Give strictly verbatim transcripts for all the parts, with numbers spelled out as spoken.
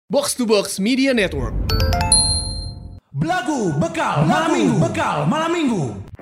Box to Box Media Network. Belagu bekal malam minggu, bekal malam minggu.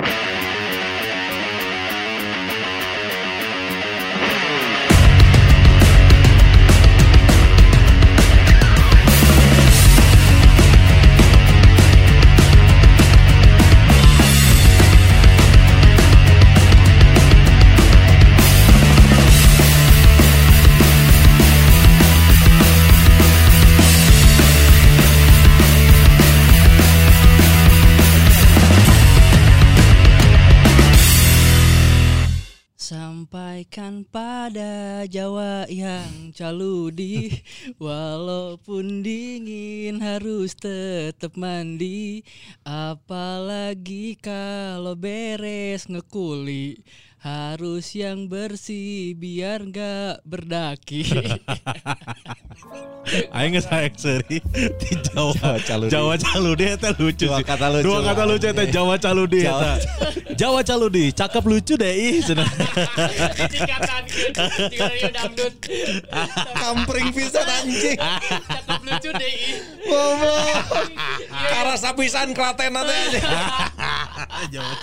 Sampaikan pada Jawa yang caludi, walaupun dingin harus tetap mandi, apalagi kalau beres ngekuli, harus yang bersih biar gak berdaki. Aing geus saek seuri di Jawa. Jawa Caludi. Jawa Caludi eta lucu Dua sih. kata lucu. Dua kata lucu eta Jawa Caludi eta. Jawa Caludi, cakep lucu deh ih cenah. Cikatan gitu, juga dangdut. Kampring pisan anjing. Cakep lucu deh. Goblok. Karasa pisan Klaten teh. Jawa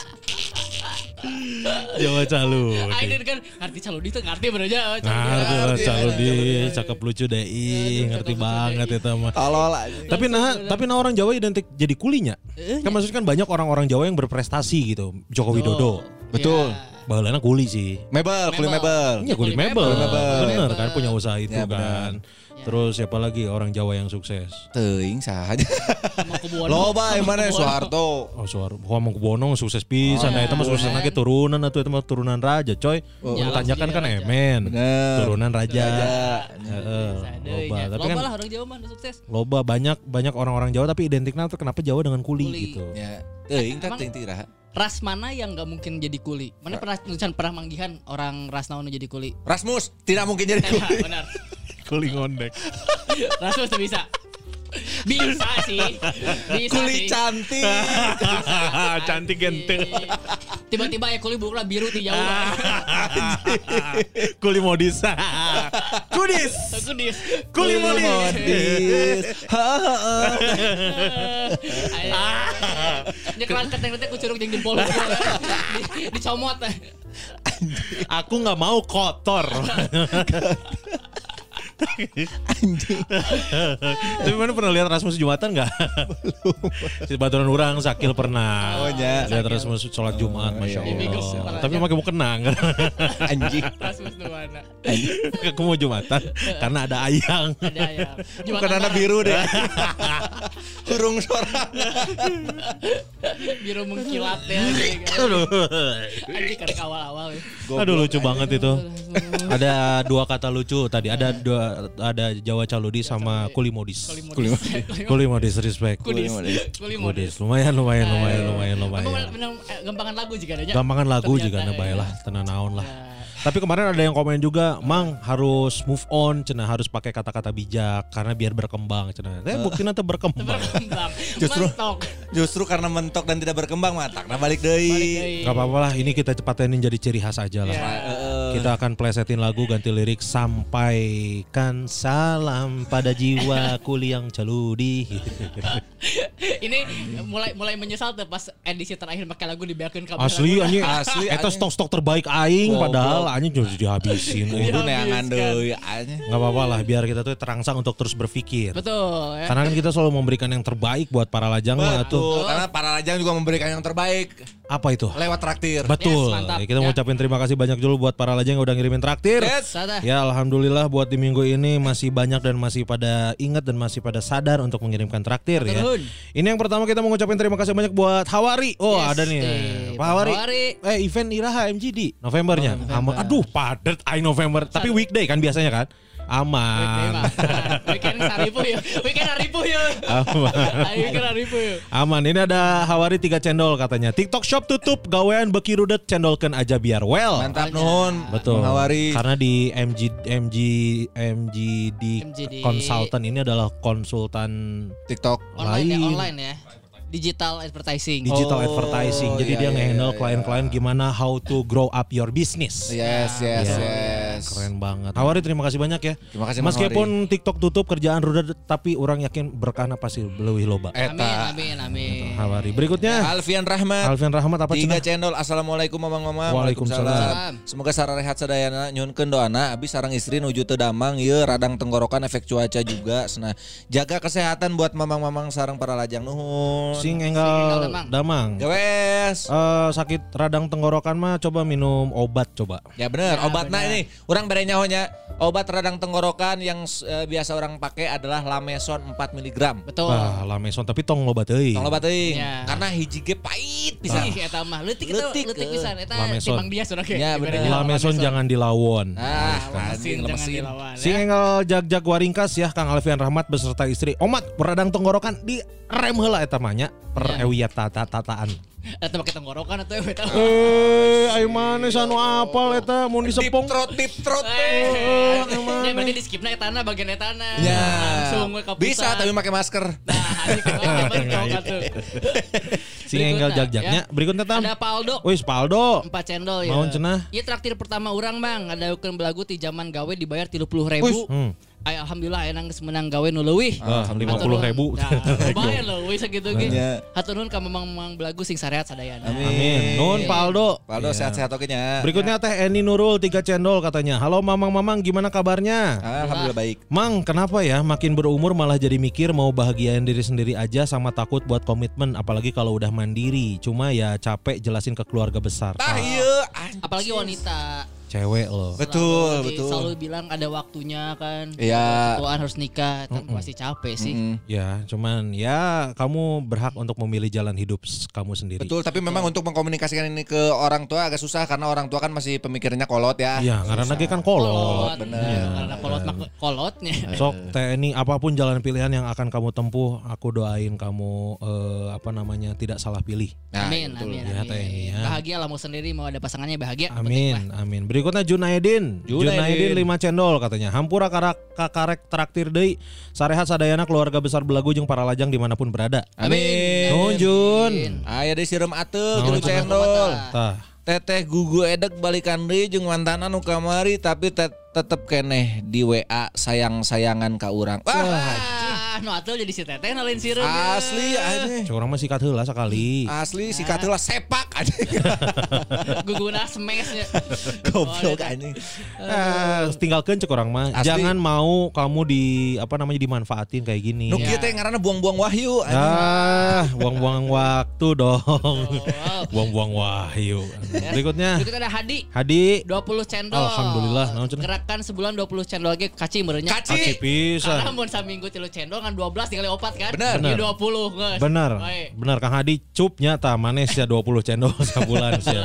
Jawa Caludi. Aing kan ngerti Caludi tuh ngerti bener aja. Ngerti Caludi, cakep lucu deh ih, ngerti banget eta mah. Tolol anjing. Tapi nah, tapi nah orang Jawa identik jadi kulinya. Kan maksudnya kan banyak orang-orang Jawa yang berprestasi gitu. Joko Widodo. Betul. Baheulana kuli sih. Mebel, kuli mebel. Iya kuli mebel. mebel. Bener kan punya usaha itu Ya, kan. Terus siapa lagi orang Jawa yang sukses? Teuing saha. Loba Loba yang mana Soeharto. Oh suara Hamengkubuwono sukses pisan. Nah, itu mah sukses lagi turunan atau itu mah turunan raja, coy. Oh, Tanjakan kan emen. Bener. Turunan raja. Raja. Heeh. Loba. Tapi Loba kan lah orang Jawa mah sukses. loba banyak banyak orang-orang Jawa tapi identiknya tuh kenapa Jawa dengan kuli, Kuli. gitu. Ya, teuing tak Emang- teuing tiraha. Ras mana yang gak mungkin jadi kuli? Mana pernah tulisan pernah manggihan orang ras naon jadi kuli? Rasmus tidak mungkin jadi Nah, kuli. benar. Kuli ngondek. Rasmus tuh bisa. Bisa sih. Bisa Kuli sih. cantik. Cantik genteng. Tiba-tiba ya kuli bukan biru di jauh. Kuli modis. Kudis. Aku dis. Kuli modis. Modis. Dia kelas keteng-keteng ku curug jeung jempol. Di- Dicomot. Aku nggak mau kotor. Anjing. Tapi mana pernah lihat Rasmus Jumatan nggak? Si Baturan Urang Sakil pernah. Oh, ya. Lihat Rasmus sholat Jumat, masya iya, iya. Allah. Tapi pakai mau kenang. Anjing. Rasmus tuh mana? Aku mau Jumatan karena ada ayang. Ada ya. Bukan anak biru deh. Kurung sorang. Biru mengkilat ya. Aduh. Anjing karek awal-awal. ya. Aduh lucu banget itu. Ada dua kata lucu tadi. Ada dua ada Jawa Caludi sama Kuli Modis. Kuli modis. Kuli Modis respect. Kudis. Kuli Kuli Modis modis. lumayan lumayan lumayan lumayan Apa lumayan. benar gampangan lagu juga ada. Gampangan lagu Ternyata, juga na ya. bae lah tenan naon lah. Nah. Tapi kemarin ada yang komen juga, Mang harus move on, cenah harus pakai kata-kata bijak karena biar berkembang, cenah. Eh buktinya teh berkembang. Berkembang. Justru- Mentok. Justru karena mentok dan tidak berkembang matak. Nah balik Balik deui. deui. Gak apa-apa lah, ini kita cepatin jadi ciri khas aja lah. Ya. Kita akan plesetin lagu ganti lirik sampaikan salam pada jiwa kuli yang caludi. Ini mulai mulai menyesal tuh pas edisi terakhir pakai lagu dibiarkan kabel. Asli anjing, Asli, eta anjing. stok-stok terbaik aing Goblok. padahal anjing sudah dihabisin. Kudu Iya. neangan deui anjing. Gak apa-apa lah, biar kita tuh terangsang untuk terus berpikir. Betul ya. Karena kan kita selalu memberikan yang terbaik buat para lajang lah tuh. Betul, karena para lajang juga memberikan yang terbaik Apa itu? lewat traktir. Betul. Yes, mantap. Ya, kita Ya. mau ucapin terima kasih banyak dulu buat para lajang yang udah ngirimin traktir. Yes. Sada. Ya alhamdulillah buat di minggu ini masih banyak dan masih pada ingat dan masih pada sadar untuk mengirimkan traktir ya. Betul. Ini yang pertama kita mau ngucapin terima kasih banyak buat Hawari. Oh Yes, ada nih. eh, Pak Hawari. Hawari. Eh event Iraha M G D Novembernya. Oh, November. Aman. Aduh padet ay November. Tapi weekday kan biasanya kan. Aman. Weekend haripu ya. Weekend haripu ya. Aman. Weekend haripu ya. Aman. Ini ada Hawari tiga cendol katanya. TikTok shop tutup, gawean beki rudet cendolkeun aja biar well. Mantap nuhun. Betul. Mengawari. Karena di M G M G M G D M G D Consultant ini adalah konsultan TikTok. Online ya, lain. online ya. Digital advertising. Digital Oh, advertising. Jadi iya, dia iya, nge-handle iya, klien-klien gimana how to grow up your business. Yes, yes, Iya. yes. Yes. Keren banget. Hawari terima kasih banyak ya. Terima kasih Mang Meskipun TikTok tutup kerjaan rudet tapi orang yakin berkahna pasti leuwih loba. Amin, Eta. amin, amin. Hawari. Berikutnya Alfian Rahmat. Alfian Rahmat apa Tiga cenah? channel. Assalamualaikum mamang-mamang. Waalaikumsalam. Waalaikumsalam. Semoga sareng rehat sadayana nyunkeun doana abis sareng istri nuju teu damang ieu radang tenggorokan efek cuaca juga. Nah, jaga kesehatan buat mamang-mamang sareng para lajang nuhun. Sing Sing enggal enggal damang. damang. Gawes. Eh, sakit radang tenggorokan mah coba minum obat coba. Ya bener, Ya, obatna bener. ini orang bere nyahonya obat radang tenggorokan yang eh, biasa orang pakai adalah Lameson empat miligram. Betul. Bah, lameson tapi tong loba teuing. Tong loba teuing. Ya. Karena hiji ge pahit pisan. Ih, eta mah leutik eta Leutik, leutik eh. pisan eta Lameson. timbang dia surage. Ya, bener. Lameson jangan dilawon. Ah, Lemesin anjing jangan lemesin. dilawan. Sing ya. enggal jag-jag waringkas ya Kang Alfian Rahmat beserta istri. Omat radang tenggorokan di rem heula eta mah nya per Ya. ewiat tata-tataan. Eta pakai tenggorokan atau eta. Eh, ayo mana sanu apal eta mun Deep disepong. throat, deep throat. Eh, emang. ya berarti di skipna etana bagian etana. Ya. Langsung we ka pusat. Bisa tapi pakai masker. Nah, hari kemarin tuh. Sing enggal jag-jagnya. Berikutnya tam. Ada Paldo. Wis Paldo. Empat cendol ya. Maun cenah. Iya traktir pertama orang bang. Ada ukun belagu ti zaman gawe dibayar tiga puluh ribu. Hmm. Ay, alhamdulillah enang geus menang gawe nu leuwih. Ah, lima puluh ribu. Nah, lumayan leuwih sakitu ge. Ya. Hatur nuhun ka mamang belagu sing sarehat sadayana. Amin. Nun Paldo. Paldo Iya. sehat-sehat oke nya. Berikutnya Teh Eni Nurul tiga cendol katanya. Halo mamang-mamang gimana kabarnya? Alhamdulillah baik. Mang, kenapa ya makin berumur malah jadi mikir mau bahagiain diri sendiri aja sama takut buat komitmen apalagi kalau udah mandiri. Cuma ya capek jelasin ke keluarga besar. Tah ieu anjing. Apalagi wanita. Cewek loh. Betul, Selalu- betul. Selalu bilang ada waktunya kan. Iya. Tuan harus nikah, kan pasti capek sih. Mm-mm. Ya, cuman ya kamu berhak untuk memilih jalan hidup s- kamu sendiri. Betul, tapi memang untuk mengkomunikasikan ini ke orang tua agak susah karena orang tua kan masih pemikirannya kolot ya. Iya, karena lagi kan kolot. bener. Ya, karena kolot mah kolotnya. Sok Teh Eni apapun jalan pilihan yang akan kamu tempuh, aku doain kamu eh, apa namanya tidak salah pilih. Nah, Amin, betul. amin, Ya, amin. Teh Eni, ya. Bahagia lah mau sendiri, mau ada pasangannya bahagia. Amin, amin. Berikutnya Junaidin. Junaidin. Junaidin lima cendol katanya. Hampura karak kakarek traktir deui. Sarehat sadayana keluarga besar Belagu jeung para lajang dimanapun berada. Amin. Nuhun, Jun. Aya deui sireum atuh Nuhun, gitu cenah. cendol. Tah. Teteh gugu edek balikan deui jeung mantanna nu kamari tapi tet tetep keneh di W A sayang-sayangan ka urang. Wah, Ah, nu atuh jadi si Teteh nalin sireum. asli aneh. Cek urang mah sikat heula sakali. Asli sikat heula sepak aneh. Guguna smashnya. Goblok aneh. Eh, tinggalkeun cek urang mah. Asli. Jangan mau kamu di apa namanya dimanfaatin kayak gini. Nu kieu teh ngaranna buang-buang wahyu aneh. Ah, buang-buang waktu dong. wow. Buang-buang wahyu. Berikutnya Berikut ada Hadi. Hadi. dua puluh cendol. Alhamdulillah, naon cenah? Gerakan sebulan dua puluh cendol lagi kaci merenya. Kaci. Aci pisan. Karena mun saminggu tilu cendol kan dua belas tinggal opat kan? Bener. Jadi dua puluh geus. Bener, Baik. bener Kang Hadi cupnya ta manes ya dua puluh cendol sebulan sih.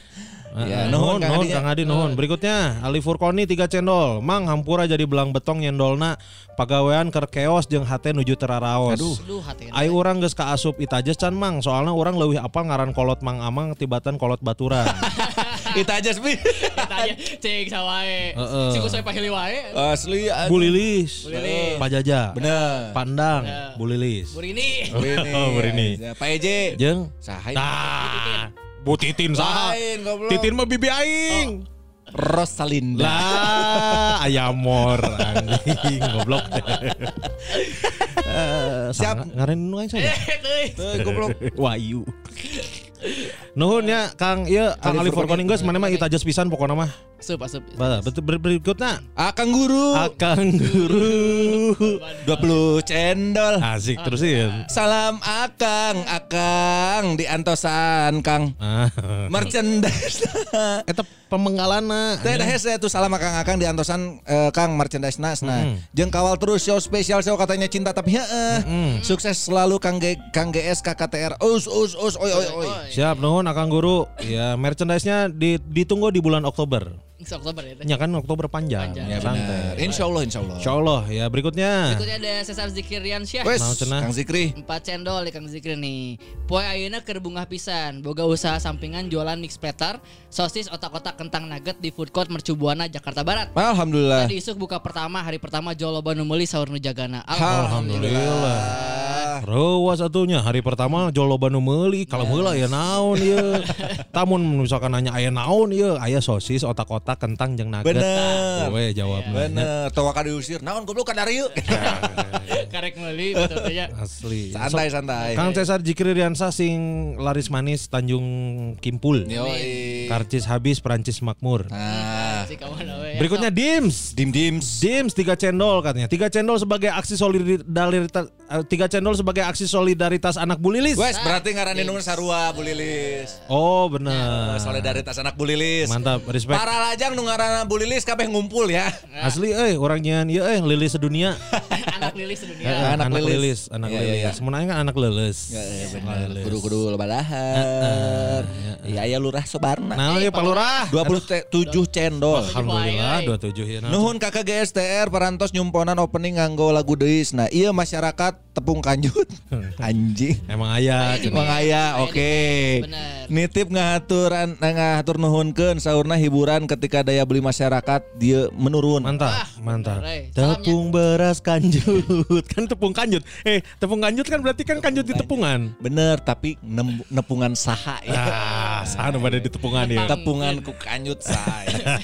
Ya, nuhun, nuhun, Kang nuhun Hadi, Kang Hadi, nuhun. Berikutnya Ali Furkoni tiga cendol. Mang hampura jadi belang betong nyendolna pagawean keur keos jeung hate nuju teraraos. Aduh. Aduh hati. Ai urang geus kaasup itajes can Mang, soalna urang leuwih apal ngaran kolot Mang Amang tibatan kolot baturan. Itu aja sih. Tanya cing sawae. Heeh. Si kusoi pahili wae. Asli aneh. Bu Lilis, Bu Lilis. Pak Jaja, Bener. Pandang, Bener. Bu Lilis. Burini. Berini. Oh, Berini. Ya, Pak Eje. Jeung Saha? Tah, Bu Titin saha? Lain goblok. Titin mah bibi aing. Rosalinda. Lah, ayamor anjing goblok. Eh, Siap. Siap ngaren nu aing saya. Teuy goblok. Wahyu. Nuhun ya Kang ieu Kang Ali Furkoni geus mana mah itajes pisan pokona mah. Asup asup. Bah, betul ber- berikutna Akang guru. Akang Guru. dua puluh cendol. Asik terusin. Salam Akang, Akang di Antosan, Kang. Ah. Merchandise. Eta pemenggalana. Teh dah hese tuh salam Akang Akang di Antosan eh, Kang merchandise nas. Nah, Mm. jeung kawal terus show spesial show katanya cinta tapi heeh. Sukses selalu Kang G, Kang G S K K T R. Us us us oi oi oi. Siap nuhun Akang Guru. Ya merchandise-nya di- ditunggu di bulan Oktober. Oktober ya. Teh. Ya kan Oktober panjang. Panjang. Ya Santai. benar. Insyaallah insyaallah. Insyaallah ya berikutnya. Berikutnya ada Cesar Zikrian Syah. Wes, Mau cenah. Kang Zikri. Empat cendol di Kang Zikri nih. Poe ayeuna keur bungah pisan. Boga usaha sampingan jualan mix platter, sosis otak-otak kentang nugget di food court Mercu Buana Jakarta Barat. Alhamdulillah. Tadi isuk buka pertama hari pertama jual loba nu meuli saur nu jagana. Alhamdulillah. Rewas atunya hari pertama joloba nu meuli kalau heula ya naon ieu. Tamun misalkan nanya aya naon ieu, aya sosis, otak-otak, kentang jeung nugget. Bener. We jawabna. Bener. Tawa ka diusir. Naon goblok ka dari yeu. Karek meuli betul teh. Asli. Santai santai. Kang Cesar Jikri Riansa sing laris manis Tanjung Kimpul. Yoi. Karcis habis Perancis makmur. Nah, Si kawan we. Berikutnya Dims. dim dims. Dims tiga cendol katanya. Tiga cendol sebagai aksi solidaritas eh, tiga cendol sebagai aksi solidaritas anak Bu Lilis. Wes berarti ngaranna nu sarua Bu Lilis. Oh, benar. Solidaritas anak Bu Lilis. Mantap, respect. Para lajang nu ngaranna Bu Lilis kabeh ngumpul ya. Asli euy urang nyeun ieu euy Lilis sedunia. Anak lilis Eh, sedunia. anak anak lilis. lilis, anak Iya, lilis. iya, iya. Sebenarnya kan anak lilis. Ya, ya benar. Kudu-kudu lebadahan. Iya aya lurah Sobarna. Nah, ieu Pak Lurah. dua puluh tujuh cendol. Alhamdulillah dua puluh tujuh ya. nah. Nuhun kakak G S T R parantos nyumponan opening nganggo lagu deis. Nah, ieu masyarakat tepung kanjut. Anjing. Emang aya. Aya Emang aya, oke. Bener. Nitip ngaturan ngatur nuhunkeun saurna hiburan ketika daya beli masyarakat dia menurun. Mantap, Wah, mantap. bener, eh. Tepung beras kanjut. Kan tepung kanjut. Eh, tepung kanjut kan berarti kan kanjut di tepungan. Bener, tapi nem- nepungan saha ya. Ah, sana pada di tepungan ya. Tepungan ku kanjut saya.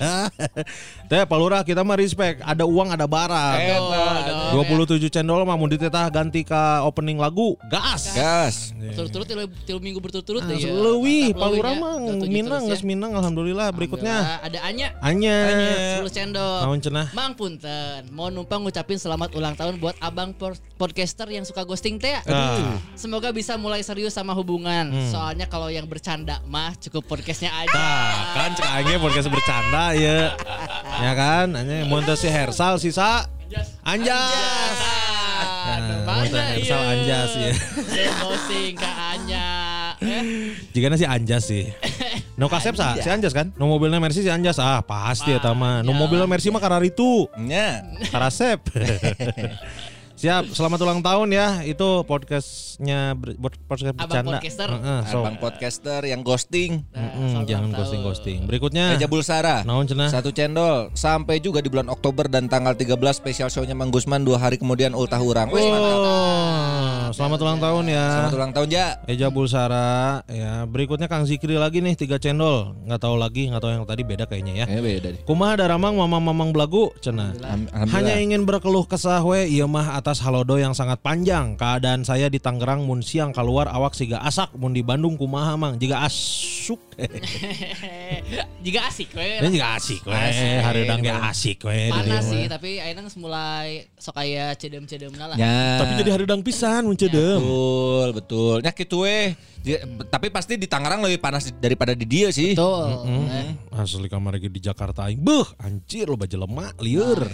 Teh Pak Lurah kita mah respect. Ada uang ada barang. Eta. dua puluh tujuh cendol mah mun ditetah ganti ka opening lagu. Gas. Gas. Berturut-turut tilu, tilu minggu berturut-turut Ah, deh ya. leuwih, Mantap, Pak leuwih Lurah ya. mah dua puluh tujuh minang terus geus ya. minang alhamdulillah. Berikutnya Alhamdulillah, ada Anya. Anya. sepuluh cendol. Naon cenah? Mang punten, mau numpang ngucapin selamat ulang tahun buat abang por- podcaster yang suka ghosting teh. Ah. Semoga bisa mulai serius sama hubungan. Soalnya kalau yang bercanda mah cukup podcastnya aja. Nah, kan cek aing podcast bercanda ya. Ya kan? Anya mun teh si Hersal sisa Anjas. Ah, Nah, mana mun teh Hersal ieu? Anjas ya. Saya ghosting ka Anya. Eh, Jigana si Anjas sih. No kasep sa, si Anjas kan? No mobilnya Mercy si Anjas. Ah, pasti eta mah. No mobilnya Mercy mah kararitu. Nya. Karasep. Siap, selamat ulang tahun ya. Itu podcastnya ber- buat podcast Abang bercanda. podcaster. Heeh, so. Abang podcaster yang ghosting. nah, Mm, selamat jangan ulang ghosting-ghosting. tahun. Berikutnya. Eja Bulsara. Naon cenah? Satu cendol. Sampai juga di bulan Oktober dan tanggal tiga belas spesial show-nya Mang Gusman dua hari kemudian ultah urang. Wes mantap. Oh, selamat ulang tahun ya. Selamat ulang tahun ya. Eja Bulsara ya. Berikutnya Kang Zikri lagi nih tiga cendol. Nggak tahu lagi, nggak tahu yang tadi beda kayaknya ya. Eh beda deh. Kumaha daramang mamang-mamang belagu cenah. Alhamdulillah. Hanya ingin berkeluh kesah we ieu mah atas halodo yang sangat panjang. Keadaan saya di Tangerang mun siang keluar awak siga asak mun di Bandung kumaha mang jiga asuk. Jika asik we. Ini juga asik we. Asik. Hareudang ge asik we di dieu Panas sih, mah. tapi ayeuna geus mulai sok aya cedem-cedemna lah. Ya. Tapi jadi hareudang pisan mun cedem. Betul, betul. Nya kitu we. Dia- Tapi pasti di Tangerang lebih panas di- daripada di dia sih. Betul. Hmm. Eh, Asli kamar lagi di Jakarta aing. Beuh, anjir lo baju lemak lieur.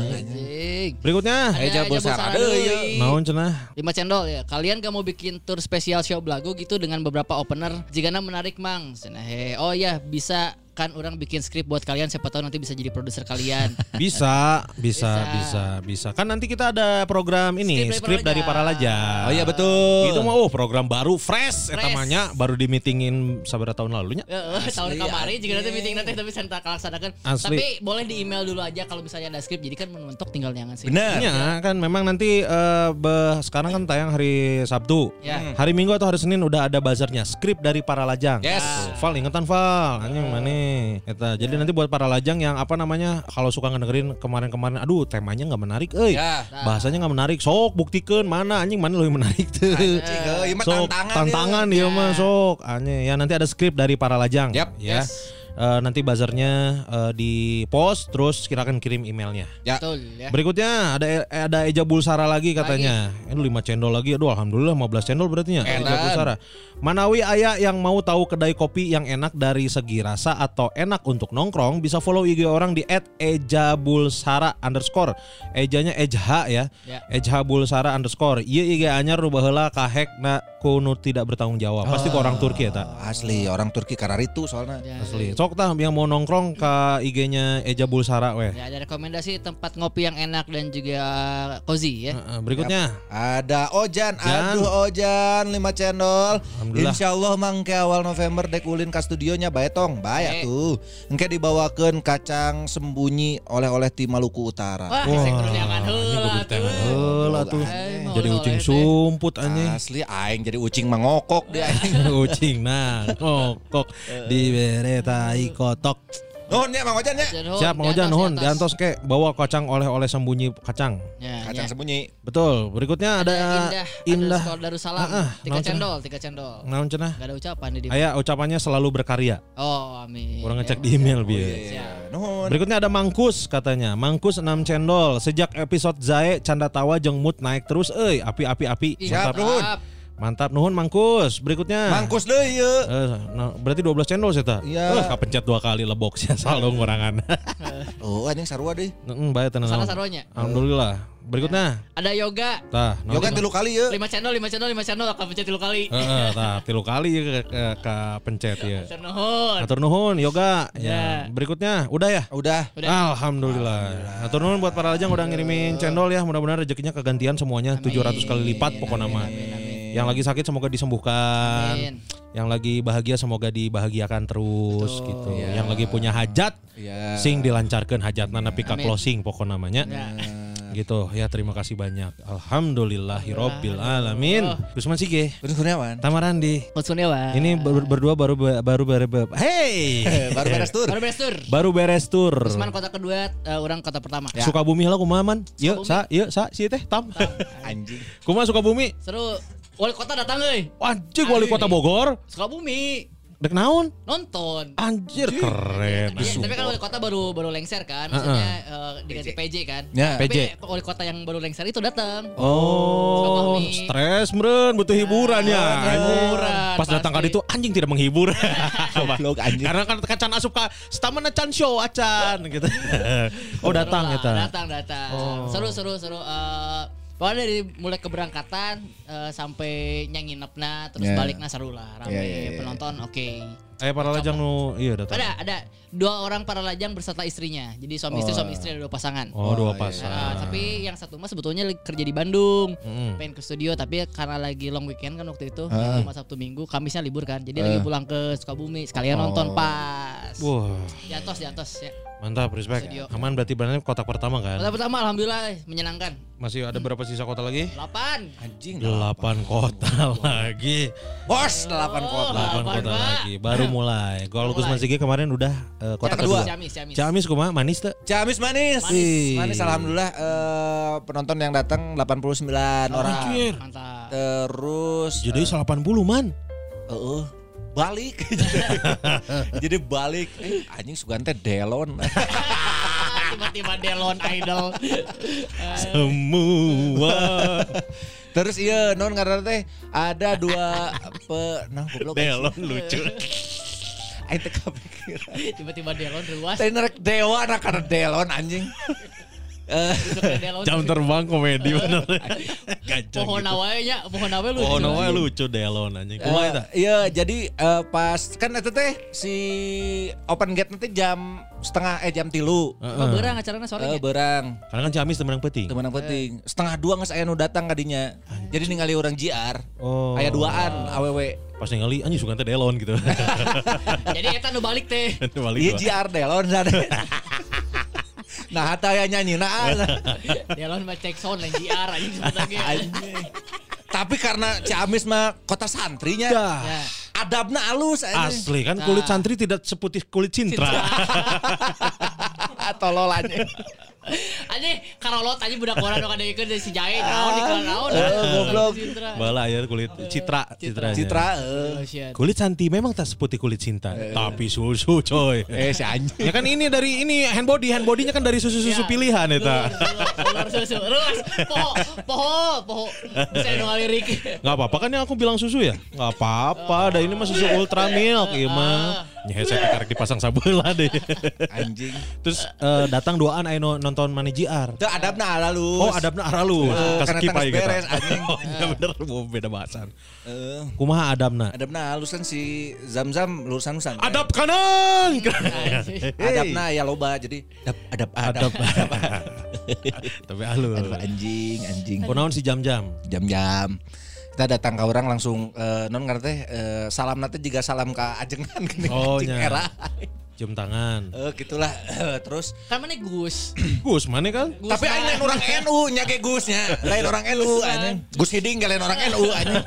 anjing. Berikutnya, Eja Ada Bulsara Bulsara deui. deui. naon cenah? lima cendol ya. Kalian gak mau bikin tour spesial show belagu gitu dengan beberapa opener? Jigana menarik mang. Cenah, he. Oh ya bisa kan orang bikin skrip buat kalian, siapa tahu nanti bisa jadi produser kalian. Bisa, bisa, Bisa. bisa, bisa. Kan nanti kita ada program ini, Skrip dari skrip dari para Para laja. Oh iya betul. Itu mah oh program baru fresh eta Fresh. mah nya baru di meetingin sabaraha tahun lalunya. Heeh, tahun kemarin juga nanti meeting nanti tapi saya tak laksanakan. Asli. Tapi boleh di email dulu aja kalau misalnya ada skrip. Jadi kan menentuk tinggal nyangan sih. Benar. Iya kan memang nanti eh, be- sekarang kan tayang hari Sabtu. Ya. Hari Minggu atau hari Senin udah ada buzzernya, skrip dari para lajang. Yes. Tuh, Val ingetan Val, anjing mana? Eta. Jadi nanti buat para lajang yang apa namanya kalau suka ngedengerin kemarin-kemarin, aduh temanya nggak menarik, euy. Ya. Bahasanya nggak menarik, sok buktikeun mana anjing mana lebih menarik tuh. Anjing, euy, ieu mah Sok tantangan tantangan ya. dia mah sok. Anjing. Ya nanti ada skrip dari para lajang. Yap. Ya. Yes. Eh, nanti buzzernya eh, di post terus kirakan kirim emailnya. Ya. Betul ya. Berikutnya ada ada Eja Bulsara lagi katanya. Ini lima cendol lagi. Aduh alhamdulillah lima belas cendol berarti nya. Eja Edan. Bulsara. Manawi aya yang mau tahu kedai kopi yang enak dari segi rasa atau enak untuk nongkrong bisa follow I G orang di et eja bulsara underscore. Ejanya Ejha ya. Ya. Ejha Bulsara underscore. Ieu I G anyar nu baheula kahek na kuno tidak bertanggung jawab. Pasti ke orang Turki eta. Asli orang Turki kararitu soalnya. Ya. Asli. Sok tah yang mau nongkrong ke I G-nya Eja Bulsara weh. Ya, ada rekomendasi tempat ngopi yang enak dan juga cozy ya. Heeh, berikutnya. Ada Ojan, Jan. aduh Ojan lima cendol. Alhamdulillah. Insya Allah mangke awal November dek ulin ka studionya bae tong, bae Eh. atuh. Engke dibawakeun kacang sembunyi oleh-oleh ti Maluku Utara. Wah, Wah, saya kudu nyangan ini heula. kudu Nah, teh tuh. heula tuh. Ay, mau Jadi oleh-oleh ucing teh. sumput anjing. Asli aing jadi ucing mangokok dia aing. Ucing nah ngokok dibere tai kotok. Nuhun nya Mang Ojan nya. Nuhun, Siap Mang di Ojan atas, nuhun di atas. diantos ke bawa kacang oleh-oleh sembunyi kacang. Ya, Kacang ya. sembunyi. Betul. Berikutnya ada, Indah, Indah. underscore Darussalam. Ah, ah, Tiga naon cenah? cendol, tiga cendol. Naon cenah? Gak ada ucapan di Aya ucapannya selalu berkarya. Oh, amin. Orang ngecek Ya. di email bieu. Siap. Nuhun. Berikutnya ada Mangkus katanya. Mangkus enam cendol. Sejak episode Zae canda tawa jeung mood naik terus euy. Api api api. Ih, Siap, Mantap. nuhun. Mantap nuhun Mangkus. Berikutnya Mangkus deui ieu. Eh, nah, berarti dua belas cendol sih ta. Iya. Eh, kapencet dua kali lebok sih asal dong ngurangan. Oh, anjing sarua deui. Heeh, bae tenang. Salah saruanya. Alhamdulillah. Berikutnya. Ada yoga. Tah, naon Yoga cenah? tilu kali ieu. Lima cendol, lima cendol, lima cendol. Akan pencet tilu kali. Heeh, tah tilu kali ya ke, ke, ke pencet ya. Hatur nuhun. Atur nuhun yoga. Ya. Ya. Berikutnya udah ya? Udah. Udah. Alhamdulillah. Atur nuhun buat para lajang udah ngirimin cendol ya. Mudah-mudahan rezekinya kegantian semuanya tujuh ratus kali lipat pokoknya mah. Yang lagi sakit semoga disembuhkan. Amin. Yang lagi bahagia semoga dibahagiakan terus Betul. gitu. Iya. Yang lagi punya hajat Iya. sing dilancarkan hajatna nepi ka Amin. closing pokok namanya. Ya. Gitu ya, terima kasih banyak. Alhamdulillahirabbil alamin. Gusman Sige, Terus Kurniawan. Tamarandi. Maksudnya wah. Ini ber- berdua baru baru baru hey. Baru beres tur. Baru beres tur. Baru beres tur. Usman kota kedua, eh, orang kota pertama. Ya. Sukabumi lah kumaha man? Yuk, Sukabumi. sa, yuk, sa, si teh tam. Anjing. Kumaha Sukabumi? Seru. Wali kota datang euy. Anjir wali kota Bogor. Sukabumi Dek naon? nonton. Anjir keren. Iya, tapi kan wali kota baru baru lengser kan, maksudnya eh, diganti P J kan. Ya. Tapi P J. wali kota yang baru lengser itu datang. Oh, Sukabumi. stres meren, butuh hiburan ya. hiburan, Pas datang pasti. kali itu anjing tidak menghibur. Goblok anjing. Karena kan kacan asup ka stamina can show acan gitu. Oh, datang Seru lah, eta. Datang datang. Oh. Seru seru seru. Eh, pokoknya dari mulai keberangkatan eh, sampai nyanginepna terus Ya. baliknya seru lah rame Ya, ya, ya. penonton oke. Eh para lajang nu iya datang. Ada ada dua orang para lajang berserta istrinya. Jadi suami istri Oh. suami istri ada dua pasangan. Oh, dua iya. pasang. Nah, tapi yang satu mah sebetulnya lagi kerja di Bandung, Mm. pengen ke studio tapi karena lagi long weekend kan waktu itu, Ah. cuma Sabtu Minggu, Kamisnya libur kan, jadi Ah. lagi pulang ke Sukabumi sekalian Oh. nonton pas. Wah, Di atas di atas ya. mantap respect. Studio. Aman berarti berarti kotak pertama kan? Kota pertama alhamdulillah eh, menyenangkan. Masih ada berapa sisa kota lagi? delapan. Anjing. Delapan kota lagi. Bos delapan Oh, kota. Delapan Delapan, kota Pak. lagi. Baru mulai. Kalau Gusman Sige kemarin udah eh, kota Yang kedua. kedua. Ciamis, Ciamis. Ciamis kumaha manis tuh? Ciamis manis. Manis. Manis alhamdulillah eh, penonton yang datang delapan puluh sembilan orang. Anjir. Mantap. Terus Jadi delapan puluh man. Heeh. Balik. Jadi balik. Eh, anjing Sugante Delon. Tiba-tiba Delon Idol. Semua. Terus iya non karena teh ada dua pe nah goblok. Delon lucu. Aing teh kepikiran. Tiba-tiba Delon ruas. Teh nerek dewa anak karena Delon anjing. Eh Delon. Jam terbang komedi bener. Gajah. Pohon gitu. nawae nya, pohon nawae lucu. Pohon nawae lucu Delon anjing. Kumaha eta? Eh, iya jadi eh, pas kan itu teh si open gate nanti jam setengah eh jam tilu Apa beurang acarana sore eh nya? berang Karena kan Ciamis temenang penting. teman penting setengah dua nggak saya nu datang kadinya jadi ningali orang J R Oh. aya duaan awewe Pas ningali anjing suka teh Delon gitu. Jadi eta nu balik teh. Balik iya gua. J R Delon sana nah hata aya nyanyi nah Delon mah cek sound lain J R anjing sebutannya. anjing tapi karena Ciamis mah kota santrinya Dah. Ya. adabna halus anjing. Asli kan kulit santri tidak seputih kulit cintra. tololannya Anjing karolot anjing budak orang nu kadeukeun si Jae naon di kana naon. Eh, goblok. Bala ya kulit citra citranya. Citra eh. Oh, shit. Kulit santi memang tak seputih kulit cinta, tapi susu coy. eh si anjing Ya kan ini dari ini hand body, hand bodinya kan dari susu-susu Ya. pilihan eta. Kolor susu. Terus poho, poho, poho. Bisa nu ngalirik. Enggak apa-apa kan yang aku bilang susu ya? Enggak apa-apa, ada ini mah susu ultra milk ieu mah. Nya saya karek dipasang sabeula deh. anjing Terus eh, datang duaan aya no- nonton Mani J R. itu adabna halus Oh, adabna aralus. Eh, Kas karena skip tangis aja kita. beres, anjing. Oh, iya bener, mau beda bahasan. Eh, Kumaha adabna? adabna halus kan si Zam-Zam lulusan Nusantara. Adab kanan. Adabna ya loba jadi adab adab adab. Adab. Tapi halus. Aduh, anjing anjing. Kunaon si jam-jam? Jam-jam. Kita datang ke orang langsung eh, non ngarana teh eh, salam nanti juga salam ke ajengan gini. Oh, anjing nya. era. Jam tangan. Eh gitulah. Terus Kan mana Gus? Gus mana kan? Gus tapi aing lain orang N U nya ge Gusnya. Lain orang N U anjing. Gus Hiding lain orang N U anjing.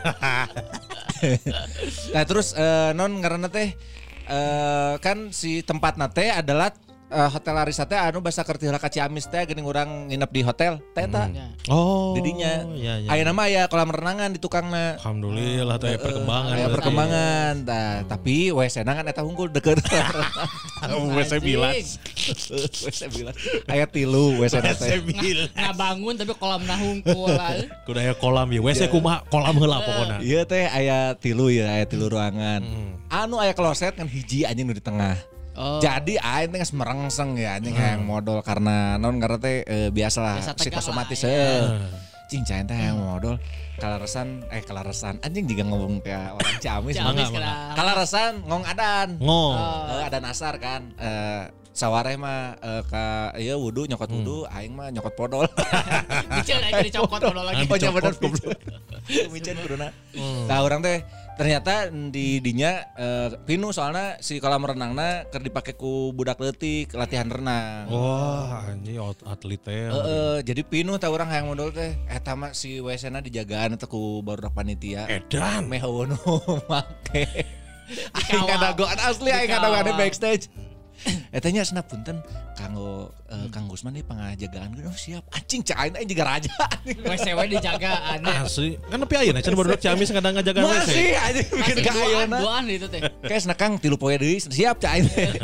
Nah terus eh, non ngaranna teh eh, kan si tempat nate adalah eh, Hotel Arisa teh anu basa kerti heula ka Ciamis teh geuning urang nginep di hotel teh eta. Ya. Oh. Didinya. Ya, ya. Aya nama aya kolam renangan di tukangna. Alhamdulillah tuh aya perkembangan. Aya berarti. perkembangan. Nah, tapi W C-na kan eta unggul deket. W C bilas. W C bilas. Aya tilu W C-na teh. Nggak bangun tapi kolam nahungkul lah. Kudu aya kolam ya. W C kumaha kolam heula pokona. Iya teh aya tilu ya, aya tilu ruangan. Anu aya kloset kan hiji anjing nu di tengah. Oh. Jadi aing teh geus merengseng ya anjing hayang modal karena non karena teh e, biasalah Biasa tegang psikosomatis lah, eh. Cing cain teh hayang modal kalaresan eh kalaresan anjing juga ngomong kayak orang Ciamis. Ciamis Mangga, kena. Kalaresan ngong adan. Ngong. Eh, adan asar kan. Eh sawareh mah eh, ka ieu wudu nyokot wudu aing mah nyokot podol. Micen aja dicokot udah lagi. Oh nya bener goblok. Micen kuduna. Nah urang teh ternyata di dinya uh, pinu soalnya si kolam renangna keur dipake ku budak leutik latihan renang. Wah, anjing atlet teh. Heeh, jadi pinu tah urang hayang modal teh eta mah si W C-na dijagaan teh ku barudak panitia. Edan. Meh eueuh make. Aing ngadagoan asli aing ngadagoan backstage. Eta nya cenah punten kanggo uh, Kang Gusman nih pangajagaan oh siap anjing cain aing juga raja. W C W dijaga aneh. Asli. Kan nepi ayeuna can baru Ciamis kadang ngajaga W C. Masih anjing bikin Masih ka duaan, ayeuna. duaan gitu teh. Kayak cenah Kang tilu poe deui siap cain.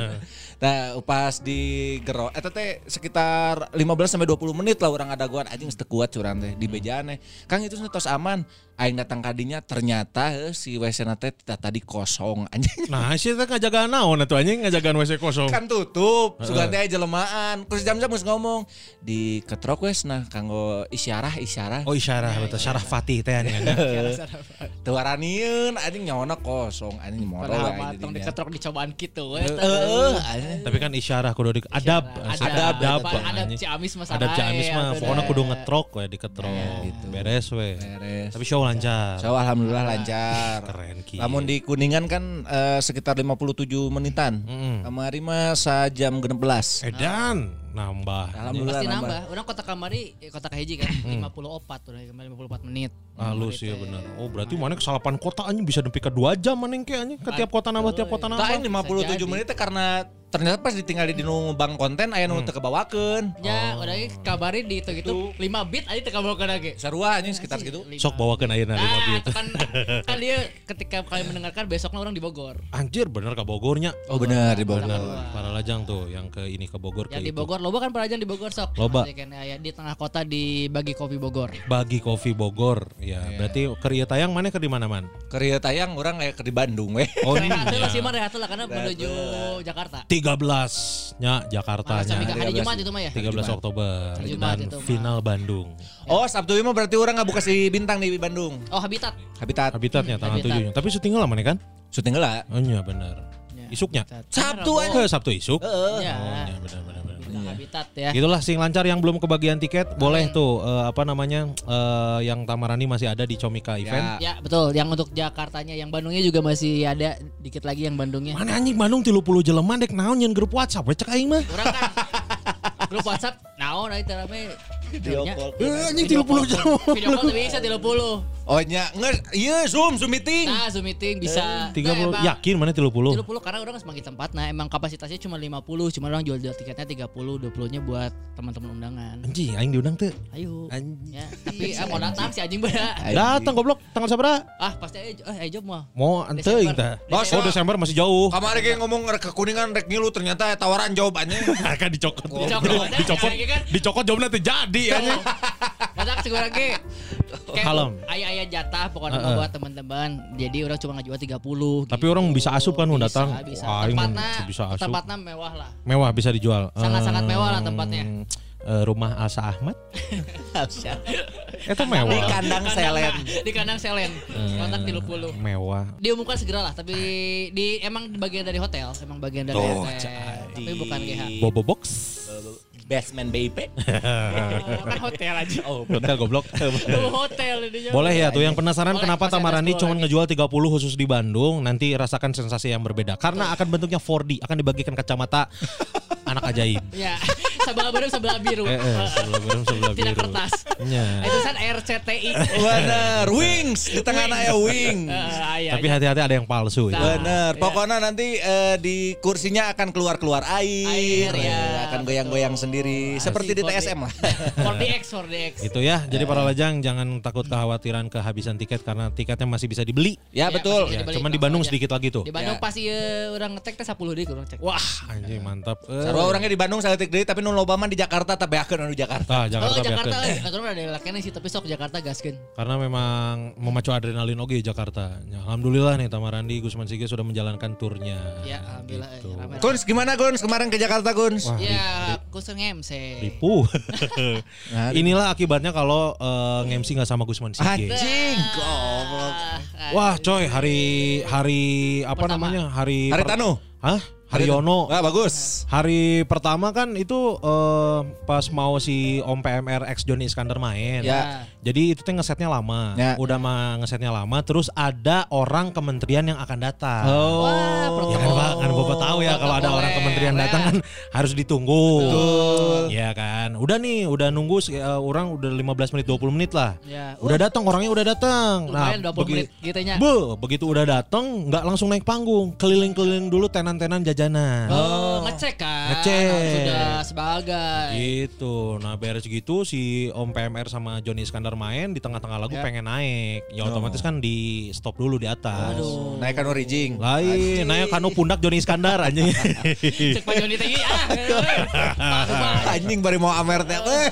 Nah, pas di gero eta teh sekitar lima belas sampai dua puluh menit lah orang adagoan anjing geus teu kuat curang teh di bejaan teh. Kang itu tos aman. Aing datang kadinya ternyata eh, si W C-na teh tadi kosong anjing. Nah, sih teh ngajagaan naon atuh anjing ngajagaan W C kosong. Kan tutup, sugan teh jelemaan. Terus jam-jam geus ngomong di ketrok wes nah kanggo isyarah isyarah. Oh, isyarah betul syarah Fatih teh anjing. Teu waranieun anjing nyawana kosong anjing modal Padahal aing mah di tong dinya. diketrok dicobaan kitu we. Heeh, anjing. Tapi kan isyarah kudu di adab, Adab, adab, adab, adab anjing. Ciamis mah Adab Ciamis mah sabae, pokoknya atuh kudu dah. ngetrok we diketrok. gitu. Beres we. Beres. Tapi show lancar. So alhamdulillah lancar. Keren ki. Namun di Kuningan kan eh, sekitar lima puluh tujuh menitan. Mm. Kamari mah sajam genep belas. Edan nambah. Alhamdulillah Pasti nambah. nambah. Orang kota kamari, eh, kota kahiji kan lima puluh empat udah lima puluh empat menit. Halus ya bener. Oh berarti mana kesalapan kota anjing bisa nepi ka dua jam maneh ke anjing ke tiap kota nambah tiap kota Tah nambah. aing lima puluh tujuh Bisa menit teh karena ternyata pas ditinggal di nu bang konten aya nu teu kebawakeun. Ya, udah ge kabari di itu gitu lima bit aja teka bawa ke lagi. Sarua anjing sekitar segitu. Sok bawakeun ayeuna lima Nah, bit. itu kan kan dia ketika kalian mendengarkan besoknya orang di Bogor. Anjir bener ke Bogornya. Oh bener di Bogor. Para lajang tuh yang ke ini ke Bogor Yang ke di itu. Bogor, loba kan perajaan di Bogor sok. Loba. Maksudnya kan, ya, di tengah kota di Bagi Kopi Bogor. Bagi Kopi Bogor. Ya, berarti keur ieu tayang mana keur di mana man? Keur ieu tayang urang aya keur di Bandung we. Oh Rehat iya. lah sih mah rehat lah karena menuju Jakarta. tiga belas nya Jakarta Masa nya. hari Jumat itu mah ya. tiga belas Oktober Hari Jumat dan itu, Mak. final Bandung. Oh Sabtu ieu mah berarti urang ngabuka si bintang di Bandung. Oh, Habitat. Habitat. Habitatnya tanggal Habitat. tujuh. Tapi syuting lama nih kan? Syuting heula. Oh iya benar. Ya, Isuknya? Habitat. Sabtu Bener, aja. Eh, Sabtu isuk. Oh Ya. iya benar benar benar. Bintang Habitat ya. Itulah sing lancar yang belum kebagian tiket boleh tuh eh, apa namanya eh, yang Tamarani masih ada di Comika Event. Ya betul, yang untuk Jakartanya, yang Bandungnya juga masih ada dikit lagi yang Bandungnya. Mana anjing Bandung tilu puluh jelema dek naon nyeun grup WhatsApp we cek aing mah. Orang kan grup WhatsApp, naon nah, itu rame. Video call. Eh anjing tilu puluh jelema. Video call tuh bisa tiga puluh. Oh nya ngeus ieu Zoom Zoom meeting. Nah, Zoom meeting bisa. tiga puluh Nah, emang yakin mana tilu puluh? tiga puluh karena orang semakin tempat. Nah, emang kapasitasnya cuma lima puluh, cuma orang jual-jual tiketnya tiga puluh, dua puluh-nya buat teman-teman undangan. Anjing aing diundang teh. Ayo. Anjing. Ya, tapi ah, mau datang si anjing beda. Datang goblok tanggal sabaraha? Ah, pasti aja eh aja mah. Mau anteuing Desember. tah. Desember. Oh Desember masih jauh. Kamari ge ngomong rek ke Kuningan rek ngilu ternyata tawaran jawabannya. Kan dicokot. Dicokot. Dicokot. Kayak kan. Dicokot jawabnya teh jadi anjing. Masak segera ge. Kayak Kalem. Ayah-ayah jatah pokoknya Heeh. buat teman-teman. Jadi orang cuma ngajual tiga puluh. Tapi orang bisa asup kan mau Bisa, datang. Bisa. Wah, aing Tempatnya, bisa asup. tempatnya mewah lah. Mewah bisa dijual. Sangat-sangat Eh, mewah lah tempatnya. eh, rumah Alsa Ahmad. Itu mewah. Di kandang selen. Di kandang selen. Kontak tiga puluh. Mewah. Diumumkan segera lah, tapi di emang bagian dari hotel, emang bagian dari Oh, hotel. Tapi bukan G H. Bobo Box. Basement B I P. Kan hotel aja. Oh, Hotel goblok. Tuh hotel ini. Boleh ya tuh yang penasaran Boleh, kenapa masih ada Tamarandi sepuluh cuma lagi. ngejual tiga puluh khusus di Bandung, nanti rasakan sensasi yang berbeda karena akan bentuknya empat D, akan dibagikan kacamata anak ajaib. Ya, sebelah biru sebelah biru. Eh, eh, sebelah biru sebelah biru. Tidak kertas. Iya. Itu kan R C T I. bener. Wings di tengahnya ya wing. Eh, iya, Tapi iya. hati-hati ada yang palsu ya. Nah. Bener. Iya. Pokoknya nanti eh, di kursinya akan keluar-keluar air, Air, ya, Eh, akan goyang-goyang betul. sendiri, Asik, seperti di T S M lah. empat D X, empat D X. Itu ya. Jadi para lajang jangan takut kekhawatiran kehabisan tiket karena tiketnya masih bisa dibeli. Ya betul. masih Ya, dibeli cuman di kalau Bandung aja. sedikit lagi tuh. Di Bandung Ya. pasti ya, orang ngetek teh sepuluh deui kurang cek. Wah, anjing mantap. Eh. Sarua orangnya di Bandung saya deui tapi nu loba mah di Jakarta tapi akeun anu Jakarta. Tah, Jakarta, oh, Jakarta biarkeun. aturan ada lakian sih tapi sok Jakarta gaskeun. Karena memang memacu adrenalin oke Jakarta. Ya, alhamdulillah nih Tamarandi Gusman Sige sudah menjalankan turnya. Ya, alhamdulillah Gitu. eh, ramai. Guns gimana Guns kemarin ke Jakarta Guns? Wah, Ya, kusung M C. Ripuh. Inilah akibatnya kalau uh, nge-M C nggak sama Gusman Sige. Anjing, goblok. Wah, coy, hari hari apa Pertama. namanya? Hari Hari per- Tanu. Hah? Haryono. Ah bagus. Hari pertama kan itu eh, pas mau si Om P M R X Johnny Iskandar main. Ya. Jadi itu tuh ngesetnya lama. Ya. Udah mah ngesetnya lama. Terus ada orang kementerian yang akan datang. Oh. Wah, Ya kan, Pak, kan Bapak tahu ya kalau ada orang kementerian datang kan harus ditunggu. Betul. Ya kan. Udah nih, udah nunggu eh, orang udah lima belas menit dua puluh menit lah. Ya. Udah datang, orangnya udah datang. Lumayan dua puluh begi- menit gitu nya. Be, begitu udah datang nggak langsung naik panggung, keliling-keliling dulu tenan-tenan jajanan. Oh, ngecek kan. Ngecek. Sudah sebagai. Gitu. Nah beres gitu si Om P M R sama Johnny Iskandar main di tengah-tengah lagu Ya. pengen naik. Ya otomatis kan di stop dulu di atas. Aduh. Naik kanu rijing. Lain, naik kanu pundak Johnny Iskandar anjing. Cek Pak Joni teh ah. Aduh, Pak. Anjing bari mau amer teh. Eh.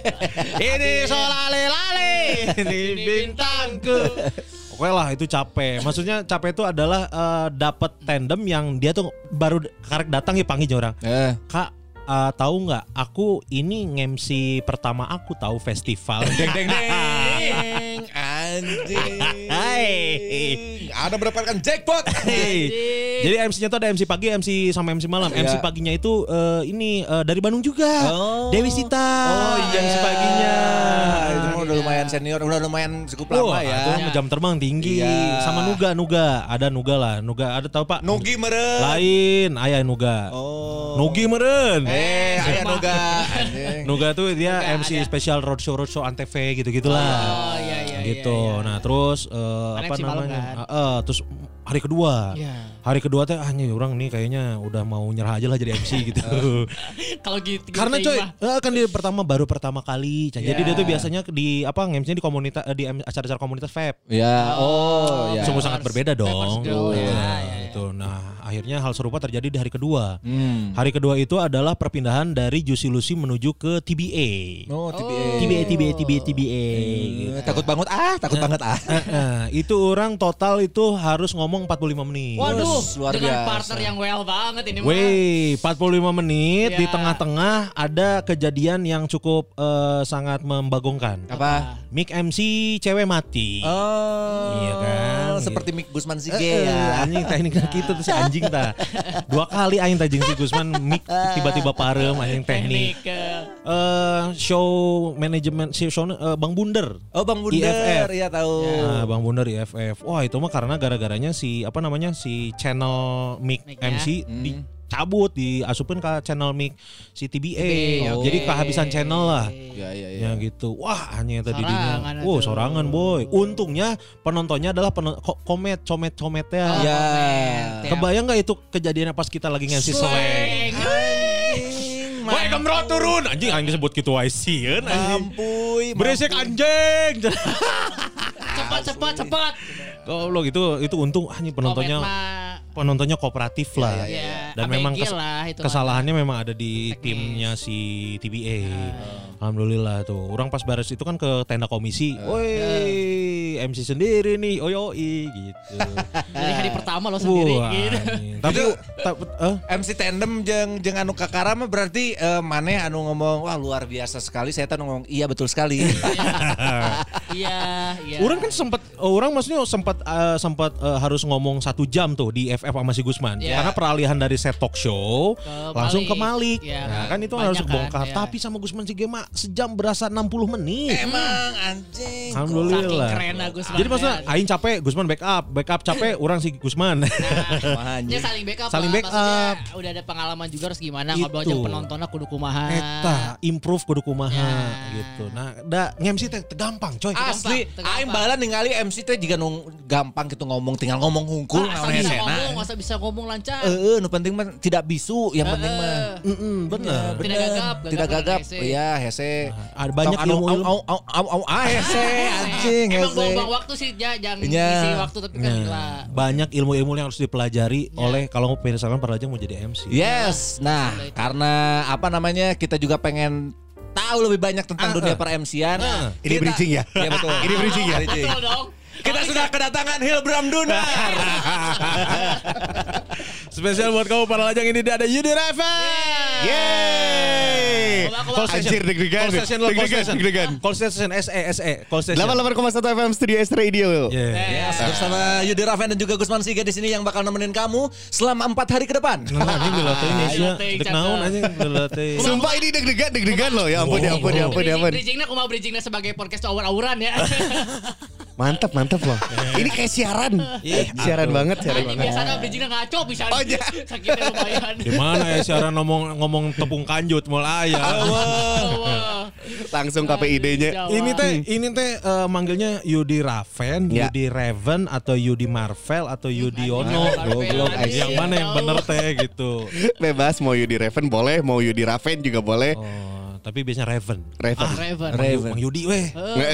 Ini solale-lale, ini bintangku. Oke lah itu capek. Maksudnya capek itu adalah eh, dapat tandem yang dia tuh baru karek datang ya panggil orang. Eh. Kak, eh, tahu nggak? Aku ini nge-M C pertama aku tahu festival. Deng deng deng. Anjing. Hai. Ada mendapatkan jackpot. Hey. Jadi M C-nya tuh ada M C pagi, M C sama M C malam. M C Iya. paginya itu eh, ini eh, dari Bandung juga. Oh. Dewi Sita. Oh iya. M C paginya. Itu mah udah lumayan senior, udah lumayan cukup Oh, lama ya. itu mah jam terbang tinggi. Iya. Sama Nuga, Nuga. Ada Nuga lah. Nuga ada tahu Pak? Nugi meren. Lain, ayah Nuga. Oh. Nugi meren. Eh, aya Nuga. Anjing. Nuga tuh dia Nuga M C ada. spesial roadshow roadshow Antv gitu-gitulah. Oh iya iya. gitu. iya, iya. Nah, terus eh, Kan apa M C malam namanya? kan? Ah, eh, terus hari kedua. Iya. Hari kedua teh ah nih orang nih kayaknya udah mau nyerah aja lah jadi M C gitu. Kalau gitu Karena gitu coy, mah. eh, kan dia pertama baru pertama kali. Jadi Ya. dia tuh biasanya di apa nge-M C-nya di komunitas eh, di acara-acara komunitas vape. Ya, oh, ya. Sungguh sangat berbeda dong. Go, Iya, ya, ya, ya. gitu. Nah, akhirnya hal serupa terjadi di hari kedua. Hmm. Hari kedua itu adalah perpindahan dari Juicy Lucy menuju ke T B A. Oh, T B A. T B A, T B A, T B A, T B A. gitu. Eh, Takut banget ah, takut banget ah. Nah, itu orang total itu harus ngomong empat puluh lima menit. Waduh, luar dengan biasa. partner yang well banget ini mah. Wey, empat puluh lima menit Ya. di tengah-tengah ada kejadian yang cukup eh, sangat membagongkan. Apa? Mic M C cewek mati. Oh. Iya kan? Seperti Mick Gusman Sige Eh, ya. anjing tekniknya gitu tuh si anjing ta. Dua kali aing tajing si Gusman mic tiba-tiba parem anjing teknik. Teknik. eh, Eh show manajemen si show eh, Bang Bunder. Oh, Bang I F F. Bunder, iya tahu. Nah, Bang Bunder I F F. Wah, itu mah karena gara-garanya si apa namanya? Si channel mic Mic-nya. M C Hmm. dicabut, diasupin ke channel mic si T B A. T B A, Oh. Jadi kehabisan channel lah. Ya, ya, ya. Ya gitu. Wah, hanya tadi Sorangan dinya. Wow, atuh. sorangan boy. Untungnya penontonnya adalah penon- ko- komet, comet-cometnya. Oh, Ya. komen. Kebayang nggak itu kejadiannya pas kita lagi nge-M C slang? Slang. Woi, kemrot turun. Anjing aing disebut gitu wae sieun anjing. Mampuy, Berisik anjing. Cepat cepat cepat. Goblok itu itu untung anjing penontonnya Komet mah, penontonnya kooperatif lah. ya, Dan A B G memang kes- lah, itu kesalahannya memang ada di Teknis. timnya si T B A. Alhamdulillah tuh. Orang pas baris itu kan ke tenda komisi. Woi, M C sendiri nih, oyoi gitu. Dari hari pertama lo sendiri Wah, gitu. anjing. Tapi tapi eh? M C tandem jeung jeung anu kakara mah berarti uh, maneh anu ngomong wah luar biasa sekali, saya tuh ngomong iya betul sekali. Iya, iya. Orang kan sempat, orang maksudnya sempat uh, sempat uh, harus ngomong satu jam tuh di F F sama si Gusman, Ya. karena peralihan dari set talk show Ke langsung ke Malik. Malik. Ya, Nah, kan itu banyak harus kan, bongkar. ya. Tapi sama Gusman si Gema sejam berasa enam puluh menit. Emang anjing. Alhamdulillah. Saking keren lah Gusman. Jadi maksudnya Aing capek, Gusman backup, backup capek, orang si Gusman. Wah, Ya anjing. saling backup Saling lah. backup. Maksudnya udah ada pengalaman juga harus gimana ngobrol Itu. jeung penontonnya kudu kumaha. Eta improve kudu kumaha Ya. gitu. Nah, da nge-M C teh teh gampang, coy. Asli, Gampang, aing gampang. bala ningali M C teh juga nung gampang gitu ngomong, tinggal ngomong hungkul Nah, asal naon bisa hesena. ngomong, asal bisa ngomong lancar. Heeh, nu penting mah tidak bisu, yang penting mah. Mm-mm, bener. Tidak gagap, gagap Tidak karena gagap. hese. Iya, hese. Ada banyak Tong anu, ilmu-ilmu. au au au au ah hese anjing Emang hese. buang-buang waktu sih, ja, jangan Iya. isi waktu tapi kan gila. Nah, banyak ilmu-ilmu yang harus dipelajari oleh kalau misalkan perajang mau jadi M C. Yes. Nah, karena apa namanya? Kita juga pengen tahu lebih banyak tentang Ah, dunia ah. per M C-an. Ah. Kita- Ini bridging ya? Iya betul. Ini bridging ya? Bridging. Betul dong. Kita sudah kedatangan Hilbram Dunar. Spesial buat kamu para lajang ini ada Yudi Raven. Yeay. Coba, coba. Call station. Anjir deg-degan. Call station lo, call Deg-degan, station. deg-degan. Call station S E S E. Call station. delapan puluh delapan koma satu F M Studio S Radio. Yeah. Yes, bersama Yudi Raven dan juga Gusman Siga di sini yang bakal nemenin kamu selama empat hari ke depan. Nah, ini dilatih ini sih. Dilatih, Dek cakep. naon aja dilatih. Sumpah ini deg-degan, deg-degan loh. Ya ampun, ya ampun, ya ampun, ya ampun. Bridgingnya aku mau bridgingnya sebagai podcast awur-awuran ya. Mantap, mantap loh. Ini kayak siaran. Iya, Siaran banget, siaran Ini banget. biasanya bridgingnya ngaco bisa. Oh, iya. Sakitnya lumayan. Di mana ya siaran ngomong ngomong tepung kanjut mulai ya. Wah. Langsung K P I D-nya. Jawa. Ini teh ini teh eh, manggilnya Yudi Raven, Ya. Yudi Raven atau Yudi Marvel atau Yudi Yono. Goblok, Yang mana yang bener teh gitu. Bebas mau Yudi Raven boleh, mau Yudi Raven juga boleh. Oh, tapi biasanya Raven. Raven. Raven. Raven. Mang Yudi weh.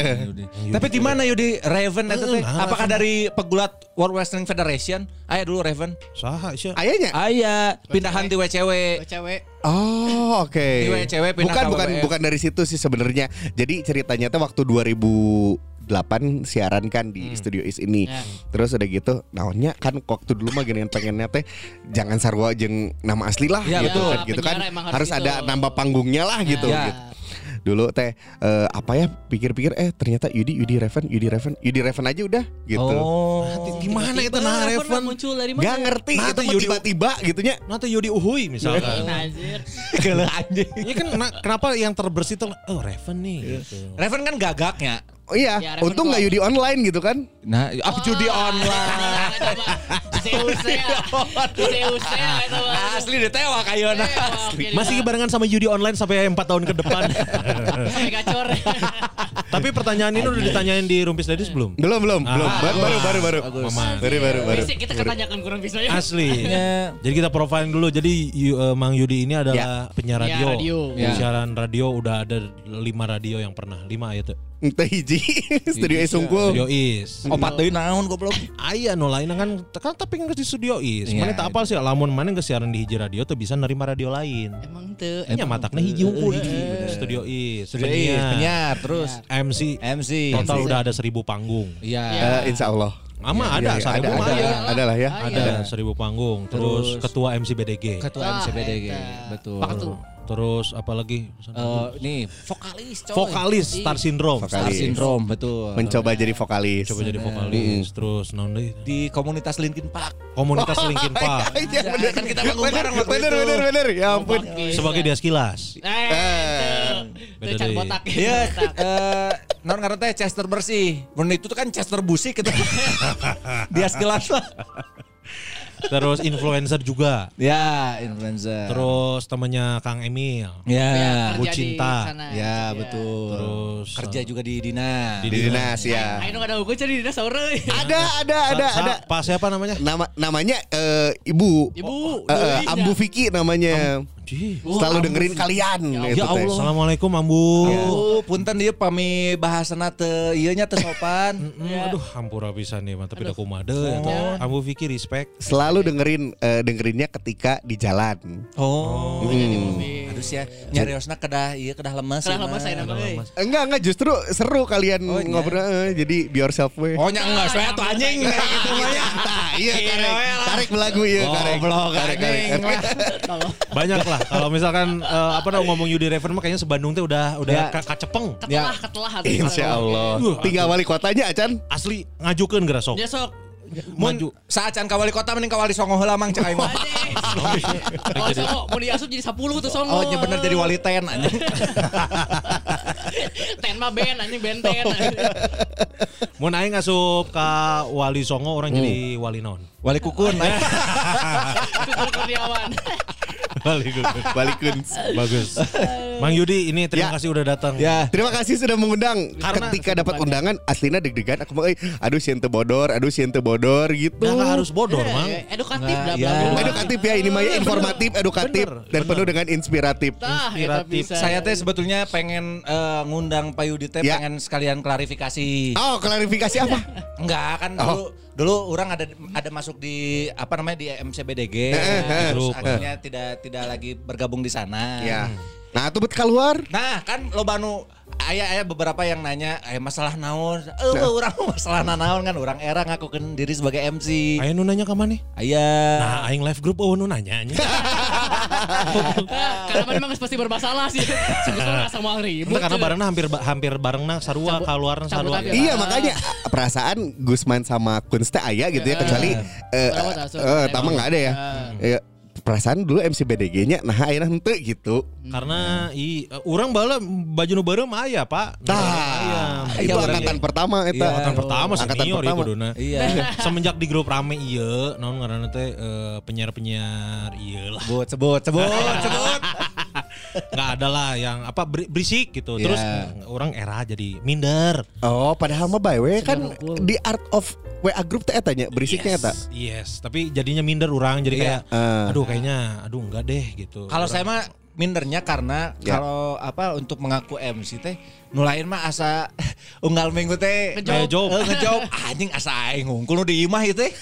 Tapi di mana Yudi Raven itu teh? Nah, Apakah dari pegulat World Wrestling Federation? Aya dulu Raven. Saha sih? Ayahnya? Aya, pindahan di W C W. Cewek. Oh, oke. Di W C W pindah Bukan ke bukan W W F. bukan dari situ sih sebenarnya. Jadi ceritanya tuh waktu dua ribu delapan siaran kan di Studio Is ini. Ya. Terus udah gitu, naonnya kan waktu dulu mah gini pengennya teh jangan sarua jeung nama asli lah Ya, gitu betul. kan. Gitu kan Penyiar emang harus harus gitu. ada nama panggungnya lah gitu. Ya. gitu. Dulu teh eh, apa ya pikir-pikir eh ternyata Yudi Yudi Raven Yudi Raven Yudi Raven aja udah gitu. Oh. Di mana itu nah Raven? muncul dari mana? Gak ngerti Nah, itu tuh mah Yudi- tiba-tiba gitunya. Nanti Yudi Uhuy misalkan. Anjir. Kalau anjing. Ini kan kena- kenapa yang terbersih tuh oh Raven nih gitu. Raven kan gagaknya. Oh iya, Ya, Raven untung nggak Club. Yudi online gitu kan. Nah, ah judi online. Zeusnya. Zeusnya itu mah. Asli ditewa kayona. Masih barengan sama Yudi online sampai empat tahun ke depan. Sampai gacor. Tapi pertanyaan ini udah ditanyain di Rumpis Dadis belum? Belum belum Ah, belum baru baru baru baru. Mama. Baru baru baru. Bisa kita ketanyakan kurang bisa ya. Asli. Ya. Jadi kita profiling dulu. Jadi Yu- eh, Mang Yudi ini adalah penyiar Penyiar radio. radio. Ya. Siaran radio udah ada lima radio yang pernah. Lima ya tuh. Entah hiji Studio Is Sungkul. Studio Is. Opat deui naon goblok. Aya no lain kan kan tapi nggak di Studio Is. Iya, Mana tak apal sih lamun mana nggak siaran di hiji radio tuh bisa nerima radio lain. Emang tuh. Nya mataknya hiji unggul hiji. Studio Is. Studio Is, penyiar terus M C. M C. Total udah ada seribu panggung. Iya. Eh, insya Allah. Ama Iya, ada iya, seribu ada, mah ada, ya. ada lah ya. Ada seribu panggung. Terus, Terus- ketua M C B D G. Ketua M C B D G. Ah, Betul. Apa tuh? Terus apa lagi? Eh, nih vokalis coy. Vokalis Star Syndrome. Star Vokalis. Syndrome betul. Mencoba jadi vokalis. Coba jadi vokalis. Terus non deh. Di komunitas Linkin Park. Komunitas Linkin Park. Iya bener. Kan kita manggung Bener, bareng waktu bener, itu. bener, bener. Ya ampun. Sebagai dia sekilas. Eh, itu. Beda Itu can deh. botak. Iya, Botak. eh non karena teh Chester bersih. Mun itu tuh kan Chester Busik gitu. Dia sekilas lah. Terus influencer juga. Ya, influencer. Terus temannya Kang Emil. ya. Bu Kerja di Cinta. sana. Ya, Iya. betul. Terus Kerja juga di dinas. Di Di dinas ya. Ayo nggak ada hukum cari dinas sahur euy. Ada, ada, ada, Sa- ada. sa- Pak siapa namanya? Nama namanya eh, Ibu. Ibu. Eh, eh, Dewi, Ambu dah. Vicky namanya. Ji. Selalu dengerin kalian. Ya itu teh. Allah. Assalamualaikum Ambu. Oh, punten dia pami bahasana teu ieu nya teu sopan. Mm, Aduh, hampura bisa nih, mah tapi da kumaha deui eta. Ambu Vicky respect. Selalu dengerin eh, dengerinnya ketika di jalan. Oh. Hmm. Aduh aduh ya nyariosna kedah ieu kedah lemes. Kedah lemes saya nama euy. Enggak enggak justru seru kalian Oh, iya. ngobrol eh, jadi be yourself we. Oh nya enggak saya tuh anjing gitu mah ya. Nah, iya karek karek belagu ieu karek. Goblok Karek, karek. Banyak lah kalau misalkan eh, apa namanya ngomong Yudi Reven mah kayaknya sebandung teh udah udah Ya. ka- kacepeng. Ketelah ketelah hati. Insya Allah. Duh, Tinggal wali kotanya Acan. Asli ngajukeun geura sok. Ya sok. Maju. Saat can ka wali kota mending ka wali Songo heula mang cek aing mah. Oh, so, mau diasup jadi sepuluh tuh songo. Oh nya bener jadi wali ten anjing. Ten mah ben anjing benten. Mun aing ngasup ka Wali Songo orang jadi wali naon? Wali kukun. Kukur Kurniawan. Wali Gugun. Wali Kuns. Bagus. Mang Yudi ini terima Ya. kasih udah datang. Ya. Terima kasih sudah mengundang. Karena- Ketika dapat undangan aslinya deg-degan aku mau eh, aduh sieu teu bodor, aduh sieu teu bodor gitu. Nah, nggak harus bodor, Mang. Edukatif Nah, dah ya. bla bla. Edukatif ya ini mah ya, informatif, edukatif Bener, dan bener. penuh dengan inspiratif. Tah, eta Inspiratif. bisa. Saya teh sebetulnya pengen eh, ngundang Pak Yudi teh Ya. pengen sekalian klarifikasi. Oh, klarifikasi apa? Enggak kan Oh. dulu dulu orang ada ada masuk di apa namanya di M C B D G eh, terus grup. akhirnya tidak tidak lagi bergabung di sana. Ya. Nah, tuh bet keluar. Nah kan lo banu ayah ayah beberapa yang nanya eh masalah naon eh orang masalah naon kan orang era ngakukeun diri sebagai M C. Ayo nu nanya ka maneh? Ayah. Nah, aing live group oh nu nanya nya. Karena memang pasti bermasalah sih. Sebetulnya nggak sama ribut. Karena barengna hampir hampir barengna sarua kaluarna cabut sarua. aja. Iya makanya perasaan Gusman sama Kunz teh aya gitu ya kecuali eh Berawat asuh. eh tama enggak ada ya. Ya, perasaan dulu M C B D G-nya nah ayeuna henteu gitu. Karena i urang bala baju nu beureum aya, Pak. Tah, Aya. itu Iya, angkatan pertama eta. Iya. Angkatan pertama Angkatan senior ya pertama. kuduna. Iya. Semenjak di grup rame ieu, naon ngaranna teh eh, penyiar-penyiar ieu lah. Sebut sebut sebut sebut. Nggak ada lah yang apa beri- berisik gitu. Iya. Terus mm, orang era jadi minder. Oh, padahal mah by way kan di art of W A group teh eta nya berisiknya eta. Yes, tapi jadinya minder orang jadi Iya. kayak Eh. aduh kayaknya aduh enggak deh gitu. Kalau Orang- saya mah mindernya karena Ya. kalau apa untuk mengaku M C teh nulain mah asa unggal minggu teh Ngejob. Eh, ngejob anjing asa aing ngungkul nu di imah ieu teh.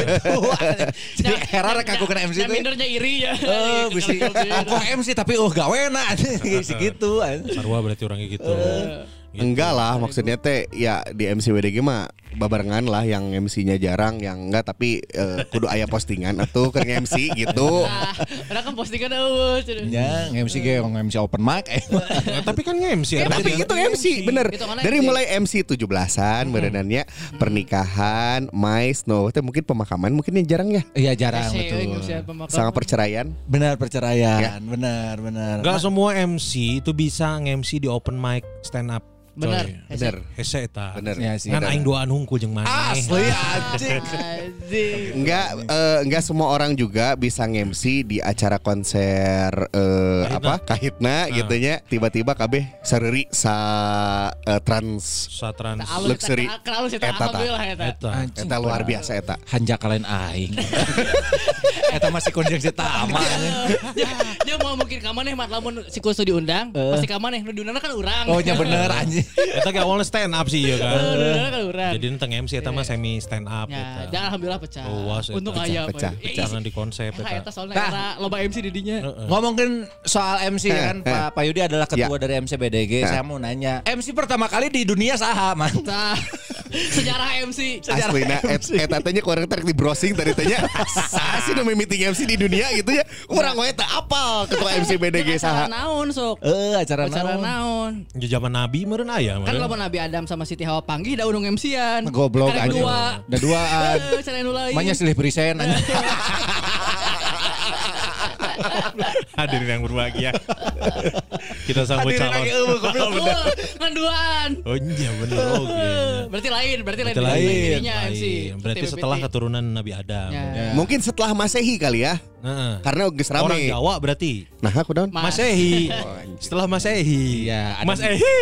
Jadi era rek aku kena M C Yang teh. mindernya iri ya. Eh bisi aku M C tapi oh gawena segitu. sarua berarti orangnya gitu. Gitu. Enggak lah, maksudnya teh ya di M C W D G mah babarengan lah yang M C-nya jarang, yang enggak tapi eh, kudu aya postingan atau ke M C gitu. Nah, Ada kan postingan eueuh. Ya M C ge M C open mic eh. Nah, tapi kan nge-M C. Tapi itu M C bener. Hitungannya Dari M C. mulai M C tujuh belasan berenannya pernikahan, mais, no, teh mungkin pemakaman mungkin yang jarang ya. Iya jarang Betul. betul. Sama perceraian. Benar perceraian, benar benar. Enggak semua M C itu bisa nge-M C di open mic stand up. Benar. Coy. Bener. Hese eta. Bener. Ya sih. Kan Bener. aing doaan hungkul jeung maneh. Asli anjing. Anjing. Enggak eh, enggak semua orang juga bisa nge-M C di acara konser eh, Kahitna. apa kahitna gitu nya tiba-tiba kabeh sareri sa eh, trans Satran Alus Luxury. eta kenal sih Eta, ta. alhamdulillah eta. eta. eta luar biasa eta. Hanja kalian aing. Eta masih konjungsi tama. Dia dia mau mungkin ka maneh mat lamun si Kustu diundang, pasti ka maneh nu diundang kan urang. Oh nya bener anjing. Eta ge awalnya stand up sih ya kan. Nu diundang kan urang. Jadi tentang M C eta mah semi stand up Ya, eta. dan alhamdulillah pecah. Luas eta. Untung Pecah, aya pecah, apa. pecah. Jangan di konsep Eta eta. eta soalnya Nah. era loba M C di dinya. Ngomongin soal M C kan Eh, eh. Pak Pak Yudi adalah ketua Ya. dari M C B D G. Eh. Saya mau nanya, M C pertama kali di dunia saha, Man? Nah, sejarah M C. Aslina et- eta teh nya kurang tarik di browsing tadi teh nya. Saha sih nu meeting M C di dunia gitu ya. Urang we teh apal ketua M C B D G Acara saha. naon sok? Eh, acara Acara naon? naon? Di zaman Nabi meureun aya Kan meureun. lamun Nabi Adam sama Siti Hawa panggih da undung M C-an. Goblok Kan anjing. dua. Da duaan. Eh, cara nu lain. Manya silih perisen anjing. Hadirin yang berbahagia. Kita sambut Hadirin calon. lagi, eueuh, goblok. Oh, kan duaan. Oh iya bener oke. Berarti lain, berarti lain. Berarti lain. Dirinya M C. Lain. Berarti setelah keturunan Nabi Adam. Ya. Mungkin setelah Masehi kali ya. Heeh. Karena geus Orang rame. Jawa berarti. Nah, aku daun. Mas. Masehi. Setelah Masehi. Iya, ada- Mas Ehi.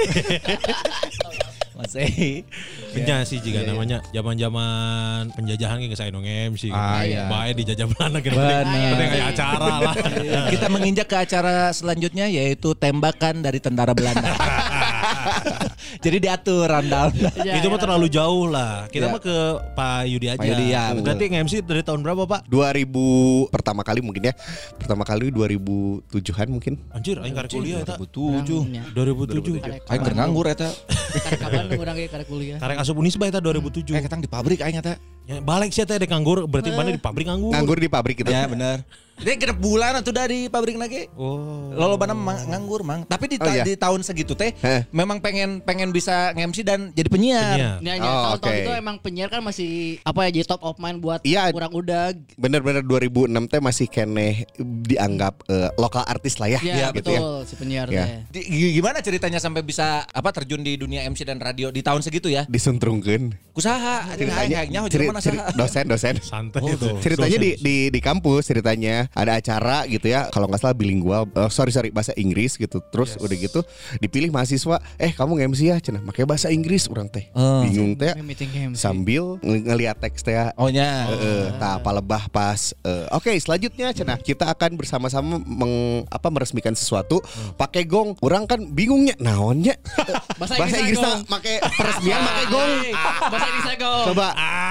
Masih. Benya sih juga namanya zaman-zaman penjajahan kayak saya dong M C. Ah, iya. Bae dijajah Belanda gitu. Benar. Penting kayak acara lah. Kita menginjak ke acara selanjutnya yaitu tembakan dari tentara Belanda. Jadi diatur rundown. Ya, Itu ya, mah terlalu jauh lah. Kita Ya. mah ke Pak Yudi aja. Pak Yudi, ya, betul. Berarti nge-M C dari tahun berapa, Pak? dua ribu pertama kali mungkin ya. Pertama kali dua ribu tujuh-an mungkin. Anjir, aing karek kuliah eta. dua ribu tujuh. dua ribu tujuh. Aing keur nganggur eta. Karek kapan orang kayak karek kuliah. Karek asup Unisba eta dua ribu tujuh. Eh ketang di pabrik aing eta. Ya, balik sih eta dek nganggur, berarti mana di pabrik nganggur. Nganggur di pabrik itu. Ya benar. Dia genep bulan atuh dari pabrik lagi. Oh. Lolobana mang- nganggur mang. Tapi di, ta- Oh, iya. di tahun segitu teh Heh. memang pengen pengen bisa nge-M C dan jadi penyiar. Penyiar. Ya, ya, Oh, tahun-tahun oke. itu emang penyiar kan masih apa ya jadi top of mind buat Iya. orang udah. Bener-bener dua ribu enam teh masih keneh dianggap eh, lokal artis lah ya. Ya, gitu betul si penyiar Ya. teh. Di- g- gimana ceritanya sampai bisa apa terjun di dunia M C dan radio di tahun segitu ya? Disuntrungkeun. Kusaha Ceritanya aing ceri- mana ceri- saha. dosen dosen. Santai Oh, itu. Ceritanya di, Dosen. di di kampus ceritanya ada acara gitu ya kalau nggak salah bilingual eh, sorry sorry bahasa Inggris gitu terus udah gitu dipilih mahasiswa eh kamu nge-M C ya cenah pakai bahasa Inggris orang teh Oh. bingung teh Meeting M C. sambil ng- ngelihat teks teh ya. Oh nya. Eh, tah palebah pas eh, oke selanjutnya cenah kita akan bersama-sama meng, apa meresmikan sesuatu pakai gong orang kan bingungnya naonnya Bahasa bahasa Inggris Inggris gong. pakai peresmian pakai gong Bahasa Inggrisnya go. coba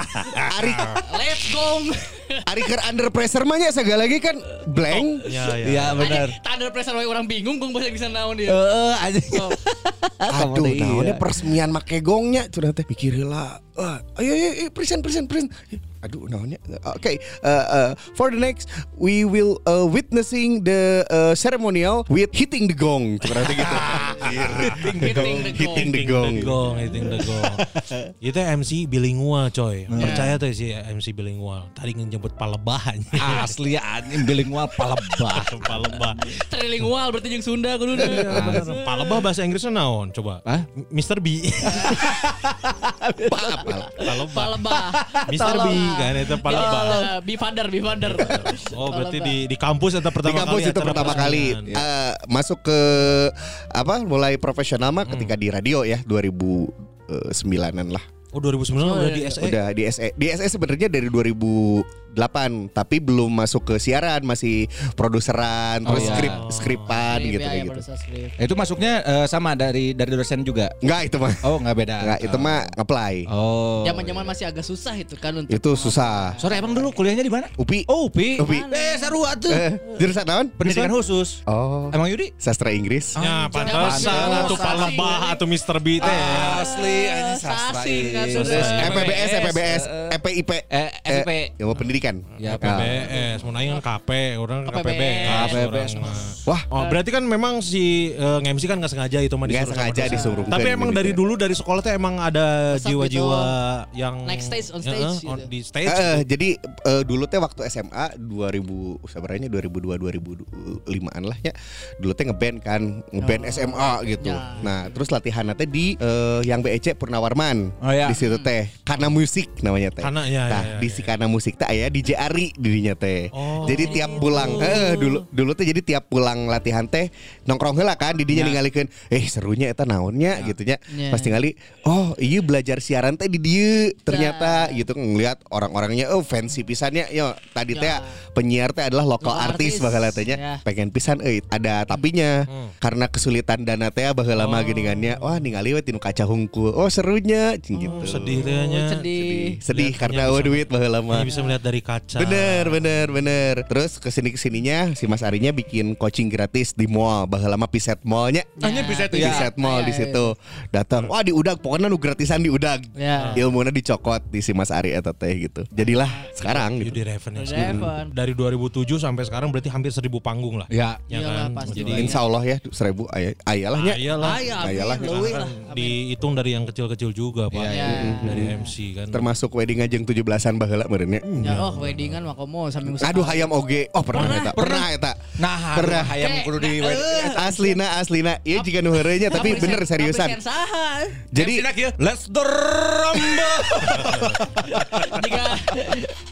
Ari Let's go. Ari keur under pressure mah nya segala lagi kan blank Ya, ya. Iya benar. Tanda pressure wae orang bingung gong bahasa Inggrisnya naon dia. Heeh anjing. Aduh, Kamu teh naonnya iya. peresmian make gongnya curang teh pikir lah. Wah, ayo ayo, ayo present present present. Aduh, naonnya. Oke, uh, uh, for the next we will uh, witnessing the uh, ceremonial with hitting the gong. Curang teh gitu. Hitting the gong. Hitting the Hitting gong. the gong, hitting the gong. Itu M C bilingual coy. Percaya tuh si M C bilingual. Tadi ngejemput palebahan. Asli anjing bilingual palebah. Palebah. Trilingual berarti jeung Sunda kuduna. Palebah bahasa Inggrisnya naon coba? Hah? mister B. Palebah. Palebah. mister B kan itu palebah. Bifander, bifander. Oh berarti di di kampus itu Di pertama kampus kali itu acara pertama kali peresmian. uh, masuk ke apa mulai profesional mah ketika di radio ya dua ribu sembilanan lah. Oh dua ribu sembilan udah di S E. Udah di S E. Di S E sebenarnya dari dua ribu delapan tapi belum masuk ke siaran, masih produseran, Oh, terus iya. skrip skripan gitu Iya, kayak iya, gitu. produser skrip. Itu masuknya eh, sama dari dari dosen juga. Enggak itu mah. Oh nggak beda. Enggak itu mah apply. Oh. Zaman-zaman masih agak susah itu kan untuk Itu susah. Sore emang dulu kuliahnya di mana? U P I. Oh Upi. Upi. Eh seru atuh. Eh, jurusan naon? Pendidikan khusus. Oh. Emang Yudi? Sastra Inggris. Ya pantesan Pantesan. atuh palebah atau mister B teh. Asli ini sastra Sasing, kan, ini. sudah. E P B S, E P B S, E P I P. Eh, F I P. Ilmu pendidikan. Ya, P B S, mau nanya kan K P, orang K P B S. K P B S. orang mah. Wah, Oh berarti kan memang si uh, nge-M C kan nggak sengaja itu mah Nggak disuruh sama sengaja dosen. disuruh. Tapi Bukan emang gitu dari ya. dulu dari sekolah tuh emang ada Resep jiwa-jiwa gitu. yang Naik stage, on stage Heeh, gitu. on- di stage. Eh, gitu. jadi eh, dulu teh waktu S M A dua ribu sebenarnya dua ribu dua dua ribu lima-an lah ya. Dulu teh ngeband kan, ngeband Oh. S M A gitu. Ya. Nah, terus latihan teh di eh, yang B E C Purnawarman. Oh, ya. Di situ teh Kana Musik namanya teh. Kana, ya, Nah, ya, ya, di ya. si Kana Musik teh aya D J Ari dirinya teh. Oh. Jadi tiap pulang eh dulu dulu teh jadi tiap pulang latihan teh nongkrong heula kan di dinya ningalikeun eh serunya eta naonnya gitu nya. Ya. Pas tingali oh iya belajar siaran teh di dieu ternyata gitu ngelihat orang-orangnya oh fancy pisannya yo tadi teh Ya. penyiar teh adalah lokal Lokal artis artis. bakal tanya Ya. pengen pisan euy ada tapinya karena kesulitan dana teh baheula mah geuningannya wah ningali we tinu kaca hungkul oh serunya cing gitu Oh, sedih teh nya. sedih. sedih Lihatnya karena bisa- eueuh duit baheula mah Hanya bisa melihat dari kaca. bener bener bener terus kesini kesininya si Mas Arinya bikin coaching gratis di mall baheula mah Piset Mallnya Hanya bisa di ya. Piset Mall Ya, di ya, situ datang wah di udag pokoknya nu gratisan di udag Ya. ilmunya dicokot di si Mas Ari eta teh gitu jadilah sekarang gitu Yudi Raven ya. Raven. Dari dua ribu tujuh sampai sekarang berarti hampir seribu panggung lah. Ya. Ya Iyalah, kan? pasti Jadi banyak. insya Allah ya seribu ayah ayalahnya Ayalah. Ah, ya, amin. Ayalah. Leuwih Kan lah. Amin. dihitung dari yang kecil-kecil juga Pak. Iya, iya. Dari M C kan. termasuk wedding ajeng tujuh belasan baheula meureunnya Ya oh weddingan mah komo sambil aduh hayam oge oh pernah eta pernah eta Nah, Pernah. hayam kudu di aslina aslina ieu jiga nu heureunya tapi bener seriusan Apresian saha? jadi Let's the rumble. Jika jika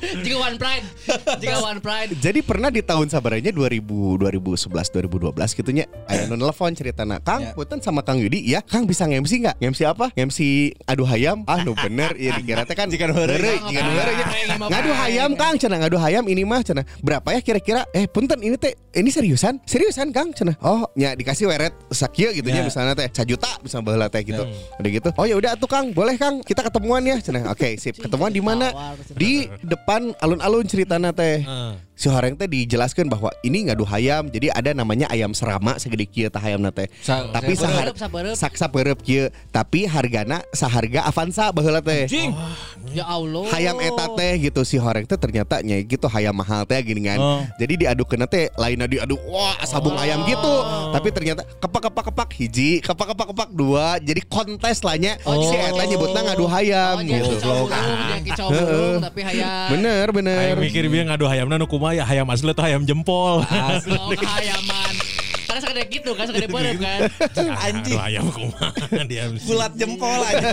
One Pride. Jika One Pride. Jadi pernah di tahun sabaranya dua ribu, dua ribu sebelas, dua ribu dua belas gitunya. Aya nu nelfon ceritana, "Kang, Ya. punten sama Kang Yudi ya, Kang bisa nge-M C enggak? Nge-M C apa? Nge-M C adu hayam." Ah, nu bener ieu dikira teh kan jika nu heureuy, jika nu heureuy. Ngadu hayam Kang, cenah ngadu hayam ini mah cenah. Berapa ya kira-kira? Eh, punten ini teh ini seriusan? Seriusan Kang cenah. Oh, nya dikasih weret sakieu gitu nya Ya. misalnya teh satu juta misalnya baheula teh gitu. Udah gitu. Oh ya udah atuh Kang, boleh Kang, kita ketemuan ya cenah. Oke, sip. Ketemuan di mana? Di depan alun-alun ceritana teh. Si horeng teh dijelaskan bahwa ini ngadu hayam, jadi ada namanya ayam serama segede kieu tah hayamna teh. Sa- Tapi sahar sapereup. sak sapereup kieu, tapi hargana saharga Avanza baheula teh. Jing. Ya Allah. Hayam eta teh gitu si horeng teh ternyata nya gitu hayam mahal teh gini kan. Oh. Jadi diadukeun teh lainna diaduk wah sabung ayam gitu. Tapi ternyata kepak kepak kepak hiji, kepak kepak kepak dua. Jadi kontes lah nya si eta nyebutna ngadu hayam Oh, jadi gitu. coburung, jadi coburung, tapi hayam. Bener bener. Ayo mikir biar ngadu hayamna nu kumaha ya hayam asli atau hayam jempol. Oh, kehayaman. Karena sekadar gitu kan, sekadar perep kan. Anjing. Ngadu hayam kumaha dia. Bulat jempol aja.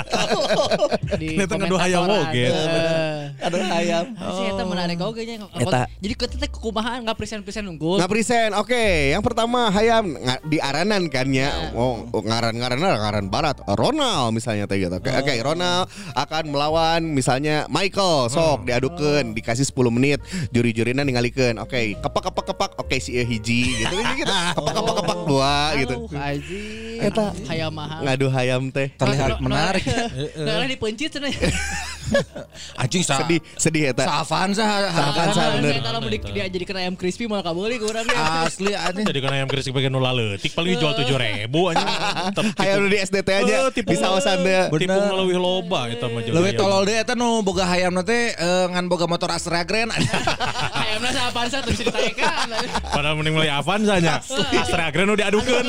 Di Ternyata ngadu hayam komentatoran. oge. Eh. Aduh hayam. Si eta menarik oge nya. Eta. Jadi kita teh kumahaan enggak present-present unggul. Nggak present, oke. Yang pertama hayam nga- di aranan kan ya. Oh, oh, ngaran-ngaran ngaran barat. Ronald misalnya teh gitu. Oke, oke, Ronald akan melawan misalnya Michael. Sok diadukeun, dikasih sepuluh menit. Juri-jurina ningalikeun. Oke, kepak-kepak-kepak. Oke, si ieu hiji gitu gitu. Kepak-kepak-kepak dua gitu. Aduh, anjing. Eta. Hayam mahal. Ngadu hayam teh. Terlihat menarik. Nah, dipencit cenah. Anjing sa. Sedih, sedih eta. Sa Avanza. Avanza, bener. Kalau mau di- diajadikan ayam crispy malah kabeli ke urang ya. Asli anjing. Jadi kan ayam krisik bagian nula leutik paling dijual tujuh ribu anjing. Tetep Hayam nu di S D T aja Eh, tipu- bisa osan deh. Tipu ngeleuwih loba eta mah jeung Leuwih hayam. tolol deui eta nu boga hayamna teh eh, ngan boga motor Astra Grand. Ayamna sa Avanza tuh bisa ditayekan. Padahal mending meuli Avanza nya. Astra Grand nu diadukeun.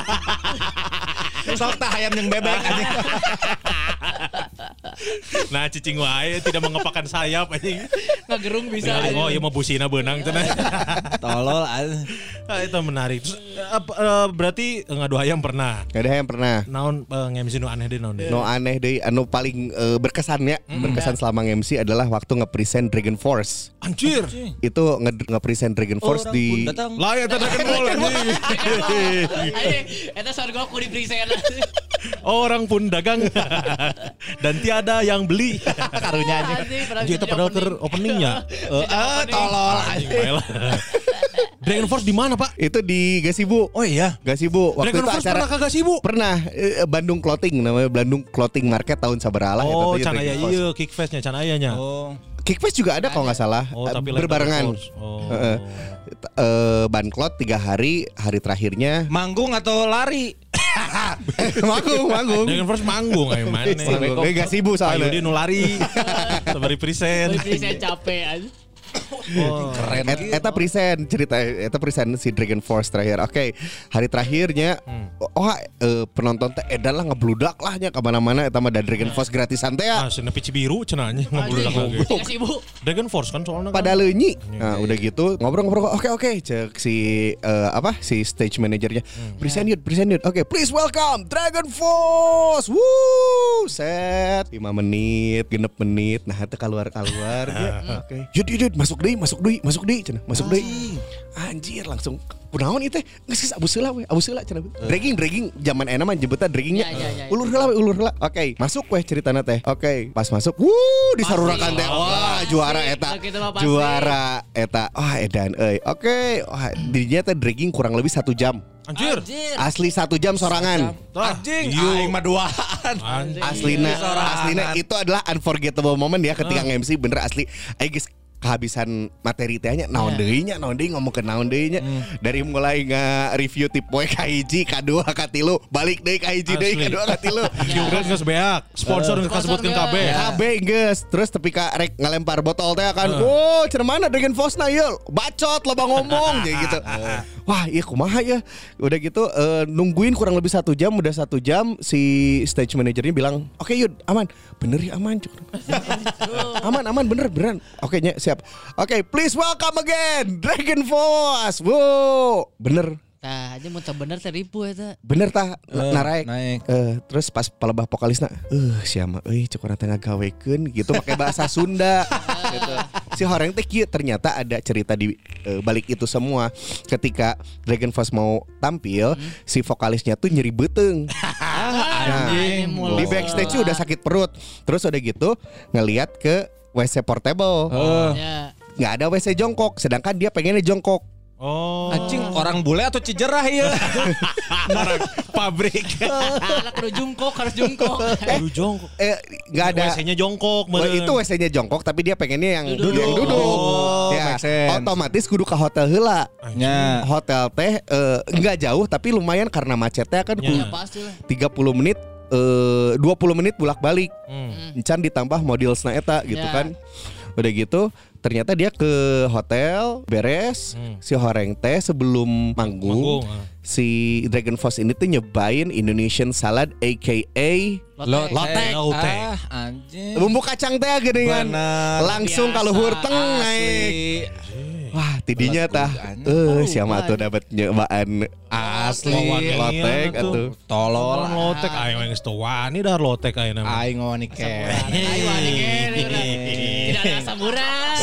Sok tah hayam yang bebek anjing. Nah cicing wae tidak mengepakkan sayap anjing. Ngagerung bisa. Tinggal, oh iya mau busina beunang cenah. Tolol anjing. Ah, itu menarik. Terus, eh, apa, eh, berarti ngadu hayam pernah. Gak ada yang pernah. Naon uh, nge-M C nu aneh deh naon deh. No aneh deh, anu paling eh, berkesan ya, berkesan selama nge-M C adalah waktu nge-present Dragon Force. Anjir. Itu nge- nge-present Dragon Force Orang di pun datang. Lah ya tadi kan bol anjing. Ayo, eta sorgo aku di present. Orang pun dagang dan tiada yang beli. Karunya anjing. Anjing itu padahal ke openingnya. Eh tolol Anjing anjing. bae lah. Dragon Force di mana, Pak? itu di Gasibu. Oh iya. Gasibu. Waktu Dragon itu Force acara pernah kagak sih, Bu? pernah eh, Bandung Clothing namanya Bandung Clothing Market tahun sabaralah Oh, eta teh can aya Dragon Force. ieu Kickfest-nya, can ayanya. Oh. Kickfest juga ada kalau nggak salah. Oh, eh, tapi lain berbarengan. Dragon Force. Oh. Heeh. Eh, Banklot tiga hari, hari terakhirnya Manggung atau lari? manggung, manggung. Dragon Force manggung ayo mana. Manggung. Eh, Gasibu Pak Yudi soalnya. nu lari. Sabari present. Di present capek aja. Keren. Et, eta present cerita eta present si Dragon Force terakhir. Oke, hari terakhirnya oh eh, penonton teh edan lah ngebludak lah nya kemana-mana eta mah da Dragon Force gratisan teh ya. Ah, cenah pici biru cenah nya ngabuludak lagi. Ya sih, Bu. Dragon Force kan soalnya Pada kan. leunyi. Nah, udah gitu ngobrol-ngobrol. Oke, oke, cek si eh, apa? Si stage manajernya. Present yut, present yut. Oke, please welcome Dragon Force. Woo! Set lima menit, genep menit. Nah, itu keluar-keluar dia. Oke. Yut, yut, yut, masuk deui, masuk deui, masuk deui cenah. Masuk deui. Anjir, langsung kunaon ieu teh? Geus geus abu seula we, abu seula cenah. Dragging, dragging zaman enak mah nyebutna draggingnya. Ya, ya, ya, ya. Ulur heula we, ulur heula. Oke, masuk weh ceritana teh. Oke, pas masuk, wuh, disarurakan teh. Wah, juara eta. Gitu mah pasti. Juara eta. Wah, edan euy. Oke, wah, dirinya teh dragging kurang lebih satu jam. Anjir. Asli satu jam sorangan. Anjing, Iya. aing mah duaan. Anjing. Aslina, Sorangan. aslina itu adalah unforgettable moment ya ketika nge-M C bener asli. Ayo guys, kehabisan materi teh nya naon deui nya naon deui ngomong ke naon deui nya dari mulai nge-review tip poe ka hiji ka dua ka tilu balik deui ka hiji deui ka Asli. dua ka tilu Terus geus beak, sponsor geus kasebutkeun Sponsor kabeh. geus. K B geus terus tepi ka rek ngalempar botol teh kan oh cenah mana Dragon Force na ieu bacot loba ngomong jadi gitu wah iya kumaha ya udah gitu eh, nungguin kurang lebih satu jam udah satu jam si stage manajernya bilang oke Yud aman bener ya aman cuk aman aman bener beneran oke nya siap oke please welcome again Dragon Force wow bener Tah, aja mun teu bener teh ribu eta. bener tah Eh, naraek naik. Eh, terus pas palebah vokalisna eh siapa euy cuk urang teh ngagawekeun gitu pakai bahasa Sunda gitu si Horeng teh kieu ternyata ada cerita di uh, balik itu semua. Ketika Dragon Force mau tampil, hmm. si vokalisnya tuh nyeri beteng. Nah, di backstage udah sakit perut. Terus udah gitu ngelihat ke W C portable. Oh. Nggak ada W C jongkok, sedangkan dia pengennya jongkok. Oh. Anjing orang bule atau cijerah ya? Orang pabrik. Anak kudu jongkok, harus jongkok. Kudu jongkok. Eh nggak ada. W C-nya jongkok. Oh, itu W C-nya jongkok, tapi dia pengennya yang duduk. Yang duduk. Oh, ya, make sense. otomatis kudu ke hotel heula. Ya. Hotel teh eh, nggak jauh, tapi lumayan karena macetnya kan. Ya pasti lah. tiga puluh menit. Uh, dua puluh menit bolak-balik. Hmm. Encan ditambah modelsna eta gitu Ya. kan. Udah gitu ternyata dia ke hotel beres. Hmm. Si Horeng teh sebelum manggung, Manggung, ah. si Dragon Force ini tuh nyobain Indonesian salad aka Lotek. Lotek. Lotek. Ah, anjing. bumbu kacang teh geningan. Bener. Langsung Biasa. kalau hurteng naik. Asli. Wah, tidinya Belat tah. kudu, Eh, Oh, siapa tuh dapat nyobaan Asli. lotek Iya, atuh. Tolol. Orang lotek aing geus teu wani dah lotek ayeuna. Aing ngoni ke. Ayo wani kene. Tidak ada samurai.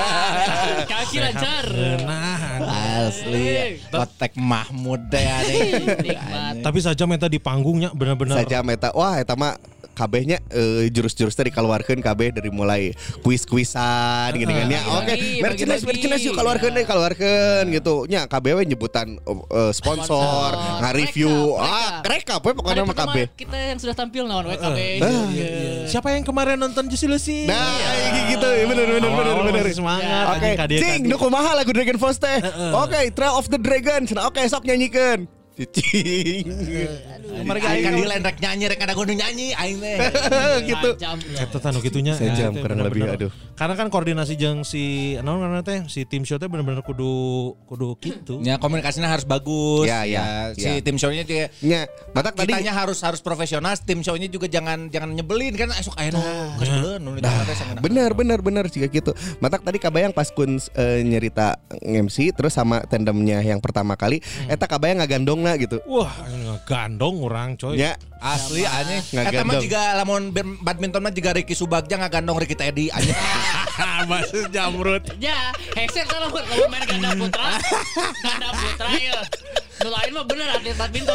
Kaki lancar. Nah, Asli. Lotek Mahmud deh ada. Nikmat. tapi saja meta di panggungnya benar-benar. Saja meta. Wah, eta mah kabehnya eh, jurus-jurus tadi dikeluarkan kabeh dari mulai kuis-kuisan gini kan ya. Oke, Bagi-bagi, merchandise bagi-bagi. merchandise yuk keluarkan deh, keluarkan gitu. Nya kabeh we nyebutan eh, sponsor, Sponsor. nge-review. Rekap, Ah, rekap we pokoknya mah kabeh. Kita yang sudah tampil naon we kabeh. Siapa yang kemarin nonton Juicy Lucy? Nah, kayak gitu. Bener bener bener Awal-awal bener. masih semangat. Oke, anjing kadia- cing, kadia. nu kumaha lagu Dragon Force teh? Oke, Trail of the Dragon. Cenah, oke, sok nyanyikan. Cing. Mereka aing kan di lain rek nyanyi rek ada kudu nyanyi aing teh. Gitu. Jam loh. Eta tanu gitunya. Sejam Eta kurang lebih, bener-bener. aduh. Karena kan koordinasi jeung si naon karena teh si tim show teh bener-bener kudu kudu gitu. Ya komunikasinya harus bagus. Ya, ya, Si ya. tim show-nya juga Nya, matak tadi kitanya harus harus profesional, tim show-nya juga jangan jangan nyebelin kan esok ayeuna geus beuleun nu ditanya teh sangeuna. bener bener bener juga gitu. Matak tadi kabayang pas kun eh, nyerita M C terus sama tandemnya yang pertama kali, eta kabayang ngagandongna gitu. Wah, gandong orang coy. Ya, Asli anjing. Eta Ngagandong. mah juga lamun bad- badminton mah juga Ricky Subagja ngagandong Ricky Teddy anjing. Maksud jamrut. Ya, headset kalau kalau main ganda putra, ganda putra ya. Nu lain mah bener atlet badminton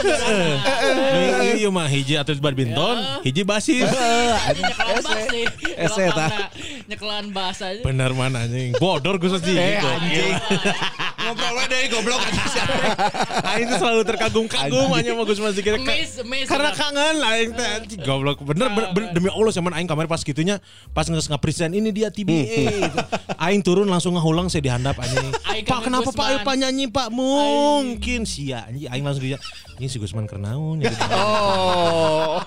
bener. Iya mah hiji atlet badminton, hiji basis. Nyekelan bass sih. Ese, tah. Nyekelan bass aja. Bener mana anjing. Bodor gue sih. Eh gitu. anjing. Ngobrol we deui goblok anjing. Aing tuh selalu terkagum-kagum hanya mau Gus Mas kira Miss, miss. karena kangen aing teh anjing goblok. Bener, bener, bener demi Allah zaman aing kemarin pas gitunya pas nges nge-present ini dia T B A gitu. Aing turun langsung ngahulang saya dihandap anjing. Aing Pak kangen kenapa Pak Gusman. ayo Pak nyanyi Pak mungkin sia anjing aing langsung dia ini si Gusman kernaun ya. oh.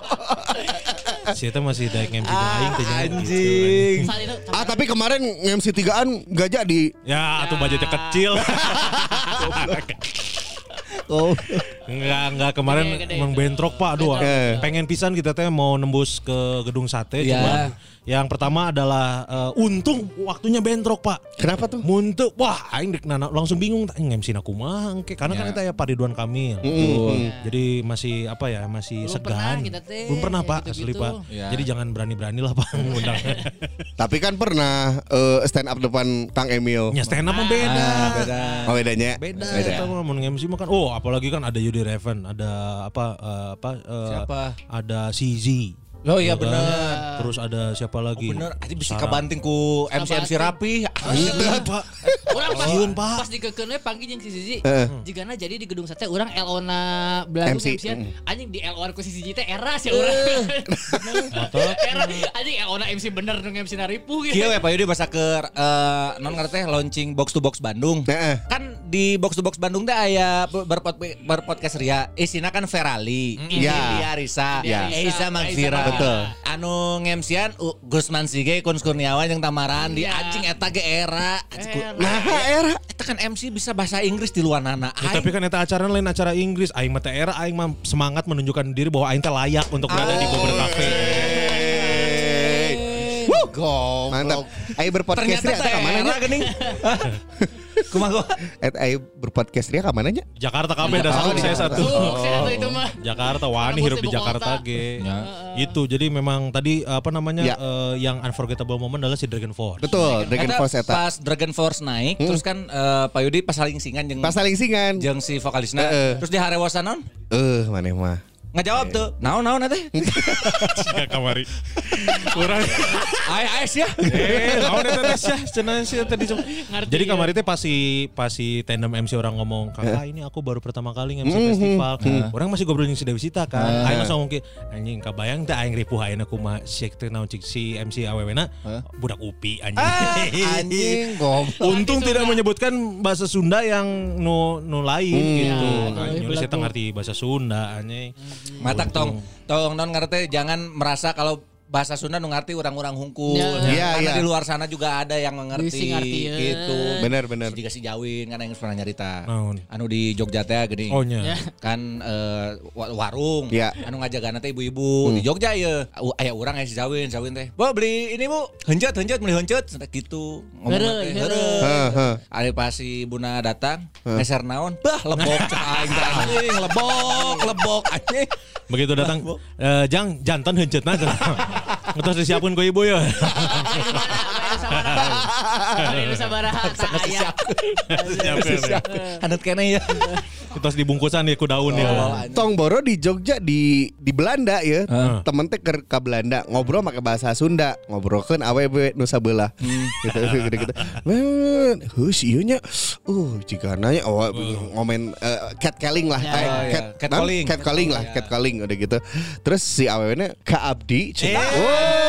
Si eta masih daek M C jeung aing teh nya gitu, Anjing. Saat itu Ah, tapi kemarin M C tigaan gak jadi. Ya, atau budgetnya kecil. Oh. Enggak, enggak kemarin Gede, gede. emang bentrok Pak. Aduh, Eh. pengen pisan kita teh mau nembus ke gedung sate. Ya. Cuma yang pertama adalah eh, untung waktunya bentrok Pak. Kenapa tuh? Munteu, wah aing dek nana langsung bingung tanya M C na kumaha engke karena kan Ya. eta ya Pak Ridwan Kamil. Mm. Jadi masih apa ya, masih Belum segan. pernah kita teh, Belum pernah Pak, gitu-gitu. asli Pak. Ya. Jadi jangan berani-berani lah Pak ngundang. Tapi kan pernah eh, stand up depan Kang Emil. Ya stand up mah beda. Ah, beda. Oh, bedanya? Beda, eta mah mun M C mah kan. Oh, apalagi kan ada Yudi Reven, ada apa eh, apa eh, Siapa? Ada C Z. Oh iya Ya kan? bener. Terus ada siapa Oh lagi? bener, aja bisa Sarah. kebanting ku M C M C rapi. Iya, Pak. Orang pas, Sieun, Pak. pas dikekeun we panggil jeung si Sisi. Heeh. Jigana jadi di gedung sate urang L O na belagu M C. M C anjing di L O ku si Sisi teh era sih urang. Era anjing L O na M C bener nu M C na ripuh gitu. Kieu ya Pak Yudi bahasa ke eh, non ngarteh launching box to box Bandung. Heeh. Kan di box to box Bandung teh aya berpod berpodcast ria. Isina kan Ferali, ini Ya. dia Risa, Ya. Eiza Magfira. Betul. Anu ngemsian uh, Gusman Sige, Kun Kurniawan jeung Tamaran di Iya. anjing eta ge era. Anjing, ku- Era. Nah, era. Eta kan M C bisa bahasa Inggris di luar nana. Ya, tapi kan eta acara lain acara Inggris. Aing mah teh era aing mah semangat menunjukkan diri bahwa aing teh layak untuk berada di beberapa kafe. Hey. Wuh, Goblok. Mantap. Ayo berpodcast Ternyata dia ka mana nya? geuning. Kumaha gua? Et ayo berpodcast dia ka mana nya? Jakarta kabeh dah satu saya satu. Sukses atuh itu mah. Jakarta wani hirup di Ibu Jakarta kota. ge. Ya. Itu jadi memang tadi apa namanya Ya. eh, yang unforgettable moment adalah si Dragon Force. Betul, Dragon Eta Force eta. pas Dragon Force naik, terus kan eh, Pak Yudi pas saling singan jeung Pas saling singan. jeung si vokalisna. Heeh. Terus di harewasan naon? Eh, maneh mah. Ngajawab tuh. Naon naon teh? Jika kamari. Urang Ai ais ya. eh naon eta teh sia cenah sia tadi. Ngerti Jadi ya. kemarin teh pas si pas si tandem M C orang ngomong, "Kakak ini aku baru pertama kali nge-M C festival." Orang masih ngobrol jeung si Dewi Sita kan. Aing langsung ngomong anjing kabayang teh aing ripuh ayeuna kumaha si teh naon cik si M C awewena budak upi anjing. Anjing goblok. Untung tidak menyebutkan bahasa Sunda yang nu nu lain gitu. nu lain Anjing saya belagu. ngerti bahasa Sunda anjing. Matak tong tong non ngerti jangan merasa kalau bahasa Sunda nu ngerti orang-orang hungkul. Ya. Iya, Karena iya. di luar sana juga ada yang mengerti Bisi ngerti, ya. gitu. Bener, bener. Jika si Jawin kan yang pernah nyarita. Naon? Anu di Jogja teh geuning. Oh nya. Kan eh, wa- warung Ya. anu ngajagana teh ibu-ibu di Jogja ya aya urang aya si Jawin Jawin teh Bu beli ini Bu heunceut heunceut beli heunceut gitu ngomong Heureuy, teh heureuy. heureuy Heeh. ada pas si Buna datang ngeser naon bah lebok cek aing teh, anjing lebok lebok anjing Begitu datang eh, jang jantan heuceutna cenah. Ngetos disiapkeun ku ibu ya. Hari ini sabaraha saya. Siapkeun. hanut keneh ya Ngetos dibungkusan ya ku daun ya. Tong Boro di Jogja di di Belanda ya. Heeh. Temen teh ke, ke Belanda ngobrol pakai bahasa Sunda, ngobrolkeun awewe nu sabelah. Gitu gitu. Men, heus ieu nya. Uh, jika nanya oh, ngomen uh, catcalling lah. Ya. Eh, Oh, iya. Catcalling. Catcalling lah, Oh, iya. catcalling udah gitu. Terus si awewena Kak Abdi. cenah. Eh.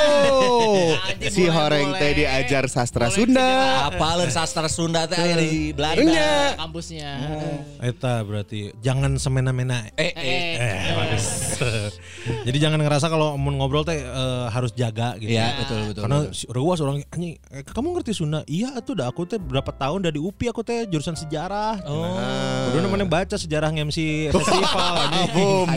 Oh. Anjing, Si boleh, horeng boleh. teh diajar sastra Boleh, Sunda. apaleun sastra Sunda teh aya di Belanda Nya. Kampusnya. Eta berarti jangan semena-mena. eh eh Eh, Eh, bagus. Jadi jangan ngerasa kalau mau ngobrol teh eh, harus jaga gitu. iya betul betul Karena betul. si Rewas orang anjing, eh, kamu ngerti Sunda? Iya atuh dah aku teh berapa tahun dari U P I aku teh jurusan sejarah. Oh. Udah namanya baca sejarah nge-M C festival anjing. Boom.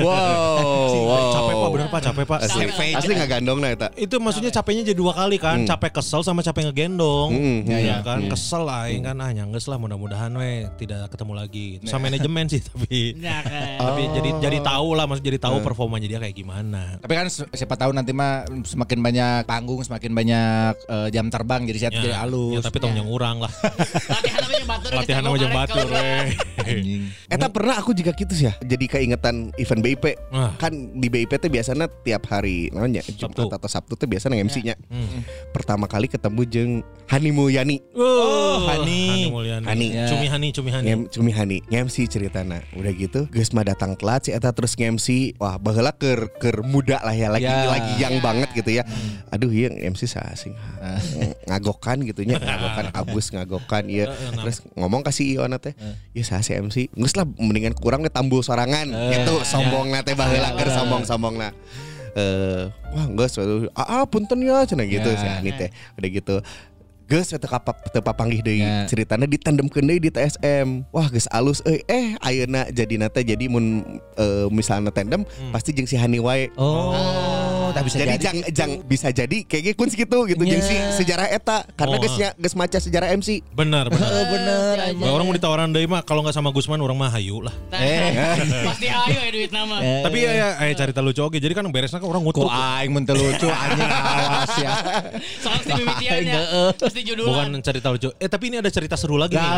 Wow. wow. Capek Pak, bener Pak, capek Pak. Asli, Capek. asli nggak gandong nah eta. Itu maksudnya capeknya jadi dua kali kan, capek kesel sama capek ngegendong. Hmm, ya, ya. kan, kesel aing kan ah nyangges lah mudah-mudahan we tidak ketemu lagi. Itu sama manajemen sih tapi Nah, kan. tapi jadi jadi tahu lah maksud jadi tahu performanya dia kayak gimana. Tapi kan si- siapa tahu nanti mah semakin banyak panggung, semakin banyak eh, jam terbang jadi saya jadi Ya, halus. tapi tong yang urang lah. Latihan nama jeung batur. Latihan sama jeung batur we. Anjing. Eta pernah aku juga gitu sih ya. Jadi keingetan event B I P. Ah. Kan di B I P teh biasanya tiap hari namanya Jumat Sabtu. atau Sabtu teh biasanya nge-M C-nya. Hmm. Pertama kali ketemu jeung Hani Mulyani. Oh, Hani. Hani Mulyani. Hani. Ya. Cumi Hani, Cumi Hani. Ngem, cumi Hani nge-M C ceritana. Udah gitu geus mah datang telat si eta terus nge-M C. Wah, baheula keur keur muda lah ya lagi Ya. lagi yang banget gitu ya. Aduh ieu M C saasing. Ngagokan gitu nya, ngagokan abus ngagokan ieu. Terus ngomong kasih ieu teh. Ieu saha si M C. Geus lah mendingan kurang teh tambul sorangan gitu sombongna teh baheula keur sombong-sombongna. Eh, wah geus ah punten ya cenah gitu Ya. si Hani teh. Udah gitu geus teu kapap teu papanggih deui Ya. ceritana ditandemkeun deui di T S M. Wah geus alus euy eh ayeuna jadina teh jadi mun eh, misalna tandem pasti jeung si Hani wae. Oh, tak bisa Jadi jadi. jang jang bisa jadi kayak kun segitu gitu jeung si sejarah eta karena Oh, geus nya geus maca sejarah M C. Benar, benar. Oh, bener. Bah, orang mau ditawaran deui mah kalau nggak sama Gusman orang mah hayu lah. Eh. Pasti ayo ya duit nama. Tapi ya ya eh cerita lucu oke. Jadi kan beresnya kan orang Kok ngutuk. aing mun teu lucu anjing awas ya. Soal si mimitiannya. Pasti judulan. Bukan cerita lucu. Eh tapi ini ada cerita seru lagi nih.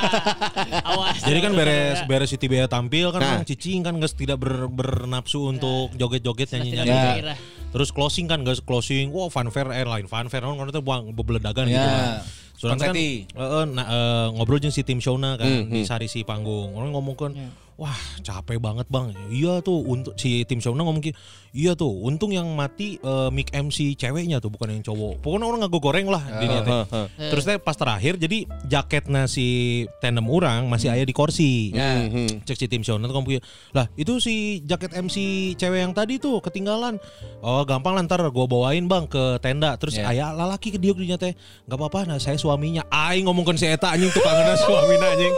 Awas. Jadi kan beres beres Siti Bea tampil kan Nah. orang cicing kan guys tidak ber, bernafsu untuk joget-joget nyanyi-nyanyi. Tidak Ya. berkira. Terus closing kan guys closing. Wow fanfare airline fanfare kan itu buang bebeledagan gitu. Ya. Kan. Soalnya kan Konseti. eh, eh, nah, eh, ngobrol jeung si tim Shona kan di sarisi panggung. Orang ngomong kan, wah capek banget bang. Iya tuh untuk si tim Shona ngomong gitu. Iya tuh untung yang mati eh, mic M C ceweknya tuh bukan yang cowok. Pokoknya orang ngago goreng lah di teh. Terus teh pas terakhir jadi jaketnya si tandem orang masih aya di kursi. Ya. Cek si tim Shona tuh ngomong gitu, lah itu si jaket M C cewek yang tadi tuh ketinggalan. Oh gampang lah ntar gue bawain bang ke tenda. Terus Ya. aya lalaki ke dia dinya teh nggak apa-apa. Nah saya suaminya. Aing ngomongkan si eta anjing tukangna suamina anjing.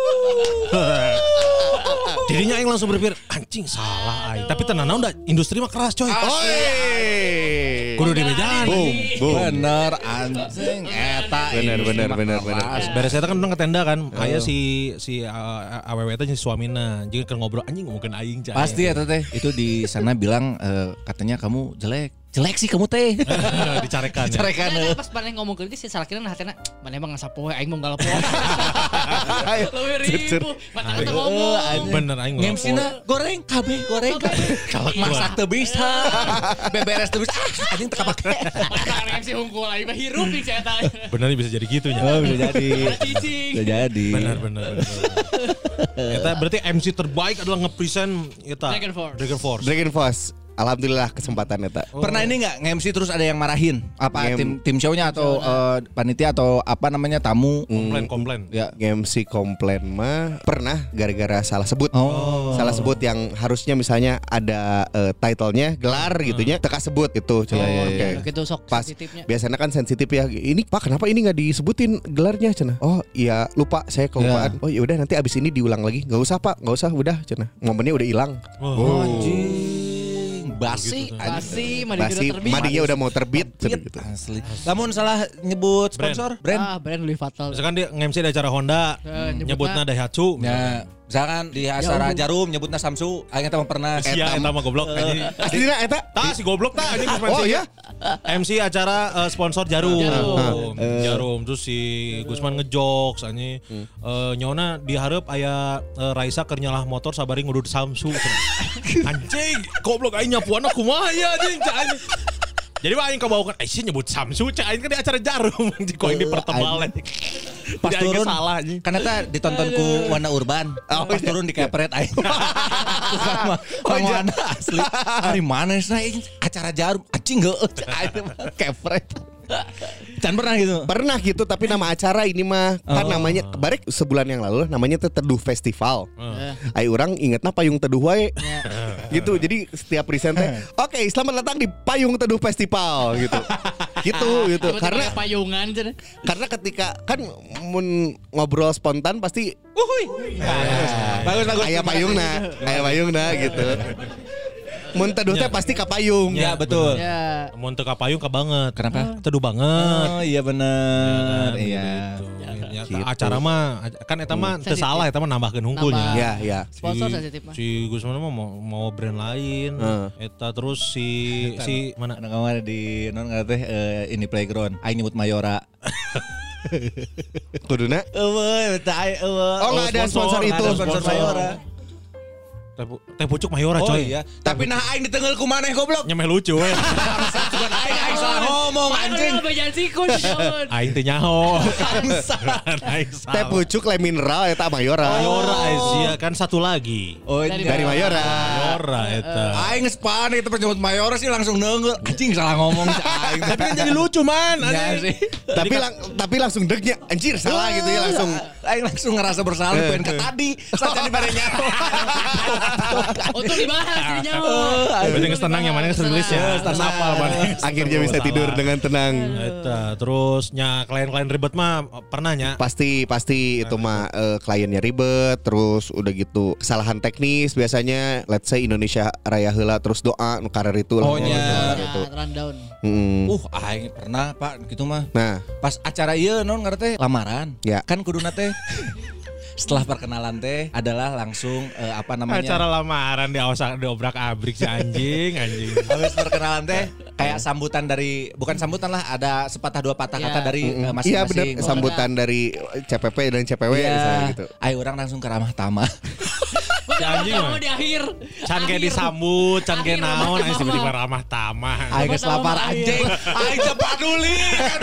Jadinya aing langsung berpikir anjing salah aing. Tapi tenang udah industri mah keras coy. Oi. Kudu di bejaan. Boom, boom. Bener anjing eta. Bener, ih, bener, mah bener, keras. bener. Beres eta kan orang ke tenda kan. Aya si si uh, awewe teh si suamina. Jadi kan ngobrol anjing mungkin aing cai. Pasti eta teh. Itu di sana bilang eh, katanya kamu jelek. Jelek sih kamu teh. dicarekan. Ya. Carekan. Nah, pas mana ngomong ke dia si salakina nah hatena mana emang ngasapoe aing mau ngalapoe. Ayo. Leuwih ribu. Mata kita ngomong. Bener aing Ngemsina goreng kabeh goreng kabeh. Masak teu bisa. Beberes teu bisa. Ah, anjing teu kapake. Mata si hungkul aing mah hirup di eta. Bener bisa jadi gitu nya. Oh, bisa jadi. Cicing. Bisa jadi. Bener bener. bener. Eta berarti M C terbaik adalah nge-present eta Dragon Force. Dragon Force. Dragon Force. Alhamdulillah kesempatan eta. Pernah ini nggak nge-M C terus ada yang marahin? Apa Nge-M- tim tim show-nya atau eh, panitia atau apa namanya tamu? Komplain komplain. Ya. M C komplain mah pernah gara-gara salah sebut. Oh. Salah sebut yang harusnya misalnya ada eh, title-nya gelar gitunya teka sebut itu Oh, cenah. Oke. Gitu sok Pas sensitifnya. biasanya kan sensitif ya. Ini Pak kenapa ini nggak disebutin gelarnya cenah? Oh iya lupa saya kelupaan. Oh ya udah nanti abis ini diulang lagi. Nggak usah Pak, nggak usah udah cenah. Momennya udah hilang. Oh. Anjing. Basi. Basi, mandi Basi udah terbit. madinya udah mau terbit cenah gitu. Asli. Namun salah nyebut sponsor brand. Ah, brand lebih fatal. Misalkan dia nge-M C di acara Honda, Eh, nyebutna nyebutna Daihatsu. Ya, misalkan di acara Jarum nyebutnya Samsu, aing teh mah pernah. Sia eta mah goblok anjing. Aslinya eta Tah si goblok tah anjing Gusman Oh sih. ya? M C acara eh, sponsor Jarum. Jarum. Jarum terus si Gusman ngejokes anjing. Eh, nyona dihareup aya eh, Raisa keur nyalah motor sabari ngudud Samsu. Anjing, goblok aing nyapuana kumaha ya anjing cak anjing. Jadi mah aing kabawakan eh sih nyebut Samsu cak aing kan di acara Jarum anjing kok ini pertebal anjing. Pas Jadi aing turun salah anjing. karena teh ditonton ku Warna Urban. Pas turun di kepret aing. Sama sama Warna asli. Hari mana sih acara Jarum anjing geueuh aing kepret. Can pernah gitu. Pernah gitu tapi nama acara ini mah kan namanya kebarek sebulan yang lalu namanya teh Teduh Festival. Ai orang ingetna payung teduh wae. Gitu. Jadi setiap present teh, "Oke, selamat datang di Payung Teduh Festival." gitu. Gitu gitu. Karena Karena payungan cenah. karena ketika kan mun ngobrol spontan pasti Bagus bagus. aya payungna, aya payungna gitu. Mun teduh teh pasti ka payung. Ya betul. Ya. Mun teu ka payung ka banget. Kenapa? Teduh banget. Oh iya bener. Iya. Ya, Gitu. acara mah kan eta mah teu Sensitif. salah eta mah nambahkeun hungkulnya. Nambah. Ya, ya. Sponsor sensitif mah. Si Gusman mah mau, mau brand lain. Heeh. Eta terus si si mana? Anu kamar di non nggak teh eh, ini playground. Aing nyebut Mayora. Kuduna. Eueuh, teh ai eueuh. Oh, nggak ada sponsor itu. Nggak ada sponsor Mayora. Teh pu- Teh pucuk Mayora Oh coy. iya, tapi nah aing ditenggel ku maneh goblok. Nyemeh lucu we. Bukan aing aing salah ngomong anjing. Mana bejaan sikun jauh. Aing teh nyaho. Aing Teh salah. pucuk le mineral eta Mayora. Mayora sia kan satu lagi. Oh Dari Dari Mayora. Mayora eta. Aing geus panik teh nyebut Mayora sih langsung nenggel. Anjing salah ngomong si aing. Tapi kan jadi lucu man. Ya anjing. sih. Tapi lang, tapi langsung degnya anjir salah gitu ya langsung. Aing langsung ngerasa bersalah pengen ke tadi saja di bare nyaho. Untuk dibahas di nyawa. Berarti geus tenang yang mana geus rilis ya. Geus hafal mana. Akhirnya bisa tidur dengan tenang. Eta terus nya klien-klien ribet mah pernah nya. Pasti pasti itu mah eh, kliennya ribet terus udah gitu kesalahan teknis biasanya let's say Indonesia Raya heula terus doa nu karer itu Oh, nya. gitu. Ya, rundown. Mm. Uh, aing pernah Pak gitu mah. Nah, Pas acara ieu non ngarana teh lamaran. Ya. Kan kuduna teh setelah perkenalan teh adalah langsung eh, apa namanya? Acara lamaran di awas di obrak abrik si anjing anjing. Habis perkenalan teh kayak sambutan dari bukan sambutan lah ada sepatah dua patah Ya. kata dari eh, iya benar masing-masing. sambutan dari C P P dan C P W misalnya Iya. gitu. Ayo orang langsung ke ramah tamah. Si anjing mah. Mau di akhir. Can kayak Akhir. disambut, can kayak Akhir naon, ramah aing tiba-tiba ramah tamah. Aing geus lapar anjing. Aing teu paduli.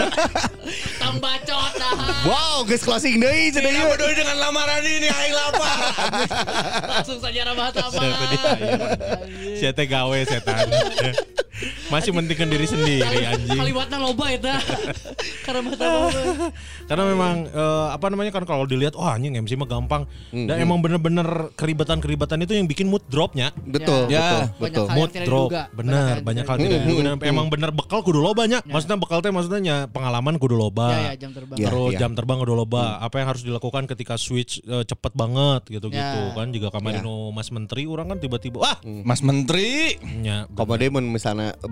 Tambacot dah. Wow, guys closing deui cenah Tidak ieu. peduli dengan lamaran ini aing lapar. Langsung saja ramah tamah. Siapa dia? Siapa teh gawe setan. Masih mentingkan diri sendiri anjing. Kalimatna loba eta. Karena tamah. Karena memang eh, apa namanya kan kalau dilihat wah anjing M C mah gampang. Dan emang bener-bener keribetan-keribetan itu yang bikin mood dropnya. Betul, Ya. betul, betul. Banyak hal Mood yang tidak drop, diduga. bener banyak hal tidak diduga. Dan emang bener bekal kudu loba nya. Maksudnya bekal teh maksudnya nya pengalaman kudu loba. Ya, ya, jam terbang. Ya. Terus jam terbang kudu loba. Apa yang harus dilakukan ketika switch eh, cepet banget gitu-gitu Ya. kan. Juga kemarin Ya. no Mas Menteri orang kan tiba-tiba wah Mas Menteri. nya Komode mun misalnya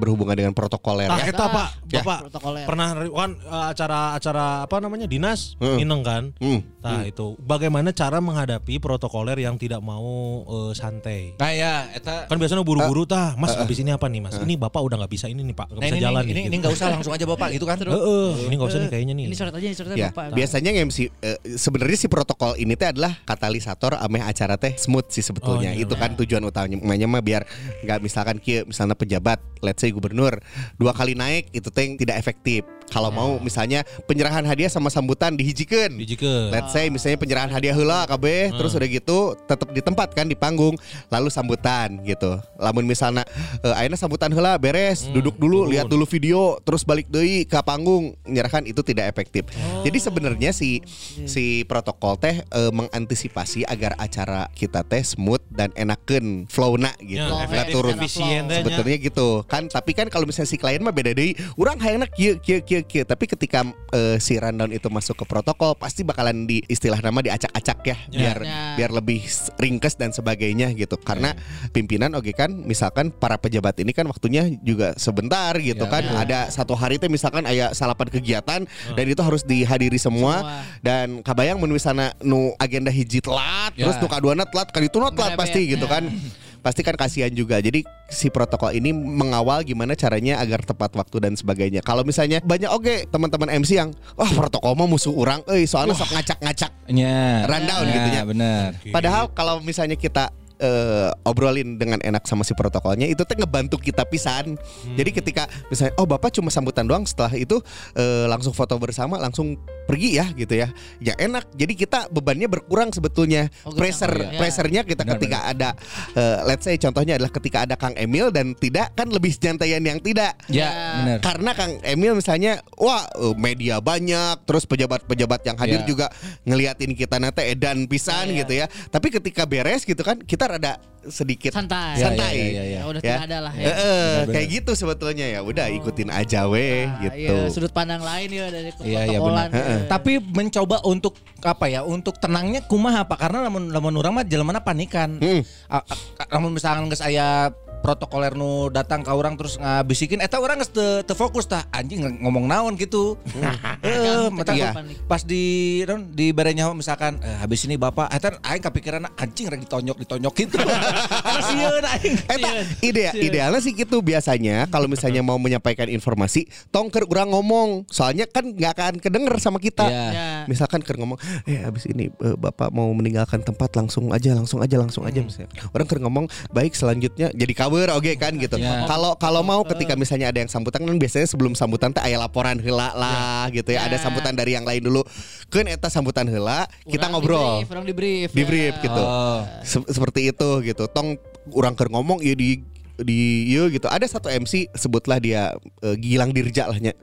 berhubungan dengan protokoler Tah ya. eta Pak, Ya. Bapak Protokoler. pernah kan uh, acara-acara apa namanya dinas Hmm. Mineng kan? Hmm. Nah itu bagaimana cara menghadapi protokoler yang tidak mau uh, santai? Nah ya, eta Kan biasanya buru-buru tah, Mas habis ini apa nih Mas? Ini Bapak udah nggak bisa ini nih Pak, nggak nah, bisa ini, jalan ini, nih. ini nggak usah langsung aja Bapak gitu kan. Heeh, ini nggak usah nih kayaknya nih. Ini coret aja, coret aja Ya, Bapak. biasanya M C eh, sebenarnya si protokol ini teh adalah katalisator ameh acara teh smooth sih sebetulnya. Oh, iya, Itu kan tujuan utamanya mah biar nggak misalkan kieu misalnya pejabat, let's say gubernur dua kali naik itu teh tidak efektif. Kalau mau misalnya penyerahan hadiah sama sambutan dihijikeun. Dijikeun. Let's say misalnya penyerahan hadiah heula kabeh terus udah gitu tetap di tempat kan di panggung lalu sambutan gitu. Lamun misalnya uh, ayeuna sambutan heula beres, duduk dulu, turun. lihat dulu video, terus balik deui ke panggung, menyerahkan itu tidak efektif. Jadi sebenarnya si si protokol teh uh, mengantisipasi agar acara kita teh smooth dan enakeun flow-na gitu. Ya, Nggak efektif, turun. efisien teh nya. Sebetulnya gitu kan, tapi kan kalau misalnya si klien mah beda deui. Urang hayangna kieu kieu kieu kieu, tapi ketika uh, si rundown itu masuk ke protokol pasti bakalan di istilah nama diacak-acak ya, biar Ya. biar lebih ringkes dan sebagainya gitu. Karena pimpinan oke kan misalkan para pejabat ini kan waktunya juga sebentar gitu Ya, kan. ya. Ada satu hari teh misalkan aya salapan kegiatan dan itu harus dihadiri semua, Semua. dan kabayang mun misalna nu agenda hiji telat Ya. terus nu kaduana telat kadituna telat Merebet. pasti gitu kan. Pasti kan kasihan juga. Jadi si protokol ini mengawal gimana caranya agar tepat waktu dan sebagainya. Kalau misalnya banyak oke teman-teman M C yang wah protokol mah musuh orang, euy soalnya sok ngacak-ngacak Ya. rundown Ya, gitu ya. benar. Padahal kalau misalnya kita eh, obrolin dengan enak sama si protokolnya itu teh ngebantu kita pisan. Jadi ketika misalnya oh Bapak cuma sambutan doang, setelah itu eh, langsung foto bersama langsung pergi ya gitu ya. Ya enak. Jadi kita bebannya berkurang sebetulnya. Oh, Pressure gitu. Ya. pressernya kita Benar, ketika ada eh, let's say contohnya adalah ketika ada Kang Emil dan tidak kan lebih nyantaian yang tidak. Ya, benar. Karena Kang Emil misalnya wah eh, media banyak, terus pejabat-pejabat yang hadir Ya. juga ngeliatin kita nate edan pisan Ya, ya. gitu ya. Tapi ketika beres gitu kan kita rada sedikit Santai. Ya, santai. ya, ya, ya. Ya, udah Ya. tidak ada lah Eh, ya. eh, Benar-benar. kayak gitu sebetulnya ya. Udah ikutin aja weh Nah, gitu. iya, sudut pandang lain ya dari Iya, iya, protokolan. benar. ya. Tapi mencoba untuk apa ya? Untuk tenangnya kumaha apa? Karena lamun lamun urang mah jelema panikan. Hmm. A- a- Lamun misalkan geus aya protokoler nu datang ke orang terus ngabisikin eta orang geus teu teu fokus tah anjing ngomong naon gitu. Heeh, mata Iya. pas di non di barenya misalkan eh, habis ini Bapak eta aing kepikiran anjing rek ditonjok ditonjok gitu. Kasieun aing. Eta ide idealnya sih gitu biasanya kalau misalnya mau menyampaikan informasi tong keur urang ngomong. Soalnya kan nggak akan kedenger sama kita. Iya. Ya. Misalkan keur ngomong, eh abis ini eh, Bapak mau meninggalkan tempat langsung aja, langsung aja, langsung aja misalnya. Orang keur ngomong, baik selanjutnya jadi cover oke kan gitu. Ya. Kalau kalau mau ketika misalnya ada yang sambutan kan biasanya sebelum sambutan teh aya laporan heula lah gitu ya. Ada Ya. sambutan dari yang lain dulu. Keun eta sambutan heula, kita Urang ngobrol. di brief, Orang di brief. Di brief ya. gitu. Oh. Se- seperti itu gitu. Tong orang keur ngomong ya di di iya gitu. Ada satu M C sebutlah dia eh, Gilang Dirja lah nya.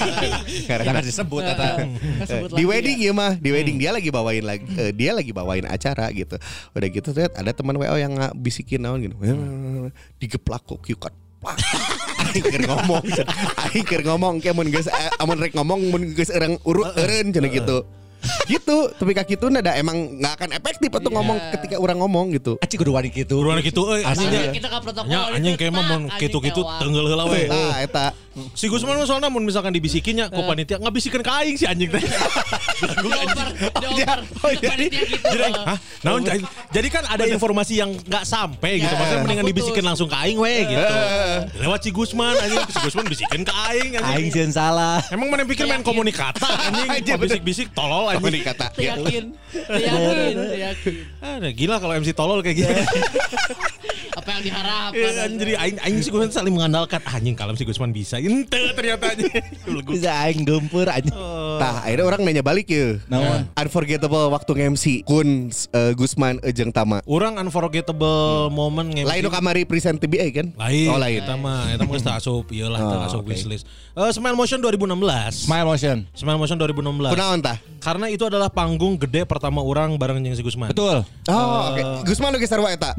Jangan disebut eta. Kan sebut Di lagi wedding ya. ya mah, di wedding dia lagi bawain lagi eh, dia lagi bawain acara gitu. Udah gitu lihat ada teman W O yang bisikin naon gitu. Digeplak kok kieu kan. Aing keur ngomong. Aing keur ngomong ke mun geus eh, amun rek ngomong mun geus eureung urut eureun cenah gitu. Gitu, tapi kaki itu nada emang nggak akan efektif atau ngomong ketika orang ngomong gitu. Aci kudu wani kitu. Buruan gitu euy Asli anjing. kita ke protokol. Ya anjing kayak mah mun kitu-kitu tenggel heula we. Nah, eta Si Gusman mah soalnya mun misalkan dibisikinnya ku panitia ngabisikeun ka aing si anjing teh. Dioper, dioper. Oh, jadi- Panitia gitu. Jadi, hah? Naon, jadi kan ada informasi yang nggak sampai gitu. Ya, Maksudnya mendingan putus. dibisikin langsung ke aing we gitu. Lewat si Gusman anjing, si Gusman bisikin ke aing Aing anjing. sieun salah. Emang mana pikir main komunikata anjing, Aja, Kok bisik-bisik tolol apa anjing. nih kata? Yakin. Yakin, yakin. Ah, gila kalau M C tolol kayak gitu. Apa yang diharapkan? Iya, anjing, jadi aing aing si Gusman saling mengandalkan Ah, anjing kalau si Gusman bisa. Ente ternyata anjing. Bisa aing gempeur anjing. Tah, akhirnya orang nanya balik ya. Naon? Unforgettable waktu nge-M C Kun uh, Gusman Ejeng Tama. Orang unforgettable moment nge-M C. Lain nu kamari present T B A kan? Lain. Oh lain. Eta mah eta mah geus teu asup ieu lah teu Oh, asup oke. wishlist. Eh Smile Motion dua ribu enam belas. Smile motion. Smile Motion dua ribu enam belas. Kunaon tah? Karena itu adalah panggung gede pertama orang bareng jeung si Gusman. Betul. Oh, oke. Gusman lu geus sarua eta. Ya.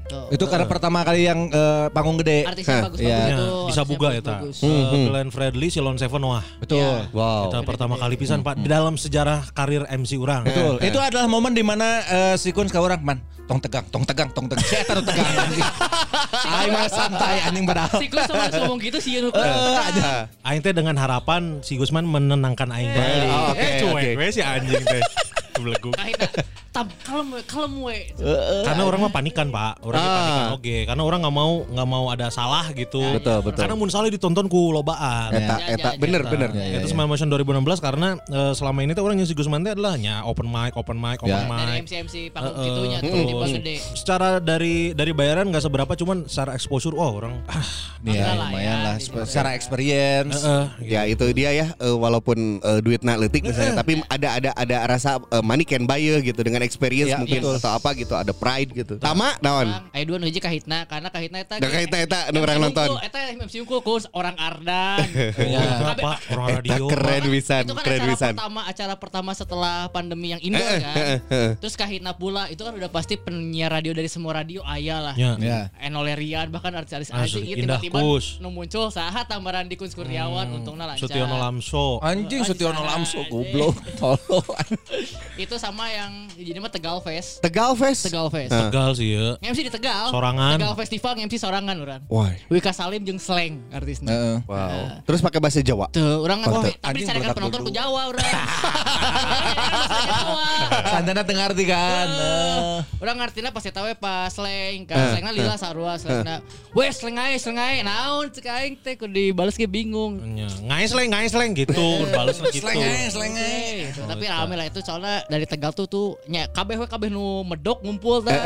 Tuh. Itu karena pertama kali yang eh, panggung gede. Artisnya bagus-bagus Iya. itu. Bisa artisnya buga ya tak. bagus-bagus. Glenn Fredly, Silon Seven wah. Betul. Wow. Kita pertama kali pisan Pak di dalam sejarah karir M C urang. Betul. Itu adalah momen di mana eh, si Kun ka urang man, tong tegang, tong tegang, tong tegang. Saya taruh tegang anjing. Aing mah santai anjing padahal. Si Gus sama ngomong gitu sih yang Aing teh dengan harapan si Gusman menenangkan Aing balik. Oh, oke, eh cuek oke. we si anjing teh. Beleguk. Kahitna tam kalem we, kalem we. Karena orang mah panikan Pak, orang Ah. panikan oke. Karena orang nggak mau nggak mau ada salah gitu. Betul, betul. Karena mun salah ditonton ku lobaan. Eta Ya, eta ya, bener ya. bener. Ya, ya, Itu ya. Smile Motion dua ribu enam belas karena eh, selama ini tuh orang yang si Gusman teh adalah nya open mic, open mic, open Ya. Dari mic. M C M C panggung Eh, gitunya tuh eh, di bang terus gede. Secara dari dari bayaran nggak seberapa, cuman secara exposure, oh orang ah, Iya, Enggak lah lumayan ya, lah. di situ. Secara experience. eh, Ya itu dia ya eh, walaupun eh, duitnya leutik misalnya tapi ada ada ada rasa eh, money can buy you gitu dengan experience Ya, mungkin betul. atau apa gitu ada pride gitu. Tama naon? Aya dua nu hiji kahitna karena kahitna eta Da kahitna eta nu urang nonton. Eta M C unggul kus orang Ardan. Ya. kenapa Kabeh- orang Eta radio keren Kan wisan, itu kan keren acara wisan. pertama acara pertama setelah pandemi yang indoor kan. Terus kahitna pula itu kan udah pasti penyiar radio dari semua radio aya lah. Ya. Ya. Enolerian bahkan artis-artis Asli, aja gitu Indah tiba-tiba Kus. nu muncul saha tambaran di Kun Kurniawan untungna lancar. Sutiono Lamso. Anjing Sutiono Lamso Anjing. goblok. Tolong. Itu sama yang jadi mah Tegal Fest. Tegal Fest. Tegal Fest. Tegal sih ya. M C di Tegal. Sorangan. Tegal Festival M C sorangan urang. Wah. Wika Salim jeung Slang artisnya. Heeh. Wow. Terus pakai bahasa Jawa. Tuh, orang kan Mantep. tapi Anjing disarankan berangkat penonton dulu. ku Jawa urang. Jawa. Sandana dengar di kan. Eh. Orang ngartina pas eta we pas slang kan slangna lila sarua slangna. Weh slang ae slang ae naon cek aing teh kudu dibales ge bingung. Nya, Ngais leng, ngais leng gitu, balas gitu. Slang aja, slang aja. Eh, gitu. Tapi rame lah itu soalnya dari Tegal tuh tuh nya kabeh we kabeh nu medok ngumpul tah.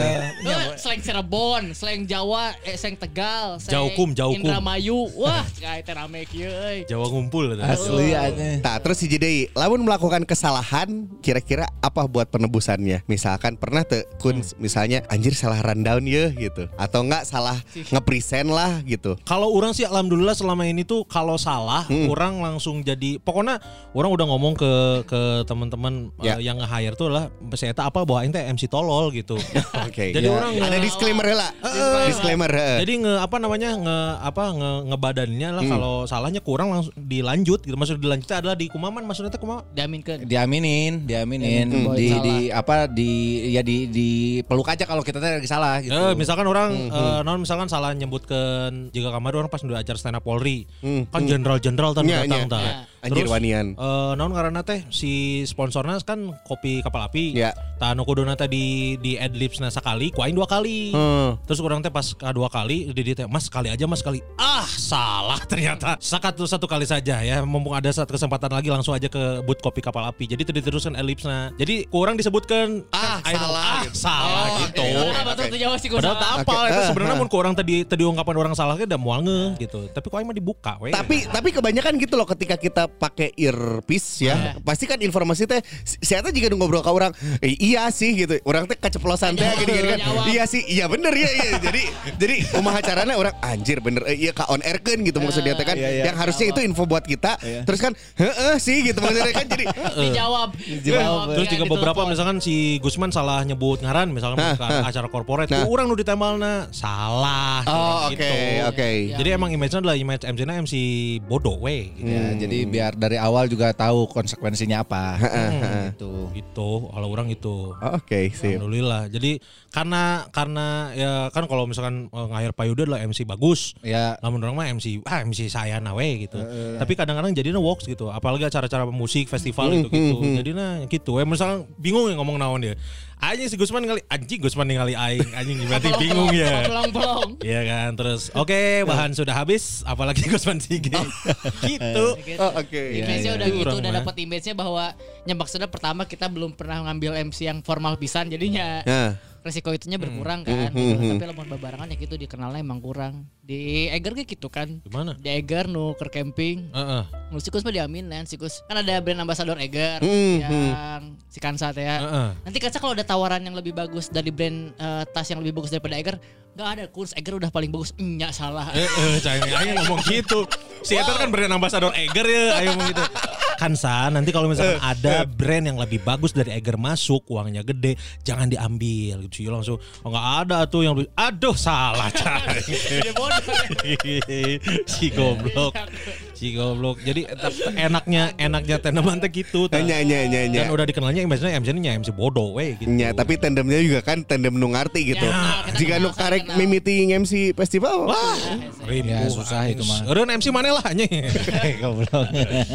Eh, slang Cirebon, slang Jawa, eh slang Tegal, slang Jaukum, Jaukum. Indramayu. Wah, cek aing teh rame kieu euy. Jawa ngumpul. Asli aja. Nah terus si Jidei, lamun melakukan kesalahan, kira-kira apa buat penebusannya? Misalkan pernah tuh Kun, misalnya anjir salah rundown ya gitu, atau enggak salah ngepresent lah gitu. Kalau orang sih alhamdulillah selama ini tuh kalau salah orang langsung jadi pokoknya orang udah ngomong ke ke teman-teman Ya. eh, yang nge-hire tuh lah saya apa bahwa ini teh M C tolol gitu. Oke. Jadi Ya. orang ada nge- disclaimer lah. Disclaimer. heeh. Jadi nge apa namanya nge apa nge ngebadannya lah kalau salahnya kurang langsung dilanjut gitu. Maksud dilanjutnya adalah di kumaman maksudnya teh kumaha? Diaminkeun. Diaminin, diaminin, Hmm. di, Salah. di apa di ya di di peluk aja kalau kita teh lagi salah gitu. Eh, misalkan orang eh, non misalkan salah nyebutkan jika kamar orang pas udah acara stand up Polri kan jenderal-jenderal tadi Nya, datang nya. tah. Anjir, Terus, wanian. eh, naon karena teh si sponsornya kan kopi kapal api. Ya. Tah nu kuduna teh di di adlibsna sakali, ku aing dua kali. Hmm. Terus orang teh pas kedua kali di di teh Mas sekali aja Mas sekali. Ah, salah ternyata. Satu satu kali saja ya. Mumpung ada satu kesempatan lagi langsung aja ke booth kopi kapal api. Jadi tadi diteruskan adlibsna. Jadi kurang disebutkan Ah, kan, I know, salah ah, gitu. salah gitu. Apa tuh Jawa sih Padahal tak apa Oke. itu Ah, sebenarnya ah. mun ku orang tadi tadi ungkapan orang salah ke udah mual ngeh gitu. Tapi kok aing mah dibuka we. Tapi tapi kebanyakan gitu loh ketika kita pakai earpiece ya, pasti kan informasi teh saya teh jika ngobrol ke orang, eh, iya sih gitu. Orang teh keceplosan teh gini gini kan. Jawab. Iya sih, iya bener ya iya. Jadi jadi kumaha carana orang anjir bener eh, iya ka on air kan gitu maksudnya teh kan. Iya, iya. Yang harusnya itu info buat kita. Terus kan heeh sih gitu maksudnya kan jadi dijawab. Dijawab. Terus Ya, juga ditelepon. beberapa misalkan si Gusman salah nyebut ngaran misalkan ke acara korporat, Nah. orang nu ditemalna salah. oh oke gitu. oke. Jadi emang image-nya adalah image M C-nya M C bodoh we gitu. Ya, jadi biar dari awal juga tahu konsekuensinya apa. gitu. Gitu, kalau orang itu. Oke, sip. Alhamdulillah. Jadi karena karena ya kan kalau misalkan eh, ngahir Payuda adalah M C bagus. Ya. Namun orang mah M C ah M C saya nawe gitu. Tapi kadang-kadang jadinya works gitu. Apalagi acara-acara musik festival gitu gitu. Jadinya gitu. Eh misalkan bingung ya ngomong naon dia. Anjing si Gusman ngali anjing Gusman ningali aing anjing berarti bingung ya. Pelong-pelong. Iya kan terus oke bahan sudah habis apalagi Gusman Sige. Gitu. Oh, oke. Image-nya udah Itu gitu, orang udah mah. dapat image-nya bahwa ya maksudnya pertama kita belum pernah ngambil M C yang formal pisan jadinya Nah. resiko itunya berkurang kan. gitu. Tapi lamun babarangan ya gitu dikenalnya emang kurang. Di Eger kayak gitu kan. Gimana? Di Eger nu keur camping. Heeh. Nu sikus mah diaminin sikus. Kan ada brand ambassador Eger Hmm, yang si Kansa teh ya. Heeh. Nanti Kansa kalau ada tawaran yang lebih bagus dari brand eh, tas yang lebih bagus daripada Eger, enggak ada kurs Eger udah paling bagus. Nya salah. Eh, eh, cai aing ngomong gitu. Si Eta kan brand ambassador Eger ya, ayo ngomong gitu. Kan San, nanti kalau misalkan ada brand yang lebih bagus dari Eiger masuk, uangnya gede, jangan diambil gitu. Langsung oh enggak ada tuh yang aduh salah Cai. Si goblok. Si goblok. Jadi enaknya enaknya Tendeman teh gitu. Nya nya nya nya. Dan udah dikenalnya biasanya M C nya M C bodoh we gitu. Nya, tapi tandemnya juga kan tandem nu ngarti gitu. Ya, Jika nu karek mimiti M C festival. Wah, Ya, susah itu mah. Eureun M C maneh lah nya. Goblok.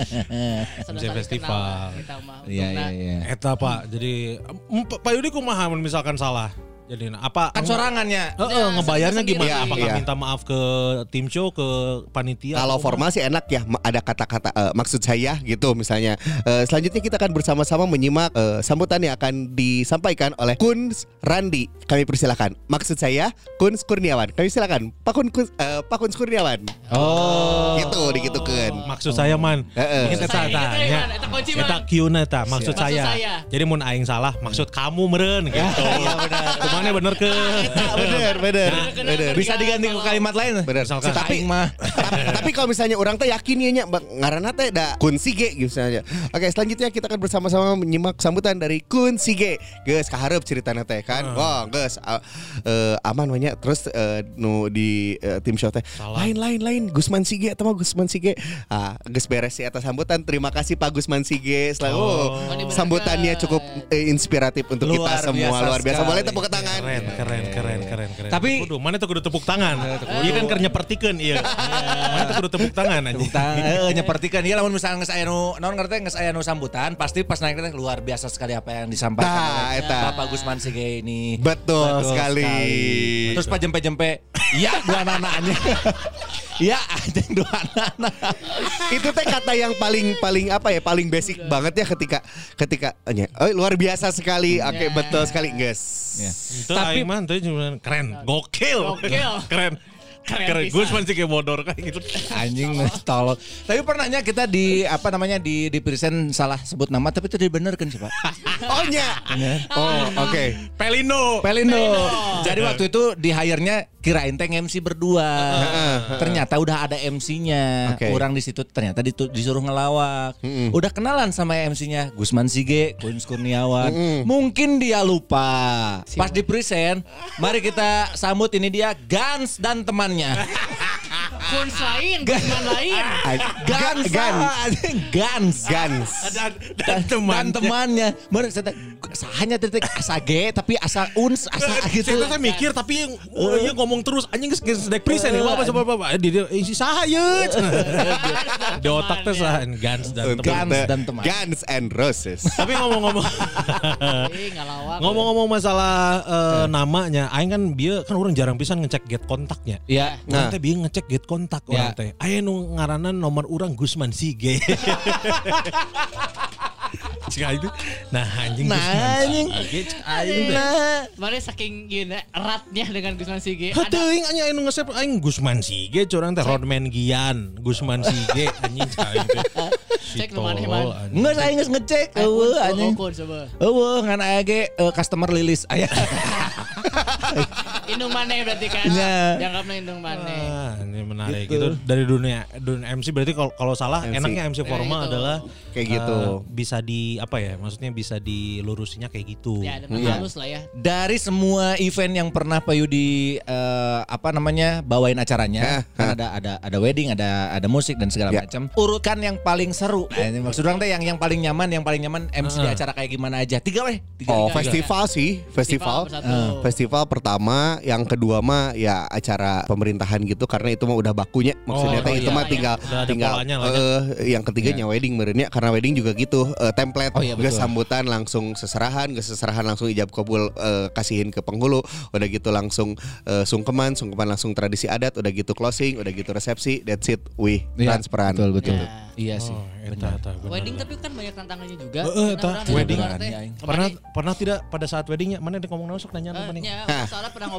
M C festival. Iya iya iya. Eta Pak, jadi em, Pak Yudi kumaha mun misalkan salah? Jadi apa? Kan sorangannya. Heeh, ngebayarnya sendiri. gimana? Iya, Apakah iya. minta maaf ke tim show, ke panitia? Kalau atau formal sih enak ya, ma- ada kata-kata eh, maksud saya gitu misalnya. Eh, selanjutnya kita akan bersama-sama menyimak eh, sambutan yang akan disampaikan oleh Kuns Randi. Kami persilakan. Maksud saya Kuns Kurniawan. Kami silakan Pak Kun Kun- eh, Pak Kuns Kurniawan. Oh. Gitu digitukeun. Maksud saya man, Heeh. kita Maksud saya, tanya, gitu ya, Man. Eta kunci, Man. kita kieu-na eta maksud Maksud saya. saya. Jadi mun aing salah, maksud kamu meureun gitu. Iya benar. Kumane bener ke? Bener, bener, bener. Bisa diganti ke kalimat lain. Bener. Misalkan Tapi- aing mah. tapi, tapi kalau misalnya orang teh yakin ya nya ngaranna teh da Kun Sige gitu misalnya. Oke, selanjutnya kita akan bersama-sama menyimak sambutan dari Kun Sige. Geus kahareup ceritana teh kan. Wah, geus uh, uh, aman banyak. Terus uh, nu di uh, tim show teh lain lain lain Gusman Sige atau mah Gusman Sige. Ah, geus beres sih atas sambutan. Terima kasih Pak Gusman Sige. Selalu Oh. sambutannya cukup eh, inspiratif untuk Luar kita semua. biasa Luar biasa. sekali. Boleh tepuk tangan. Keren, keren, keren, keren, keren. Tapi- kudu, mana tuh kudu tepuk tangan. Iya kan kerja pertikeun iya. Mana tuh kudu tepuk tangan anjing. Tang, eh, nyepertikan ya lamun misalnya geus aya nu naon ngerti geus aya nu sambutan pasti pas naik teh luar biasa sekali apa yang disampaikan Tah, oleh eta. Bapak Gusman Sige ini. Betul sekali. Terus pas jempe-jempe ya dua anaknya. Ya anjing dua anak. Itu teh kata yang paling paling apa ya paling basic banget ya ketika ketika nya oh, luar biasa sekali oke betul sekali guys Ya. Itu Tapi- aing mah teh cuma keren, gokil. Gokil. Keren. Keren Keren. pisan. Gue cuma sih kayak bodor kayak gitu. Anjing tolol. Tapi pernahnya kita di apa namanya di di present salah sebut nama tapi itu dibenerkan sih Pak. oh nya oh oke Pelino. Pelindo. Jadi waktu itu di hire-nya kirain teh M C berdua. Ternyata udah ada M C-nya. Oke. Orang di situ ternyata ditu- disuruh ngelawak. Udah kenalan sama M C-nya Gusman Sige, Kuns Kurniawan. Mungkin dia lupa. Pas di present, mari kita sambut ini dia Gans dan temannya. Kun lain, Gusman lain. Gans, Gans. anjing, Gans. Gans Dan, dan teman. Dan temannya. Bener saya teh, hanya titik asa G tapi asa uns asa gitu. Saya mikir tapi yang oh, iya ngomong terus anjing geus geus dek present ya apa coba apa di dia isi saha ye. Di otak teh saha Gans dan teman. Gans dan teman. Guns and Roses Tapi ngomong-ngomong Ih, ngalawak. ngomong-ngomong masalah eh, namanya, aing kan bieu kan orang jarang pisan ngecek get kontaknya. Ya. Orang teh bieu ngecek get kontak orang Ya. teh. Aya nu ngaranan nomor urang Gusman Sige. Cik itu. Nah anjing Nah, Gusman anjing. Sige. cik aing teh. Nah, Mana saking gini eratnya dengan Gusman Sige. Heuh teuing anya anu nge-save aing Gusman Sige curang teh Rodman Gian, Gusman Sige anjing cik aing teh. Si Cek nu maneh, tolol, Man. anjing. enggak saya geus ngecek. Eueuh anjing. Kun coba. Eueuh ngan aya ge eh, customer lilis aya. Indung maneh berarti kan. Iya. Dianggapna indung maneh. Ah, ini menarik Gitu. gitu. Dari dunia dunia M C berarti kalau kalau salah M C. enaknya M C formal gitu. adalah Kayak gitu. eh, bisa di apa ya? Maksudnya bisa dilurusinya kayak gitu. Ya, dengan Iya. halus lah ya. Dari semua event yang pernah Pak Yudi eh, apa namanya bawain acaranya, Hah, kan ada ada ada wedding, ada ada musik dan segala Ya. macam. Urutkan yang paling seru. Nah, ini maksud orang teh yang yang paling nyaman, yang paling nyaman M C di acara kayak gimana aja. Tiga weh. Tiga. oh Tiga, festival sih festival bersatu. Eh, festival pertama yang kedua mah ya acara pemerintahan gitu karena itu mah udah bakunya maksudnya Oh, teh oh itu iya, mah iya. tinggal Udah ada tinggal polanya lah ya. eh, yang ketiganya wedding merenya karena wedding juga gitu eh, template Oh iya, geus betul. sambutan langsung seserahan geus seserahan langsung ijab kabul eh, kasihin ke penghulu udah gitu langsung eh, sungkeman sungkeman langsung tradisi adat udah gitu closing udah gitu resepsi that's it wih Iya, transparan Betul betul. Ya. Iya sih. Oh, eta, eta, benar, Wedding benar. tapi kan banyak tantangannya juga. Eh, eh, Karena eta, orang dari wedding. luar teh, Iya, iya. Pernah kemarin- pernah tidak pada saat weddingnya mana ada ngomong sok nanya Eh, apa nih? nya, Hah. soalnya pernah ngobrol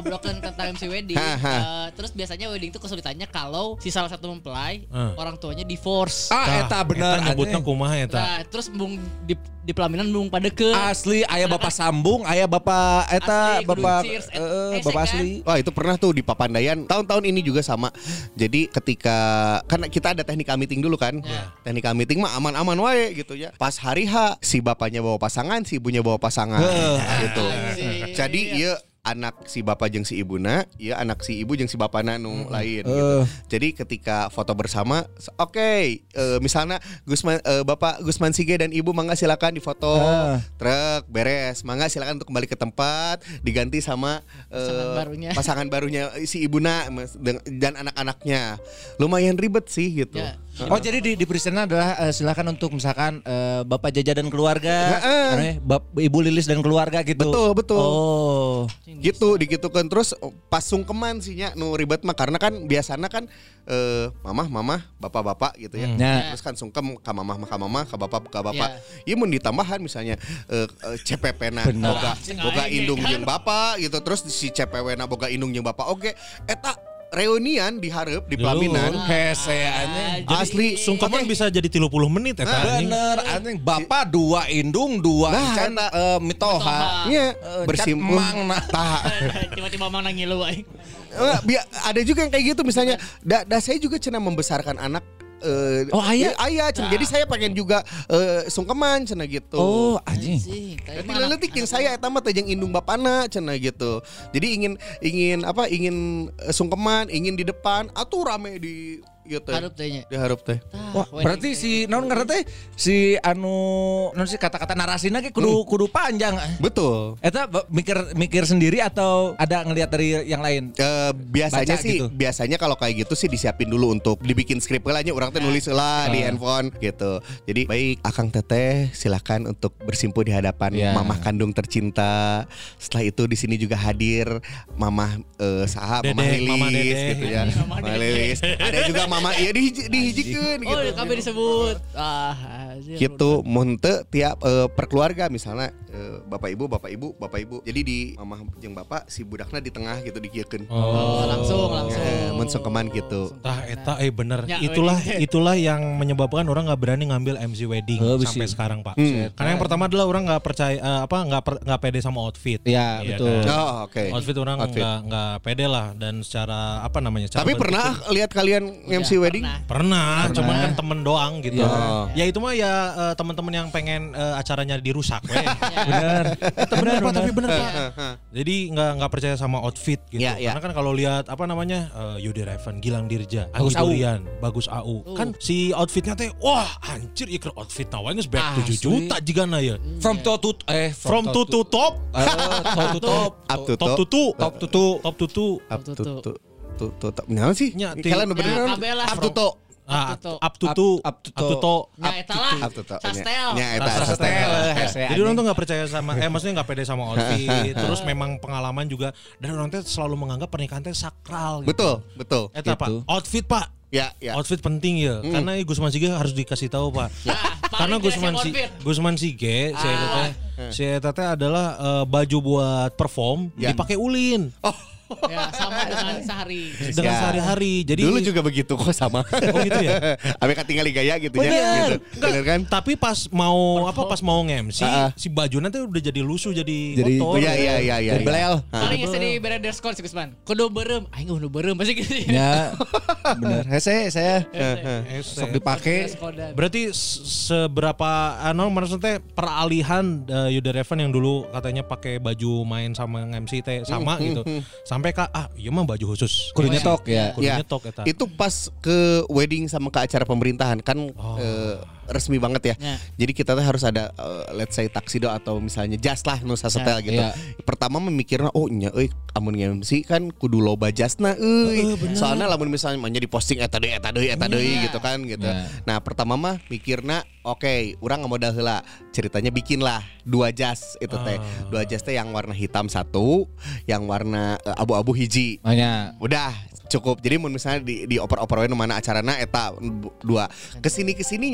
ngobrolkan tentang M C wedding. uh, terus biasanya wedding itu kesulitannya kalau si salah satu mempelai Hmm. orang tuanya divorce. Ah, eta bener. Eta nyebutna kumaha eta. Nah, terus mung di, di pelaminan mung pada ke Asli aya bapak sambung, aya bapak eta Asli, bapak kudu cheers, et- eh, hese bapak kan? asli. Wah itu pernah tuh di Papandayan. Tahun-tahun ini juga sama. Jadi ketika kan kita ada teknika meeting dulu kan. Teknika meeting mah aman-aman wae gitu ya. Pas hari H si bapaknya bawa pasangan, si ibunya bawa pasangan. Gitu. Anjing. Jadi ieu anak si bapak jeung si ibuna, ya anak si ibu jeung si bapana nu lain gitu. Jadi ketika foto bersama, oke, okay, uh, misalnya Gusman uh, Bapak Gusman Sige dan Ibu mangga silakan difoto. Ah. Truk beres, mangga silakan untuk kembali ke tempat, diganti sama uh, Pasangan barunya. pasangan barunya si ibuna mas- deng- dan anak-anaknya. Lumayan ribet sih gitu. Ya. Oh jadi di, di presentnya adalah eh, silakan untuk misalkan eh, Bapak Jaja dan keluarga, Heeh. anu ya, Bap- Ibu Lilis dan keluarga gitu. Betul, betul. Oh. Gitu digitukan terus pas sungkeman sih nya nu ribet mah karena kan biasanya kan eh, mamah mamah bapak bapak gitu ya. Hmm. Ya. Terus kan sungkem ka mamah ka mamah ka bapak ka bapak. Ya. Ieu mun ditambahan misalnya eh, eh, C P P na Bener. boga boga indung jeung bapak gitu terus si C P W na boga indung jeung bapak oke eta reunian dihareup di pelaminan. Hese anjing. Asli Sungkeman Oke. bisa jadi tiga puluh menit eta anjing. Bener anjing bapak dua indung dua Nah, can eta. eh, mitoha. Iya, Eh, bersimpul. can emang nah. Tah. Tiba-tiba mang nangilu aing. Eh, bia- ada juga yang kayak gitu misalnya da, da saya juga cenah membesarkan anak eh, Oh, aya? ya, aya cenah. Jadi saya pengen juga eh, sungkeman cenah gitu. Oh anjing. Anjing, tapi Tapi mah anak- leutik jeung saya eta mah teh jeung indung bapana cenah gitu. Jadi ingin ingin apa ingin eh, sungkeman, ingin di depan atuh rame di ieu teh. Hareup teh nya. Dihareup teh. Wah, berarti si naon ngaranna teh si anu naon sih kata-kata narasina ge kudu kudu panjang. Betul. Eta ba- mikir mikir sendiri atau ada ngelihat dari yang lain? Eh, biasanya Baca sih gitu. biasanya kalau kayak gitu sih disiapin dulu untuk dibikin skrip lah nya urang teh nulis lah di handphone gitu. Jadi baik Akang Teteh silakan untuk bersimpuh di hadapan Ya. mamah kandung tercinta. Setelah itu di sini juga hadir mamah eh, saha mamah Dedek, Lilis Mama Dedek. gitu ya. Mama Mama Dedek. Lilis. Ada juga mama iya dihiji, dihijikeun Oh, gitu. kabeh disebut. Ah, anjir. Gitu mun teu tiap eh, perkeluarga misalnya eh, bapak ibu bapak ibu bapak ibu. Jadi di mamah jeung bapak si budakna di tengah gitu dikieukeun. Oh, langsung langsung. Eh, mun sungkeman gitu. Tah eta eh bener. Ya, itulah wedding. itulah yang menyebabkan orang nggak berani ngambil M C wedding Oh, sampai bisi. sekarang, Pak. Hmm. Karena yang pertama adalah orang nggak percaya eh, apa nggak per- nggak pede sama outfit. Iya, Iya betul. kan? Oh, oke. Outfit orang Outfit. nggak nggak pede lah dan secara apa namanya? secara Tapi bentuk pernah tuh- lihat kalian M C Udah, wedding? pernah. Pernah, cuman kan temen doang gitu. Iya. Ya itu mah ya eh, teman-teman yang pengen eh, acaranya dirusak, weh. Bener. Itu bener Pak, tapi bener Pak. Jadi nggak nggak percaya sama outfit gitu. Iya, iya. Karena kan kalau lihat apa namanya eh, Yudi Revan, Gilang Dirja, Bagus Anggi Au. Durian, Bagus Au. Kan si outfitnya teh, wah anjir iker outfit nawannya sebanyak tujuh Asli. juta jika na ya. From top to eh From to to top, Eh, top to top. Up to top to to, Top to to. top to to. Up to Tuh, to to to to. Nah sih. Nya, ti- Kalian bener Ya, kan? kabeh lah. Up to to. Ah, Up to to. up to to, Up- up to up to to. to. Nah, eta lah. Up to to. Sastel. Nya eta Sastel. sastel. Hese Jadi orang tuh nggak percaya sama, eh maksudnya nggak pede sama outfit. Terus memang pengalaman juga dan orang tuh selalu menganggap pernikahan teh sakral. Gitu. Betul, betul. Eta Gitu. Pak, outfit Pak. Ya, ya. Outfit penting ya, karena Gusman Sige harus dikasih tahu Pak. Karena paling Gusman biasa si outfit. Gusman Sige, si Eta Ah. teh, si Eta teh adalah eh, baju buat perform Ya. dipakai ulin Ya, sama dengan sehari. dengan Ya. sehari-hari. Jadi Dulu juga begitu kok sama. Oh gitu ya. Abis tinggal gaya gitu ya. Bener. Gitu. Enggak, Bener kan? Tapi pas mau apa pas mau nge-M C Ah, ah. si baju nanti udah jadi lusuh jadi, Jadi- kotor. Oh iya iya iya iya. Jadi belel. Paling geus di bereder skor sih Gusman. Kudu beureum, aing kudu beureum pasti gitu. Ya, bener. Hese saya Eh, sok dipake. Skodan. Berarti s- seberapa anu maksudnya peralihan uh, Yuda Revan yang dulu katanya pakai baju main sama M C teh sama gitu. Sampai Kak ah iya mah baju khusus. Kudu nyetok ya. Kudu Ya, nyetok eta. itu pas ke wedding sama ke acara pemerintahan kan eh, resmi banget ya. Ya. Jadi kita tuh harus ada eh, let's say taksido atau misalnya jas lah nu sasetel gitu. Iya. Pertama memikirna oh nya euy amun nge-M C kan kudu loba jasna euy. Soalnya lamun misalnya manya diposting eta deui eta deui eta deui gitu kan gitu. Iya. Nah, pertama mah mikirna oke, urang ngamodal heula. Ceritanya bikin lah dua jas itu teh. Dua jas teh yang warna hitam satu, yang warna eh, abu-abu hiji. Makanya Udah cukup. Jadi mun misalnya di di oper-oper we nu mana acarana eta bu- dua. Kesini kesininya karena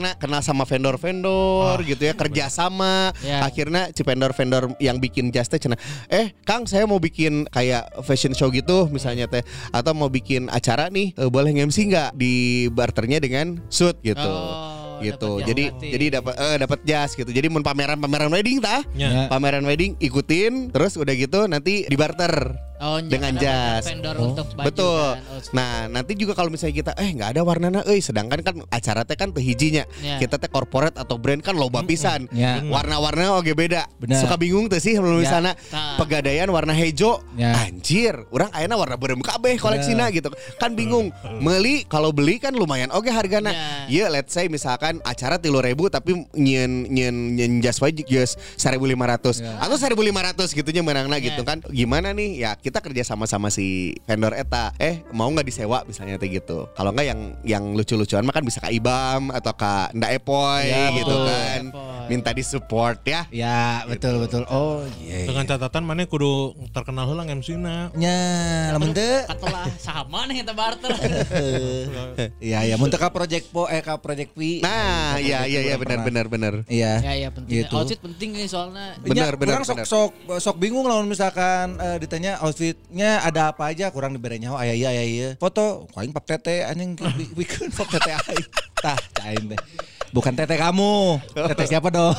akhirnya kenal sama vendor-vendor gitu ya, kerja sama. Ya. Akhirnya si vendor-vendor yang bikin jas teh cenah, "Eh, Kang, saya mau bikin kayak fashion show gitu misalnya teh, atau mau bikin acara nih, eh, boleh nge-M C enggak?" Di barternya dengan suit gitu. Oh, gitu. dapat jas Jadi gratis. jadi dapat eh dapat jas gitu. Jadi mun pameran-pameran wedding tah. Ya. Pameran wedding ikutin, terus udah gitu nanti di barter. Oh, dengan ada jas. vendor untuk baju Betul. kan. Oh, Nah, nanti juga kalau misalnya kita eh nggak ada warnana euy, sedangkan kan acara teh kan teu hijinya. Ya. Kita teh corporate atau brand kan loba pisan. Ya. Warna-warna oge beda. Benar. Suka bingung tuh sih kalau misalnya Nah. pegadaian warna hijau. Ya. Anjir, urang ayeuna warna beureum kabeh koleksina gitu. Kan bingung. Meuli kalau beli kan lumayan oge hargana. Ya. Ya, let's say misalkan acara tiga ribu tapi nyen nyen nyen jas wae geus seribu lima ratus atau seribu lima ratus gitunya menangna gitu kan. Gimana nih? Ya, kita kerja sama-sama si vendor eta. Eh, mau nggak disewa misalnya kayak gitu. Kalau nggak yang yang lucu-lucuan mah kan bisa ke Ibam atau ke Nda Epoy Ya, gitu betul. kan. Epoy. Minta disupport ya. Ya, betul betul. Oh, iya. Dengan catatan mana kudu terkenal heula M C-na. Nya, lamun teu. Katalah sama nih kita barter. Iya, ya mun teu ka project po eh ka project P. Nah, iya iya iya benar benar benar. Iya. Ya ya penting. Gitu. Outfit penting nih soalnya. Benar, Ya, benar, kurang sok benar. sok sok bingung lah misalkan eh, ditanya outfitnya ada apa aja kurang dibere nyaho aya ieu aya ieu. Foto aing pap tete anjing bi- bikin pap tete aing. Tah cain deh. Bukan tete kamu. Tete siapa dong?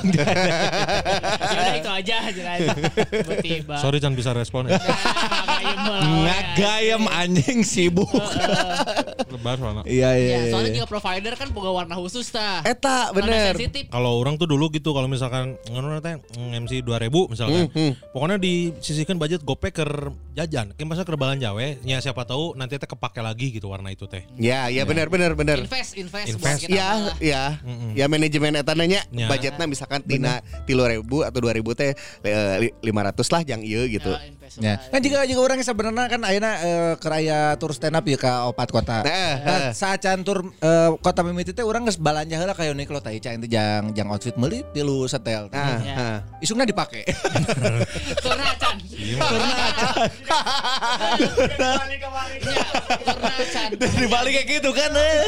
Ya itu aja aja aja. Tiba-tiba. Sorry jangan bisa respon ya. Ngagayam anjing sibuk. Lebar soalnya. Iya iya. Ya, soalnya iya. juga provider kan boga warna khusus tah. Eta Warna bener. sensitif. Kalau orang tuh dulu gitu kalau misalkan ngono teh M C dua ribu misalkan. Pokoknya disisihkan budget gopek ke jajan. Kayak masa ke balanja we, nya siapa tahu nanti teh kepake lagi gitu warna itu teh. Ya, ya benar benar benar. Invest, invest, Invest. buat kita Ya, malah. ya, ya manajemen eta nanya Ya. budgetnya misalkan tina tiga ribu atau dua ribu teh eh, lima ratus lah yang ieu gitu. Ya, invest Ya. lah. Kan juga juga orang sebenarnya kan ayeuna eh, keraya tur stand up ya ke opat kota. Eh, Nah, eh. saat can tur eh, kota mimiti teh urang geus balanja heula ka Uniqlo teh can teh jang jang outfit meuli tilu setel. Nah, Ya. nah. Isungna dipake. Turna acan. Turna acan. Ya, turna acan. Dibalik kayak gitu kan eh.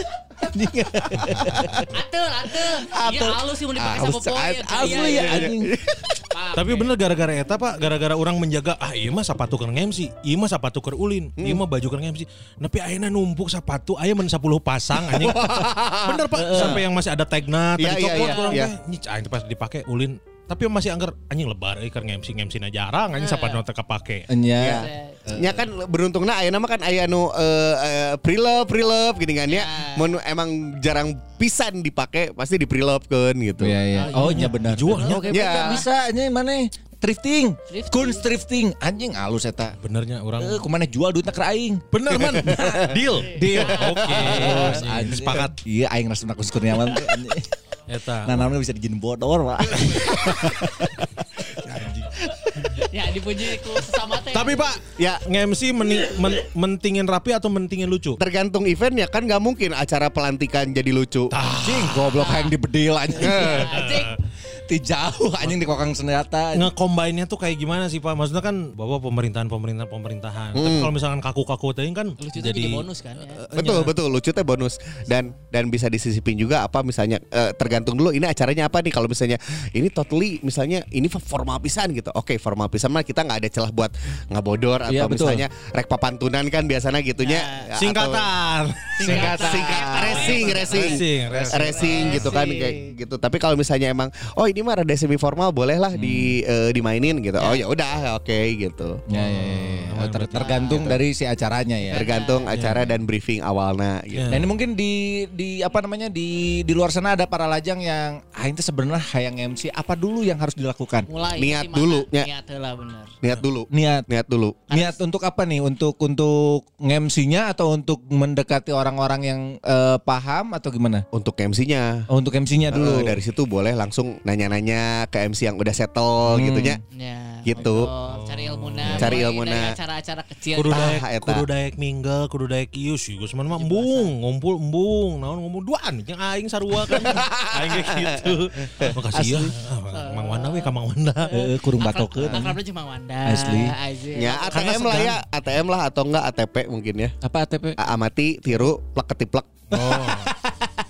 Atul, atul. Iya halus sih mau dipakai sama Halus, poin. asli ya anjing. Tapi bener gara-gara eta Pak, gara-gara orang menjaga ah ieu mah sapatu keur nge-M C, ieu mah sapatu keur ulin, ieu mah baju keur nge-M C. Nepi ayeuna numpuk sapatu aya men sepuluh pasang anjing. Bener Pak, sampai yang masih ada tagna tadi Iya, iya, copot iya, kurang iya. teh. Nyich aing teh pas dipake ulin. Tapi masih anggar anjing lebar euy keur nge-M C nge-M C na jarang anjing sapatu teh kapake. Nya. Ya. Nya kan beruntungna ayeuna mah kan aya nu eh, eh, pre-love pre-love gini kan ya. Mun emang jarang pisan dipake pasti di pre-lovekeun gitu. Iya iya. Oh nya benar. Dijualnya. Oke, Ya. bisa nya mana? Thrifting. Thrifting. Kunst thrifting. Anjing alus eta. Benernya orang. Eh, kumana jual duitna keur aing. Bener man. Deal. Deal. Oke. Anjing. Sepakat. Iya aing Rasuna Kus Kurniawan teh anjing. Eta. Nah namanya bisa dijin bodor Pak. Ya dipuji ku sesama teh. Tapi Pak, Ya. nge-M C meni- men- mentingin rapi atau mentingin lucu? Tergantung eventnya kan nggak mungkin acara pelantikan jadi lucu. Anjing goblok aing dibedil anjing. Anjing. Ti jauh anjing di kokang senjata. Nge-combine-nya tuh kayak gimana sih Pak? Maksudnya kan bawa pemerintahan pemerintahan pemerintahan. Tapi kalau misalkan kaku-kaku tadi kan Lucu itu jadi bonus kan ya. Betul betul lucu teh bonus dan dan bisa disisipin juga apa misalnya eh, tergantung dulu ini acaranya apa nih kalau misalnya ini totally misalnya ini formal pisan gitu oke formal pisan mah kita nggak ada celah buat ngabodor atau Iya, betul. misalnya rek papantunan kan biasanya gitunya Ya. atau- singkatan. singkatan singkat racing racing Racing, racing. racing gitu kan kayak gitu tapi kalau misalnya emang oh ini mah rada semi formal boleh lah di eh, dimainin gitu oh ya udah oke gitu Ya ya ya. Oh, ter- tergantung dari si acaranya ya. tergantung acara dan briefing awalnya gitu. Nah ini mungkin di di apa namanya di di luar sana ada para lajang yang ah itu sebenarnya hayang M C apa dulu yang harus dilakukan? Mulai Niat di mana? dulu, ya. Niat lah bener. Niat dulu Niat niat dulu niat untuk apa nih? Untuk untuk nge-M C-nya atau untuk mendekati orang-orang yang eh, paham atau gimana? untuk M C-nya. Oh, untuk M C-nya dulu. Eh, dari situ boleh langsung nanya-nanya ke M C yang udah settle gitu nya. Ya. Gitu. ngobrol, cari ilmuna. Cari mulai ilmuna. dari acara-acara kecil. Kudu gitu. daek, Ah, eta. kudu daek minggal, kudu daek ieu sih. Geus mah embung, ngumpul embung, naon ngomong duaan jeung aing sarua kan. Aing kayak gitu. Makasih ya. Ah, Mang Wanda we ka Mang Wanda. Heeh, kurung batokeun. Akrabnya cuma Wanda. Asli. Aja. Ya A T Karena M lah segan. ya, A T M lah atau enggak A T P mungkin ya. Apa A T P? A- Amati, tiru, plek ketiplek. Oh.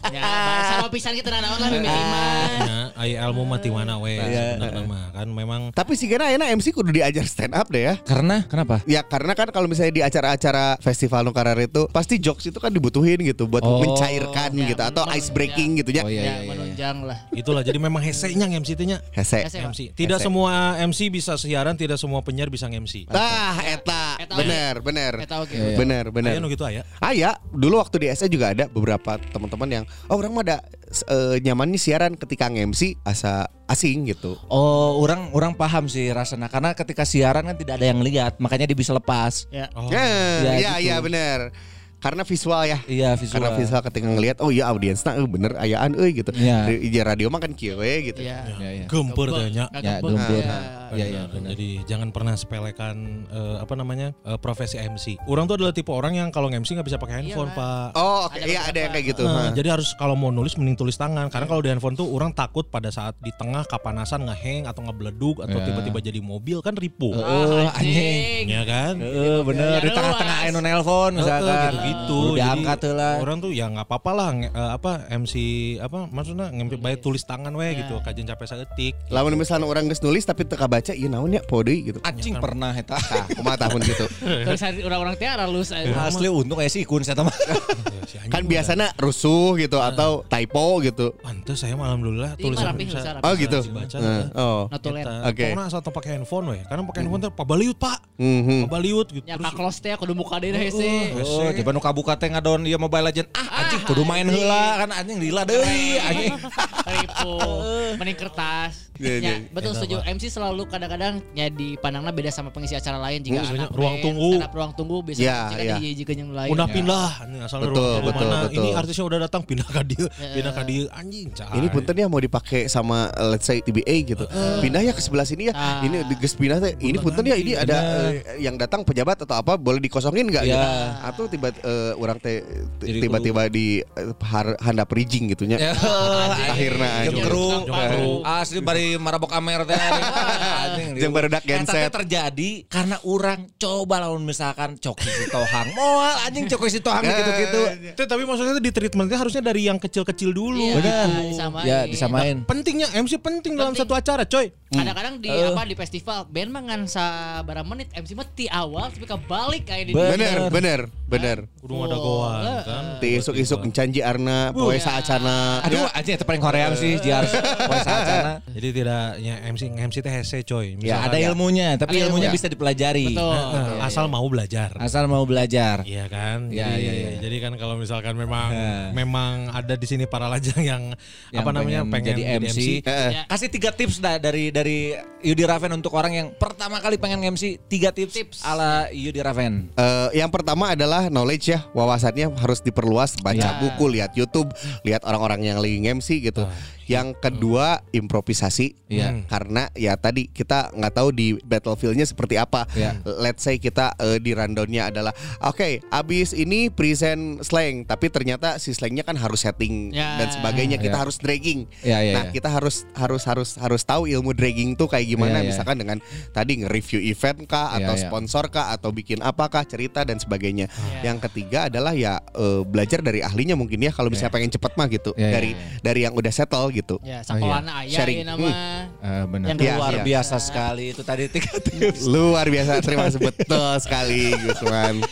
Ya, sama pisan kita naon lah mimiti mah. Ya, ai ilmu mati mana we sebenarnya mah kan memang. Tapi sih karena enak M C kudu diajar stand up deh ya. Karena kenapa? Ya karena kan kalau misalnya di acara-acara festival Nukarar itu pasti jokes itu kan dibutuhin gitu buat Oh. mencairkan Ya, gitu atau menunjang. ice breaking gitu ya. Oh, iya, Ya, iya, iya. menunjang lah. Itulah jadi memang hesenya M C nya. Hese. Hese. M C. Tidak Hese. semua M C bisa siaran, tidak semua penyiar bisa M C. Tah eta Eta bener bener. Eta oke. Iya, iya. Bener bener. Aya nu gitu aya. Ah ya, dulu waktu di S E juga ada beberapa teman-teman yang oh orang mah ada eh, nyamannya siaran ketika nge-M C asa asing gitu. Oh, orang orang paham sih rasanya karena ketika siaran kan tidak ada yang lihat, makanya dia bisa lepas. Ya. Oh. Ya, Ya, iya gitu. iya bener. Karena visual ya. Iya, visual. Karena visual ketika ngelihat oh iya audiensnya eh, bener ayaan euy gitu. Iya. Di, di radio mah kan kieu we gitu. Ya. Ya, ya. Gempur tanya. Ya, gempur. Iya, iya, Benar. Jadi jangan pernah sepelekan eh, apa namanya eh, profesi M C. Orang tuh adalah tipe orang yang kalau nge-M C nggak bisa pakai handphone, Iya, Pak. Oh, oke Ada iya ada yang kayak gitu. Nah, Hah. jadi harus kalau mau nulis mending tulis tangan karena kalau di handphone tuh orang takut pada saat di tengah kapanasan ngeheng atau ngebeleduk atau Ya. tiba-tiba jadi mobil kan ripuh. Oh, Ah, anjing. Ya kan? Heeh, bener Ya, di tengah-tengah luas. anu nelpon misalkan gitu-gitu. Udah Jadi diangkat heula. orang tuh ya nggak apa-apa lah nge- eh, apa M C apa maksudnya ngempi bae tulis tangan we gitu kajian capek saeutik. Lamun misalnya orang geus nulis tapi teka baca ieu naon ya poe deui gitu. Anjing pernah eta. Tah, kumaha tahun gitu. Tulisan orang-orang teh halus. Asli untung aya si Ikun saya mah. Ya, si anjing Kan mah. biasana rusuh gitu atau typo gitu. Pantes saya malam dulu lah Iya, tulisan rapih, bisa. bisa rapih. Oh gitu. dibaca, Heeh. nah. Oh. Notulen. Eta, Oke. pokoknya asal teu pakai handphone we. Karena pakai handphone teh pabaliut, Pak. Mhm. Pabaliut gitu. Ya Terus ka close teh kudu muka deui hese. Oh, coba nu kabuka teh ngadon ieu Mobile Legend. Ah, anjing kudu main heula kan anjing lila deui anjing. Ribu, mending kertas. Iya, iya. Ya, betul setuju. M C selalu kadang-kadang ya dipandangnya beda sama pengisi acara lain jika Hmm, anak ruang band, tunggu. stand up ruang tunggu bisa Ya, jika ya. dihijikeun yang lain. Udah Ya. pindah, ini asal Betul, ruang tunggu betul, mana. betul. Ini artisnya udah datang pindah ke dia, pindah ke dia anjing. Cah. Ini punten ya mau dipakai sama uh, let's say T B A gitu. Pindah ya ke sebelah sini ya. Ah. Ini di geus pindah teh. Ini punten ya ini ada eh, yang datang pejabat atau apa boleh dikosongin enggak Ya. gitu. Atau tiba eh, orang teh Jadi tiba-tiba di eh, har- handap rijing gitu nya. Ya, Akhirna Jeung anjing. kru. Jeung kru. Asli bari marabok amer teh. Anjing. Jeung barudak Eta teh genset. terjadi karena orang coba lamun misalkan cok si tohang. Moal anjing cok si tohang gitu-gitu. Teh, tapi maksudnya tuh di treatmentnya harusnya dari yang kecil-kecil dulu. Iya, Benar. disamain. Ya, disamain. Pentingnya M C penting dalam Penting. satu acara, coy. Kadang-kadang di apa di festival band mah ngan sabaraha menit M C mah ti awal tapi balik kayak di Bener, bener, bener. Kudu ada goan kan. Ti isuk-isuk encanji arna poe saacana. Aduh, anjing itu paling Korea sih Jiar. Poe saacana. Jadi tidaknya M C M C teh hese, coy. Ya Misalkan ada ilmunya, tapi Ada ilmunya ilmu. bisa dipelajari. Betul. Nah, asal mau belajar. Asal mau belajar. Iya kan. Ya, jadi, ya, ya. jadi kan kalau misalkan memang Ya. memang ada di sini para lajang yang, Yang apa namanya pengen pengen jadi jadi M C. Heeh. Ya. Kasih tiga tips dah dari dari Yudi Raven untuk orang yang pertama kali pengen M C. Tiga tips, Tips. ala Yudi Raven. Eh, yang pertama adalah knowledge ya, wawasannya harus diperluas, baca Ya. buku, lihat YouTube, lihat orang-orang yang lagi nge-M C gitu. Yang kedua improvisasi, Iya. karena ya tadi kita nggak tahu di battlefieldnya seperti apa. Ya. Let's say kita eh, di rundownnya adalah, oke, abis ini present slang, tapi ternyata si slangnya kan harus setting Ya. dan sebagainya, kita Ya. harus dragging. Ya, ya, nah ya. kita harus harus harus harus tahu ilmu dragging tuh kayak gimana, Ya, ya. misalkan dengan tadi nge-review event kah atau Ya, ya. sponsor kah atau bikin apakah cerita dan sebagainya. Ya. Yang ketiga adalah ya eh, belajar dari ahlinya mungkin ya kalau misalnya pengen cepet mah gitu, Ya, ya, dari ya. dari yang udah settle gitu. Ya, sakolana aya Sharing. ieu nama. Eh, benar. Yang Luar kedua. biasa sekali itu tadi tiga tips. Luar biasa, terima kasih betul sekali Gusman.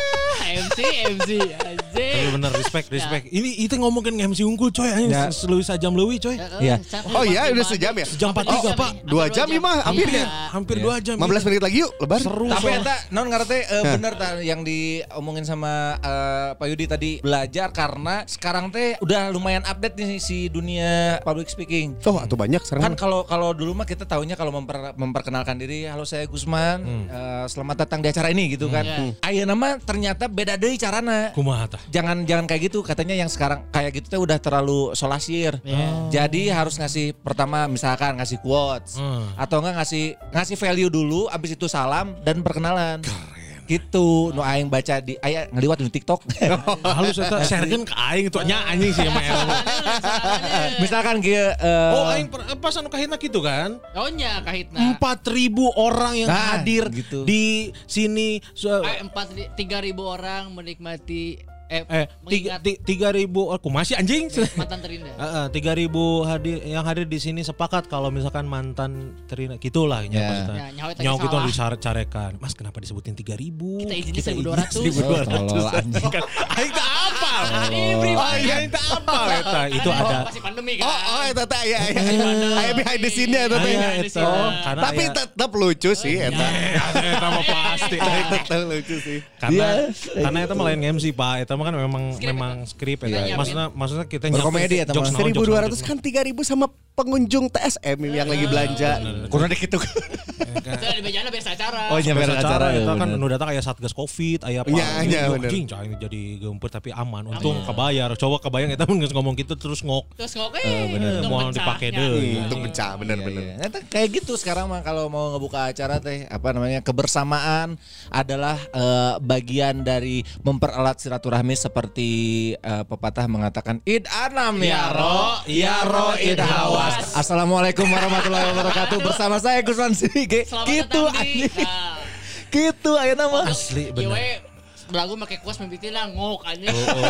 M C M C Tapi anjing. bener respect respect. Ini itu ngomongin M C unggul, coy. Anjing Ya. selui sajam leuwih, coy. Iya. Oh iya udah sejam ya? Sejam empat puluh tiga, Pak. Dua jam ya mah hampir Iya. ya. Hampir dua jam. lima belas menit lagi yuk lebar. Seru. Tapi soalnya. eta non ngarete eh, bener ta yang diomongin sama eh, Pak Yudi tadi, belajar karena sekarang teh udah lumayan update nih si dunia public speaking. Oh atau banyak Kan sekarang. kalau kalau dulu mah kita taunya kalau memper- memperkenalkan diri, halo saya Gusman, eh, selamat datang di acara ini gitu kan. Hmm. Ayeuna mah ternyata beda deui carana. Kumaha tah? Jangan jangan kayak gitu, katanya yang sekarang kayak gitu teh udah terlalu solasir. Iya. Jadi harus ngasih pertama misalkan ngasih quotes Hmm. atau enggak ngasih ngasih value dulu, abis itu salam dan perkenalan. Gitu, nu aing baca di aya ngeliwat di TikTok. Halus eta sharekeun ka aing tuh nya anjing sih mah ilmu. Misalkan kieu eh, Oh aing per- pas anu kahitna gitu kan. Oh nya kahitna. empat ribu orang yang Nah, hadir gitu. di sini. So, Eh, empat tiga ribu orang menikmati Eh, Eh tiga, mengingat ti- tiga ribu aku masih anjing. mantan terindah. Heeh, tiga ribu hadir yang hadir di sini sepakat kalau misalkan mantan terindah gitulah nya Ya. maksudnya. Ya, nyawa tadi Nyawa kita salah. dicarekan. Mas kenapa disebutin tiga ribu? Kita izinnya seribu dua ratus. seribu dua ratus. Tolol, anjing. Kan aing tak apa. Ibri, Oh iya aing tak apa eta. Itu Karena ada masih pandemi kan. Oh, oh, eta teh aya aya. Aya behind the scene-nya eta teh. Aya, Ada eta. sih, nah. Karena Tapi aya- tetap lucu sih eta. eta mah pasti. Tetap lucu sih. Karena karena itu malah yang M C Pak. Itu mah kan memang Skrip, memang skrip eta. Iya, iya. Maksudnya maksudnya kita Berkomedi eta mah. jokes naon, seribu jokes dua naon, ratus jokes kan tiga ribu sama pengunjung T S M yang lagi belanja. Kurang dikit tuh. Kita di bejana biasa acara. Oh, iya. Biasa Biar acara acara, itu ya, kan bener. nu datang aya satgas covid aya apa Iya, iya, Yo, bener. anjing cai jadi geumpeur tapi aman untung kebayar coba kebayang eta mun geus ngomong gitu terus ngok Terus ngomong Eh, eh, untung mau pecahnya. dipake deui. Hmm, Untuk pecah Iya, bener-bener. iya. Nah, kayak gitu sekarang mah kalau mau ngebuka acara teh apa namanya kebersamaan adalah eh, bagian dari mempererat silaturahmi seperti eh, pepatah mengatakan id anam ya ro ya ro id hawas. Assalamualaikum warahmatullahi wabarakatuh bersama saya Gusman Sige. Selamat Gitu datang di anjing. nah, Gitu ayeuna mah. asli Ieu bener we belagu make kuas mimpitin lah ngok anjing.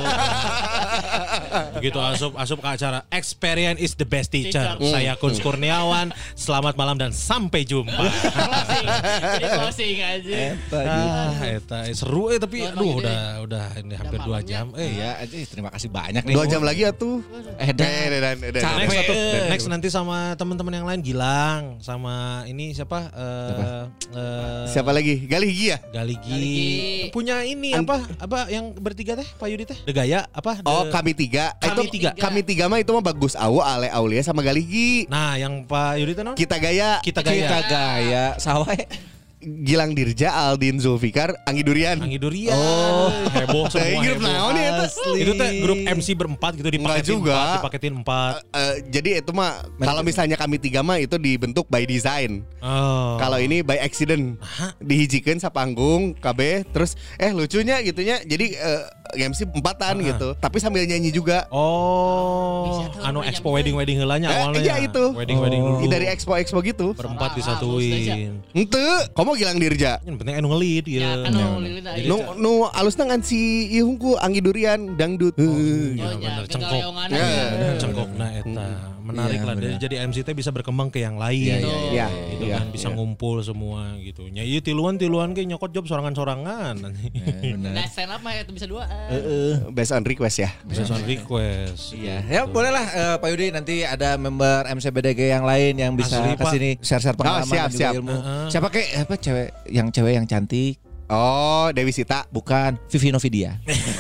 begitu asup asup ke acara experience is the best teacher Teacher. saya Kunz Kurniawan selamat malam dan sampai jumpa Closing. Jadi closing aja. ah eta eh, seru eh tapi Selamat aduh pagi, udah udah ini hampir dua malamnya. jam eh Iya, aja terima kasih banyak nih. Dua jam lagi ya tuh. Eh, dan Eh, dan, dan, dan. Capek. Next, satu, Eh. next nanti sama teman-teman yang lain Gilang sama ini siapa eh eh, Siapa lagi? Galih Gi ya? Galigi. Galigi. Punya ini apa apa yang bertiga teh Pak Yudi teh The Gaya apa The- Oh, kami tiga. Kami Itu tiga. Kami tiga mah itu mah bagus Awo, Ale Aulia sama Galih Gi. Nah yang Pak Yudi teh non Kita gaya. Kita Gaya kita gaya sawah. Gilang Dirja, Aldin Zulfikar, Anggi Durian. Anggi Durian oh heboh semua Teh, grup heboh. naon ya, eta? Itu teh grup M C berempat gitu Enggak dipaketin juga. empat dipaketin empat Eh, jadi itu mah kalau misalnya kami tiga mah itu dibentuk by design. oh. Kalau ini by accident. Dihijikeun sapanggung K B terus eh lucunya gitunya. Jadi eh, M C empatan gitu. Tapi sambil nyanyi juga. oh Bisa tuh, anu namanya expo nyambung. wedding wedding heulanya Eh, awalnya iya itu. wedding wedding Oh. dulu Dari expo-expo gitu. berempat Ah, disatuin Ente, kamu Gilang Dirja. yang penting anu ngelit Ya ya kan nu lilin aja. Nu nu alusna ngan si ieu hungku Anggi Durian dangdut. Heuh. Oh bener, ya, cengkok. kegaleongan Ya. aja. cengkokna eta menarik Iya, lah bener. jadi, jadi M C teh bisa berkembang ke yang lain Iya, iya, iya. gitu Iya, kan bisa iya. ngumpul semua gitu nya ieu tiluan-tiluan ge nyokot job sorangan-sorangan Nah, stand up mah itu bisa dua. Based on request ya. bisa sound request Iya, ya bolehlah eh, Pak Yudi nanti ada member M C B D G yang lain yang bisa Asli, Pak. kesini share-share pengalaman Oh, siap, dan juga siap. ilmu. Heeh. Siapa kek apa cewek yang cewek yang cantik? Oh, Dewi Sita. Bukan Vivi Novidia.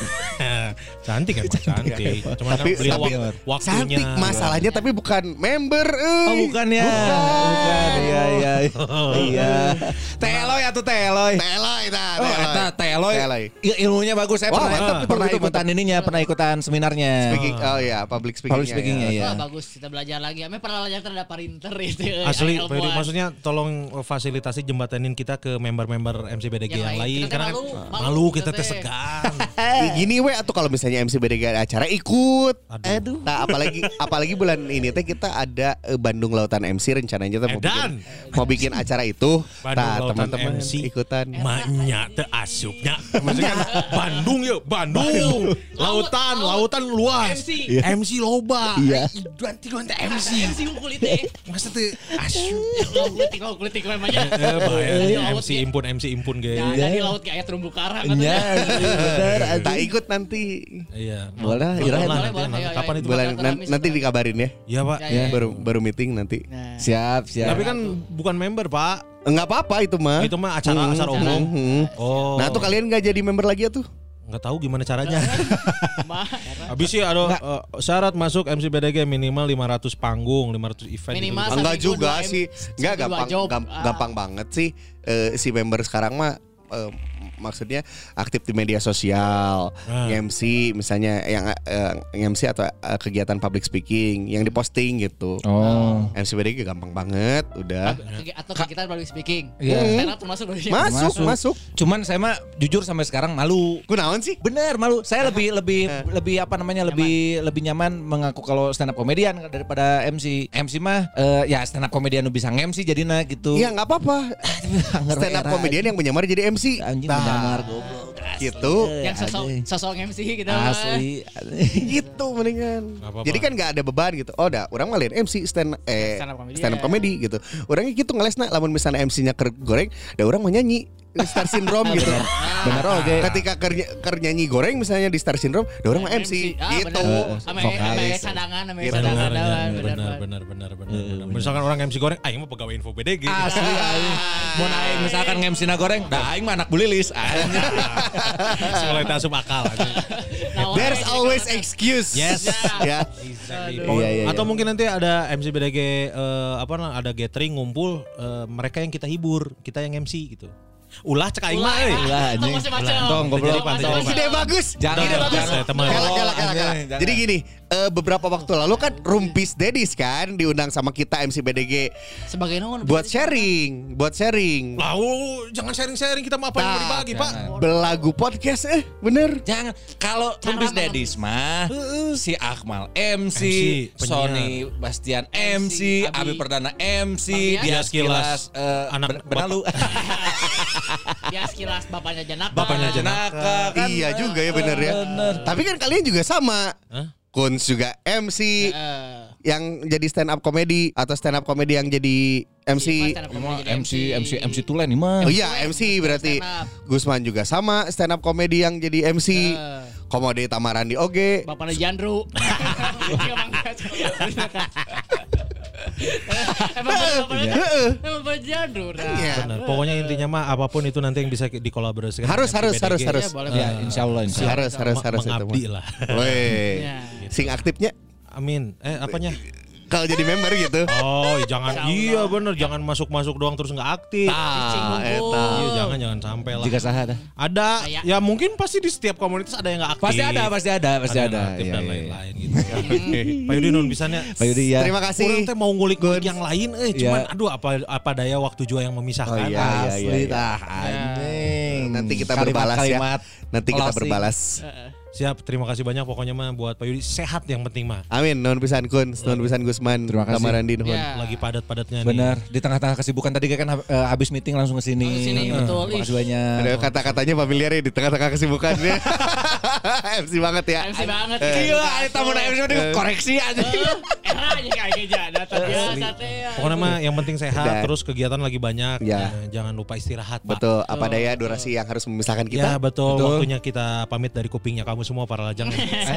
cantik emang cantik cuman Tapi- kan beli tapi wak- waktunya Cantik masalahnya tapi bukan member. euy. Oh bukan ya. Bukan. Iya iya. Iya. Teloy atau teloy. Teloy nah, Oh, teloy. eta teloy. Teloy. Il- Ilmunya bagus. Saya Wah, pernah, mantap, betul, pernah betul, ikutan ininya, pernah ikutan seminarnya. Speaking, oh ya, public speaking. Public speaking-nya, iya. Wah, bagus kita belajar lagi. Ame pernah belajar terhadap printer itu. asli yang Pak Yudi, ilmuwan. maksudnya tolong fasilitasi jembatanin kita ke member-member M C B D G Yang yang, lain. lain Kita teh karena malu, kan malu malu kita kita teh teh. segan Gini we atau kalau misalnya M C B D G ada acara ikut. Aduh. Nah, apalagi apalagi bulan ini teh kita ada eh, Bandung Lautan M C rencananya teh mau Edan. bikin, mau bikin acara itu. Bandung Nah, Lautan teman-teman M C. ikutan. Maknya teu asupnya. Maksudnya kan Bandung ya, Bandung. Lautan, lautan luas. M C. M C loba. Iya. Duan tiluan teh M C. M C kulit teh. Masa teu asup. Kulitik lo kulitik namanya. Eh, bahaya. Laut M C ge. impun, M C impun ge. Ya, dari laut kayak terumbu karang Iya, bener. Tak ikut nanti. Iya. Boleh, Nonton Ira, lah boleh, nanti, boleh. nanti. Ayo, ayo, Kapan ayo. itu? Bulan Bakal nan- rame nanti sudah. dikabarin ya. Iya, Pak. Ya, ya. Baru baru meeting nanti. Nah. Siap, siap. Tapi kan bukan member, Pak. Enggak apa-apa itu mah. Itu mah acara acara Hmm, umum. hmm. Oh. Nah, tuh kalian nggak jadi member lagi ya tuh? nggak tahu gimana caranya. Mah, Habis sih ada uh, syarat masuk M C B D G minimal lima ratus panggung, lima ratus event. Minimal gitu. Satu Enggak minggu, juga dua M- sih. Enggak seminggu dua gampang job. gam- Ah. gampang banget sih eh, si member sekarang mah eh, maksudnya aktif di media sosial, Ah. M C misalnya yang eh, M C atau eh, kegiatan public speaking yang diposting gitu. Oh. M C B D G gampang banget, udah. Atau kita public speaking. Iya. Stand up termasuk public speaking. Masuk, Masuk. masuk. Cuman saya mah jujur sampai sekarang malu. Kunaon sih? Bener malu. Saya lebih lebih lebih apa namanya lebih lebih nyaman mengaku kalau stand up komedian daripada M C. M C mah eh, ya stand up komedian nu bisa nge-M C jadinya gitu. Iya nggak apa-apa. Stand up komedian yang menyamar jadi M C. Anjing Nah, menyamar goblok. gitu. Yang sosok sosok M C gitu. Asli. Gitu mendingan. Gak apa-apa. Jadi kan nggak ada beban gitu. Oh, dah, orang mah lain M C stand eh Stand up comedy. stand up comedy gitu. Orangnya gitu ngelesna lamun misalnya M C-nya ker goreng, da orang mah nyanyi Star Syndrome gitu. Bener oke. Ketika ker, ker nyanyi goreng misalnya di Star Syndrome, da orang mah M C Ah, gitu. bener. Ame ame Vokalis. cadangan, ame Gitu. cadangan. Benar, dawan, benar, benar, benar, benar, benar. Misalkan orang M C goreng, aing mah pegawai info B D G. Asli aing. Mun aing misalkan nge-M C na goreng, dah aing mah anak bulilis. Anjing. Mulai tak asup akal. Nah, There's orang- always excuse. Yes. Ya. Exactly. Aduh. Iya, iya, iya. Atau mungkin nanti ada M C B D G eh, apa nah, ada gathering ngumpul eh, mereka yang kita hibur, kita yang M C gitu. Ulah cek aing mah euy. Ulah, anjing. Tong macam-macam. Tong, goblok. Tong macam-macam. Ide bagus. Jangan, Ide bagus. jangan, teman. Galak, galak, galak, Jangan, galak. jangan. Jadi gini, eh, beberapa waktu lalu kan Rumpis Dedis kan diundang sama kita M C B D G Sebagai naon? buat sharing, buat sharing. Lah, oh, jangan sharing-sharing kita mah apa yang mau dibagi, Pak. Belagu podcast eh bener. Jangan kalau Rumpis Cara Dedis mah si Akmal M C, M C, penyiar. Sony Bastian M C, Abi. Abi Perdana M C, Bang dia Dias sekilas Kilas, eh, anak ben- benalu. Ya sekilas bapaknya Janaka. Bapaknya Janaka. Naka, kan, Iya eh, juga ya bener ya. bener. Tapi kan kalian juga sama. Hah? Kunz juga M C Eh, yang jadi stand up comedy atau stand up comedy yang jadi M C. stand up Ini comedy mah jadi M C M C M C Tulen ini mah. Oh iya M C berarti Stand up. Gusman juga sama stand up comedy yang jadi M C. Eh. Komode Tamarandi oge. Bapaknya Jandru. Emang Emang bapaknya Emang bapaknya Jandru. nah. Iya. Benar. Pokoknya intinya mah apapun itu nanti yang bisa dikolaborasikan. Harus, dengan harus, M C B D G. harus, harus. Ya, boleh, Ya, boleh. insya Allah, insya Allah. Harus harus harus itu Mengabdi mah. lah. Woi. Ya. Sing aktifnya Amin. Eh apanya? kalau jadi member gitu. Oh, jangan iya bener jangan masuk-masuk doang terus nggak aktif. Ah, Cicing eta. Iya, jangan jangan sampai lah. Jika sah ada. Ada Kayak- ya mungkin pasti di setiap komunitas ada yang nggak aktif. Pasti ada, pasti ada, pasti yang ada. nggak aktif Iya, dan iya, iya. lain-lain gitu. Pak Yudi nun bisanya. Pak Yudi ya. Terima kasih. Orang teh mau ngulik-ngulik yang lain eh cuman Iya. aduh apa apa daya waktu jua yang memisahkan. Oh, iya. Asli iya. tah anjing. Nanti kita berbalas ya. Kalimat-kalimat Nanti kita closing. berbalas. Siap, terima kasih banyak pokoknya mah buat Pak Yudi sehat yang penting mah. Amin. Non pisan Kun, non pisan Gusman. Terima kasih. Tamarandi nuhun. Ya. Lagi padat-padatnya nih. Benar, di tengah-tengah kesibukan tadi kan eh, habis meeting langsung ke sini. Langsung kesini, betul. Terima kasih banyak. Ada kata-katanya familiar ya di tengah-tengah kesibukannya. M C banget ya. M C banget. Gila, ada tamu M C udah koreksi aja. Era aja kayak geja data biasa teh. ya. Pokoknya mah yang penting sehat Dan- terus kegiatan lagi banyak. Ya. Eh, Jangan lupa istirahat, Pak. Betul, apa daya durasi yang harus memisahkan Ya kita. betul. Betul. Waktunya kita pamit dari kupingnya kamu semua para lajang.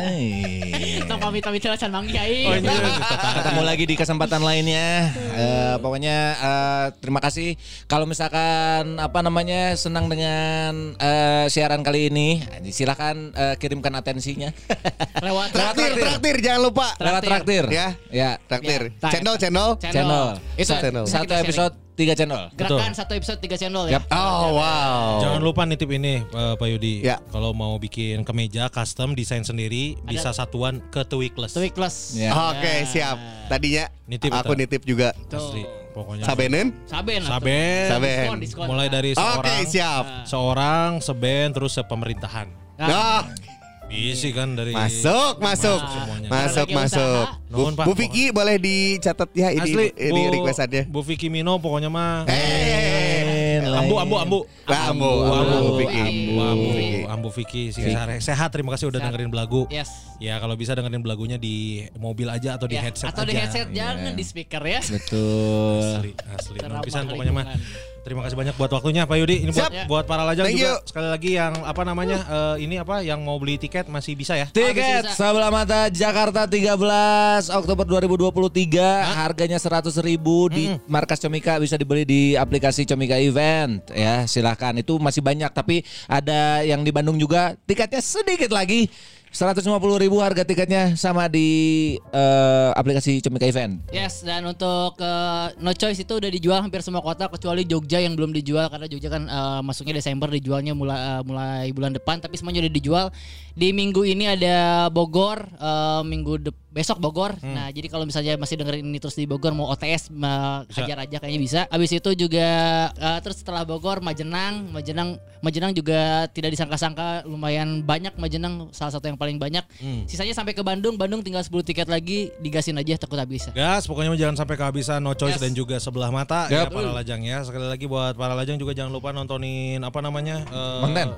Hai. Tong pamit-pamit heula can manggi ai. Oh, iya. Ketemu lagi di kesempatan lainnya. Eh, pokoknya eh, terima kasih. Kalau misalkan apa namanya senang dengan eh, siaran kali ini, silakan eh, kirimkan atensinya. Lewat Traktir, traktir, jangan lupa. Lewat traktir. Ya, Ya. traktir. Ya. Channel, channel. Channel. Itu Sa- channel. Satu kita episode tiga channel. Gerakan satu episode tiga channel ya. Yap. Oh, wow. Jangan lupa nitip ini eh, Pak Yudi. Ya. Kalau mau bikin kemeja custom desain sendiri bisa satuan ke Tweakless. Tweakless. Ya. Oke, siap. Tadinya Nitip aku itu. nitip juga. Asli. Pokoknya Sabenen? Saben. atuh. Saben. Saben. Diskon, diskon. mulai dari Oke, seorang siap. seorang seben terus sepemerintahan. Ah, Bisa kan dari masuk, masuk. semuanya. Masuk, Lagi masuk. usaha. Bu, Nuhun, Pak. Bu Vicky boleh dicatat ya ini Asli, ini Bu, requestannya. Bu Vicky Mino pokoknya mah. Eh, Ambu, ambu, ambu. Ambu, Ambu, ambu, ambu, Vicky. ambu, ambu, ambu Vicky. Si Sare. Sehat, terima kasih udah dengerin belagu. Yes. Ya kalau bisa dengerin belagunya di mobil aja atau di Ya, headset atau aja. di headset jangan di speaker ya. Betul. Asli, asli. Teramah Pisan pokoknya mah. lingkungan. Terima kasih banyak buat waktunya Pak Yudi. Ini buat Siap. buat para lajang Thank juga you. sekali lagi yang apa namanya eh, ini apa yang mau beli tiket masih bisa ya. Tiket bisa. Sebelah Mata Jakarta tiga belas Oktober dua ribu dua puluh tiga. Harganya seratus ribu di markas Comika, bisa dibeli di aplikasi Comika Event ya. Silahkan, itu masih banyak, tapi ada yang di Bandung juga tiketnya sedikit lagi. seratus lima puluh ribu harga tiketnya, sama di eh, aplikasi Comika Event. Yes, dan untuk uh, No Choice itu udah dijual hampir semua kota kecuali Jogja yang belum dijual karena Jogja kan uh, masuknya Desember, dijualnya mulai uh, mulai bulan depan, tapi semuanya udah dijual. Di minggu ini ada Bogor, uh, minggu de- besok Bogor. Nah, jadi kalau misalnya masih dengerin ini terus di Bogor mau O T S uh, hajar aja kayaknya bisa. Habis itu juga uh, terus setelah Bogor Majenang, Majenang Majenang juga tidak disangka-sangka lumayan banyak. Majenang salah satu yang paling banyak. Sisanya sampai ke Bandung, Bandung tinggal sepuluh tiket lagi, digasin aja takut habis. Gas, pokoknya jangan sampai kehabisan No Choice Yes. dan juga Sebelah Mata Yap. ya para lajang ya. Sekali lagi buat para lajang juga jangan lupa nontonin apa namanya? eh, Konten.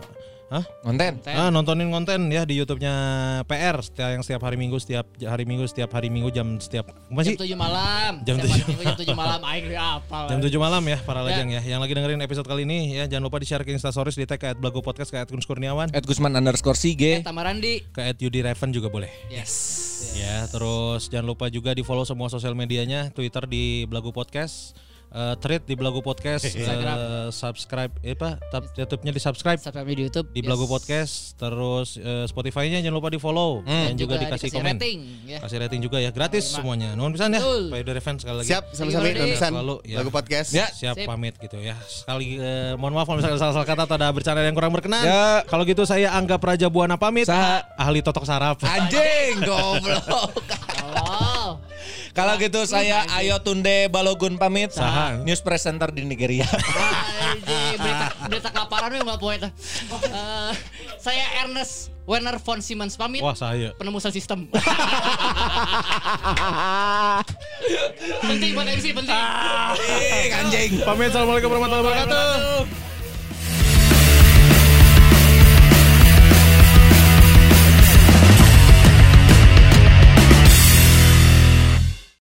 Hah? Konten. Konten. Ah, nontonin konten ya di YouTube-nya P R setiap yang setiap hari Minggu setiap hari Minggu setiap hari Minggu jam setiap masih Jam tujuh malam. Jam Setiap hari tujuh. Minggu jam tujuh malam aing apa. jam tujuh malam ya para Ya. lajang ya. Yang lagi dengerin episode kali ini ya jangan lupa di-share ke Instastories di tag ke at Blago Podcast ke at Gun Kurniawan At Gusman underscore Sige. Tamarandi. ke at Yudi Raven juga boleh. Yes. Ya, terus jangan lupa juga di-follow semua sosial medianya, Twitter di Blago Podcast, uh, Thread di Blago Podcast, uh, subscribe eh apa, tab YouTube-nya di-subscribe Subscribe di YouTube. di Blago Podcast, terus uh, Spotify-nya jangan lupa di-follow dan juga, dikasih, komen. rating ya. Kasih rating juga ya, gratis semuanya. Nuhun pisan ya. Betul. Pak Yudi Raven sekali lagi. Siap, sama-sama Thank you, dan pesan. Selalu, ya. Lagu podcast. Ya. Siap Sip. pamit gitu ya. Sekali eh, mohon maaf kalau misalnya ada salah-salah kata atau ada bercanda yang kurang berkenan. Ya. Kalau gitu saya Angga Praja Buana pamit. Saha. Ahli totok saraf. Anjing goblok. Oh. Kalau gitu saya Ayo Tunde Balogun pamit. Saha. News presenter di Nigeria. Anjing, berita berita kelaparan we enggak poe tah. Eh, saya Ernest Werner von Siemens pamit. Wah, saya. Penemusan sistem. penting buat M C penting. Anjing. Pamit. Assalamualaikum warahmatullahi wabarakatuh.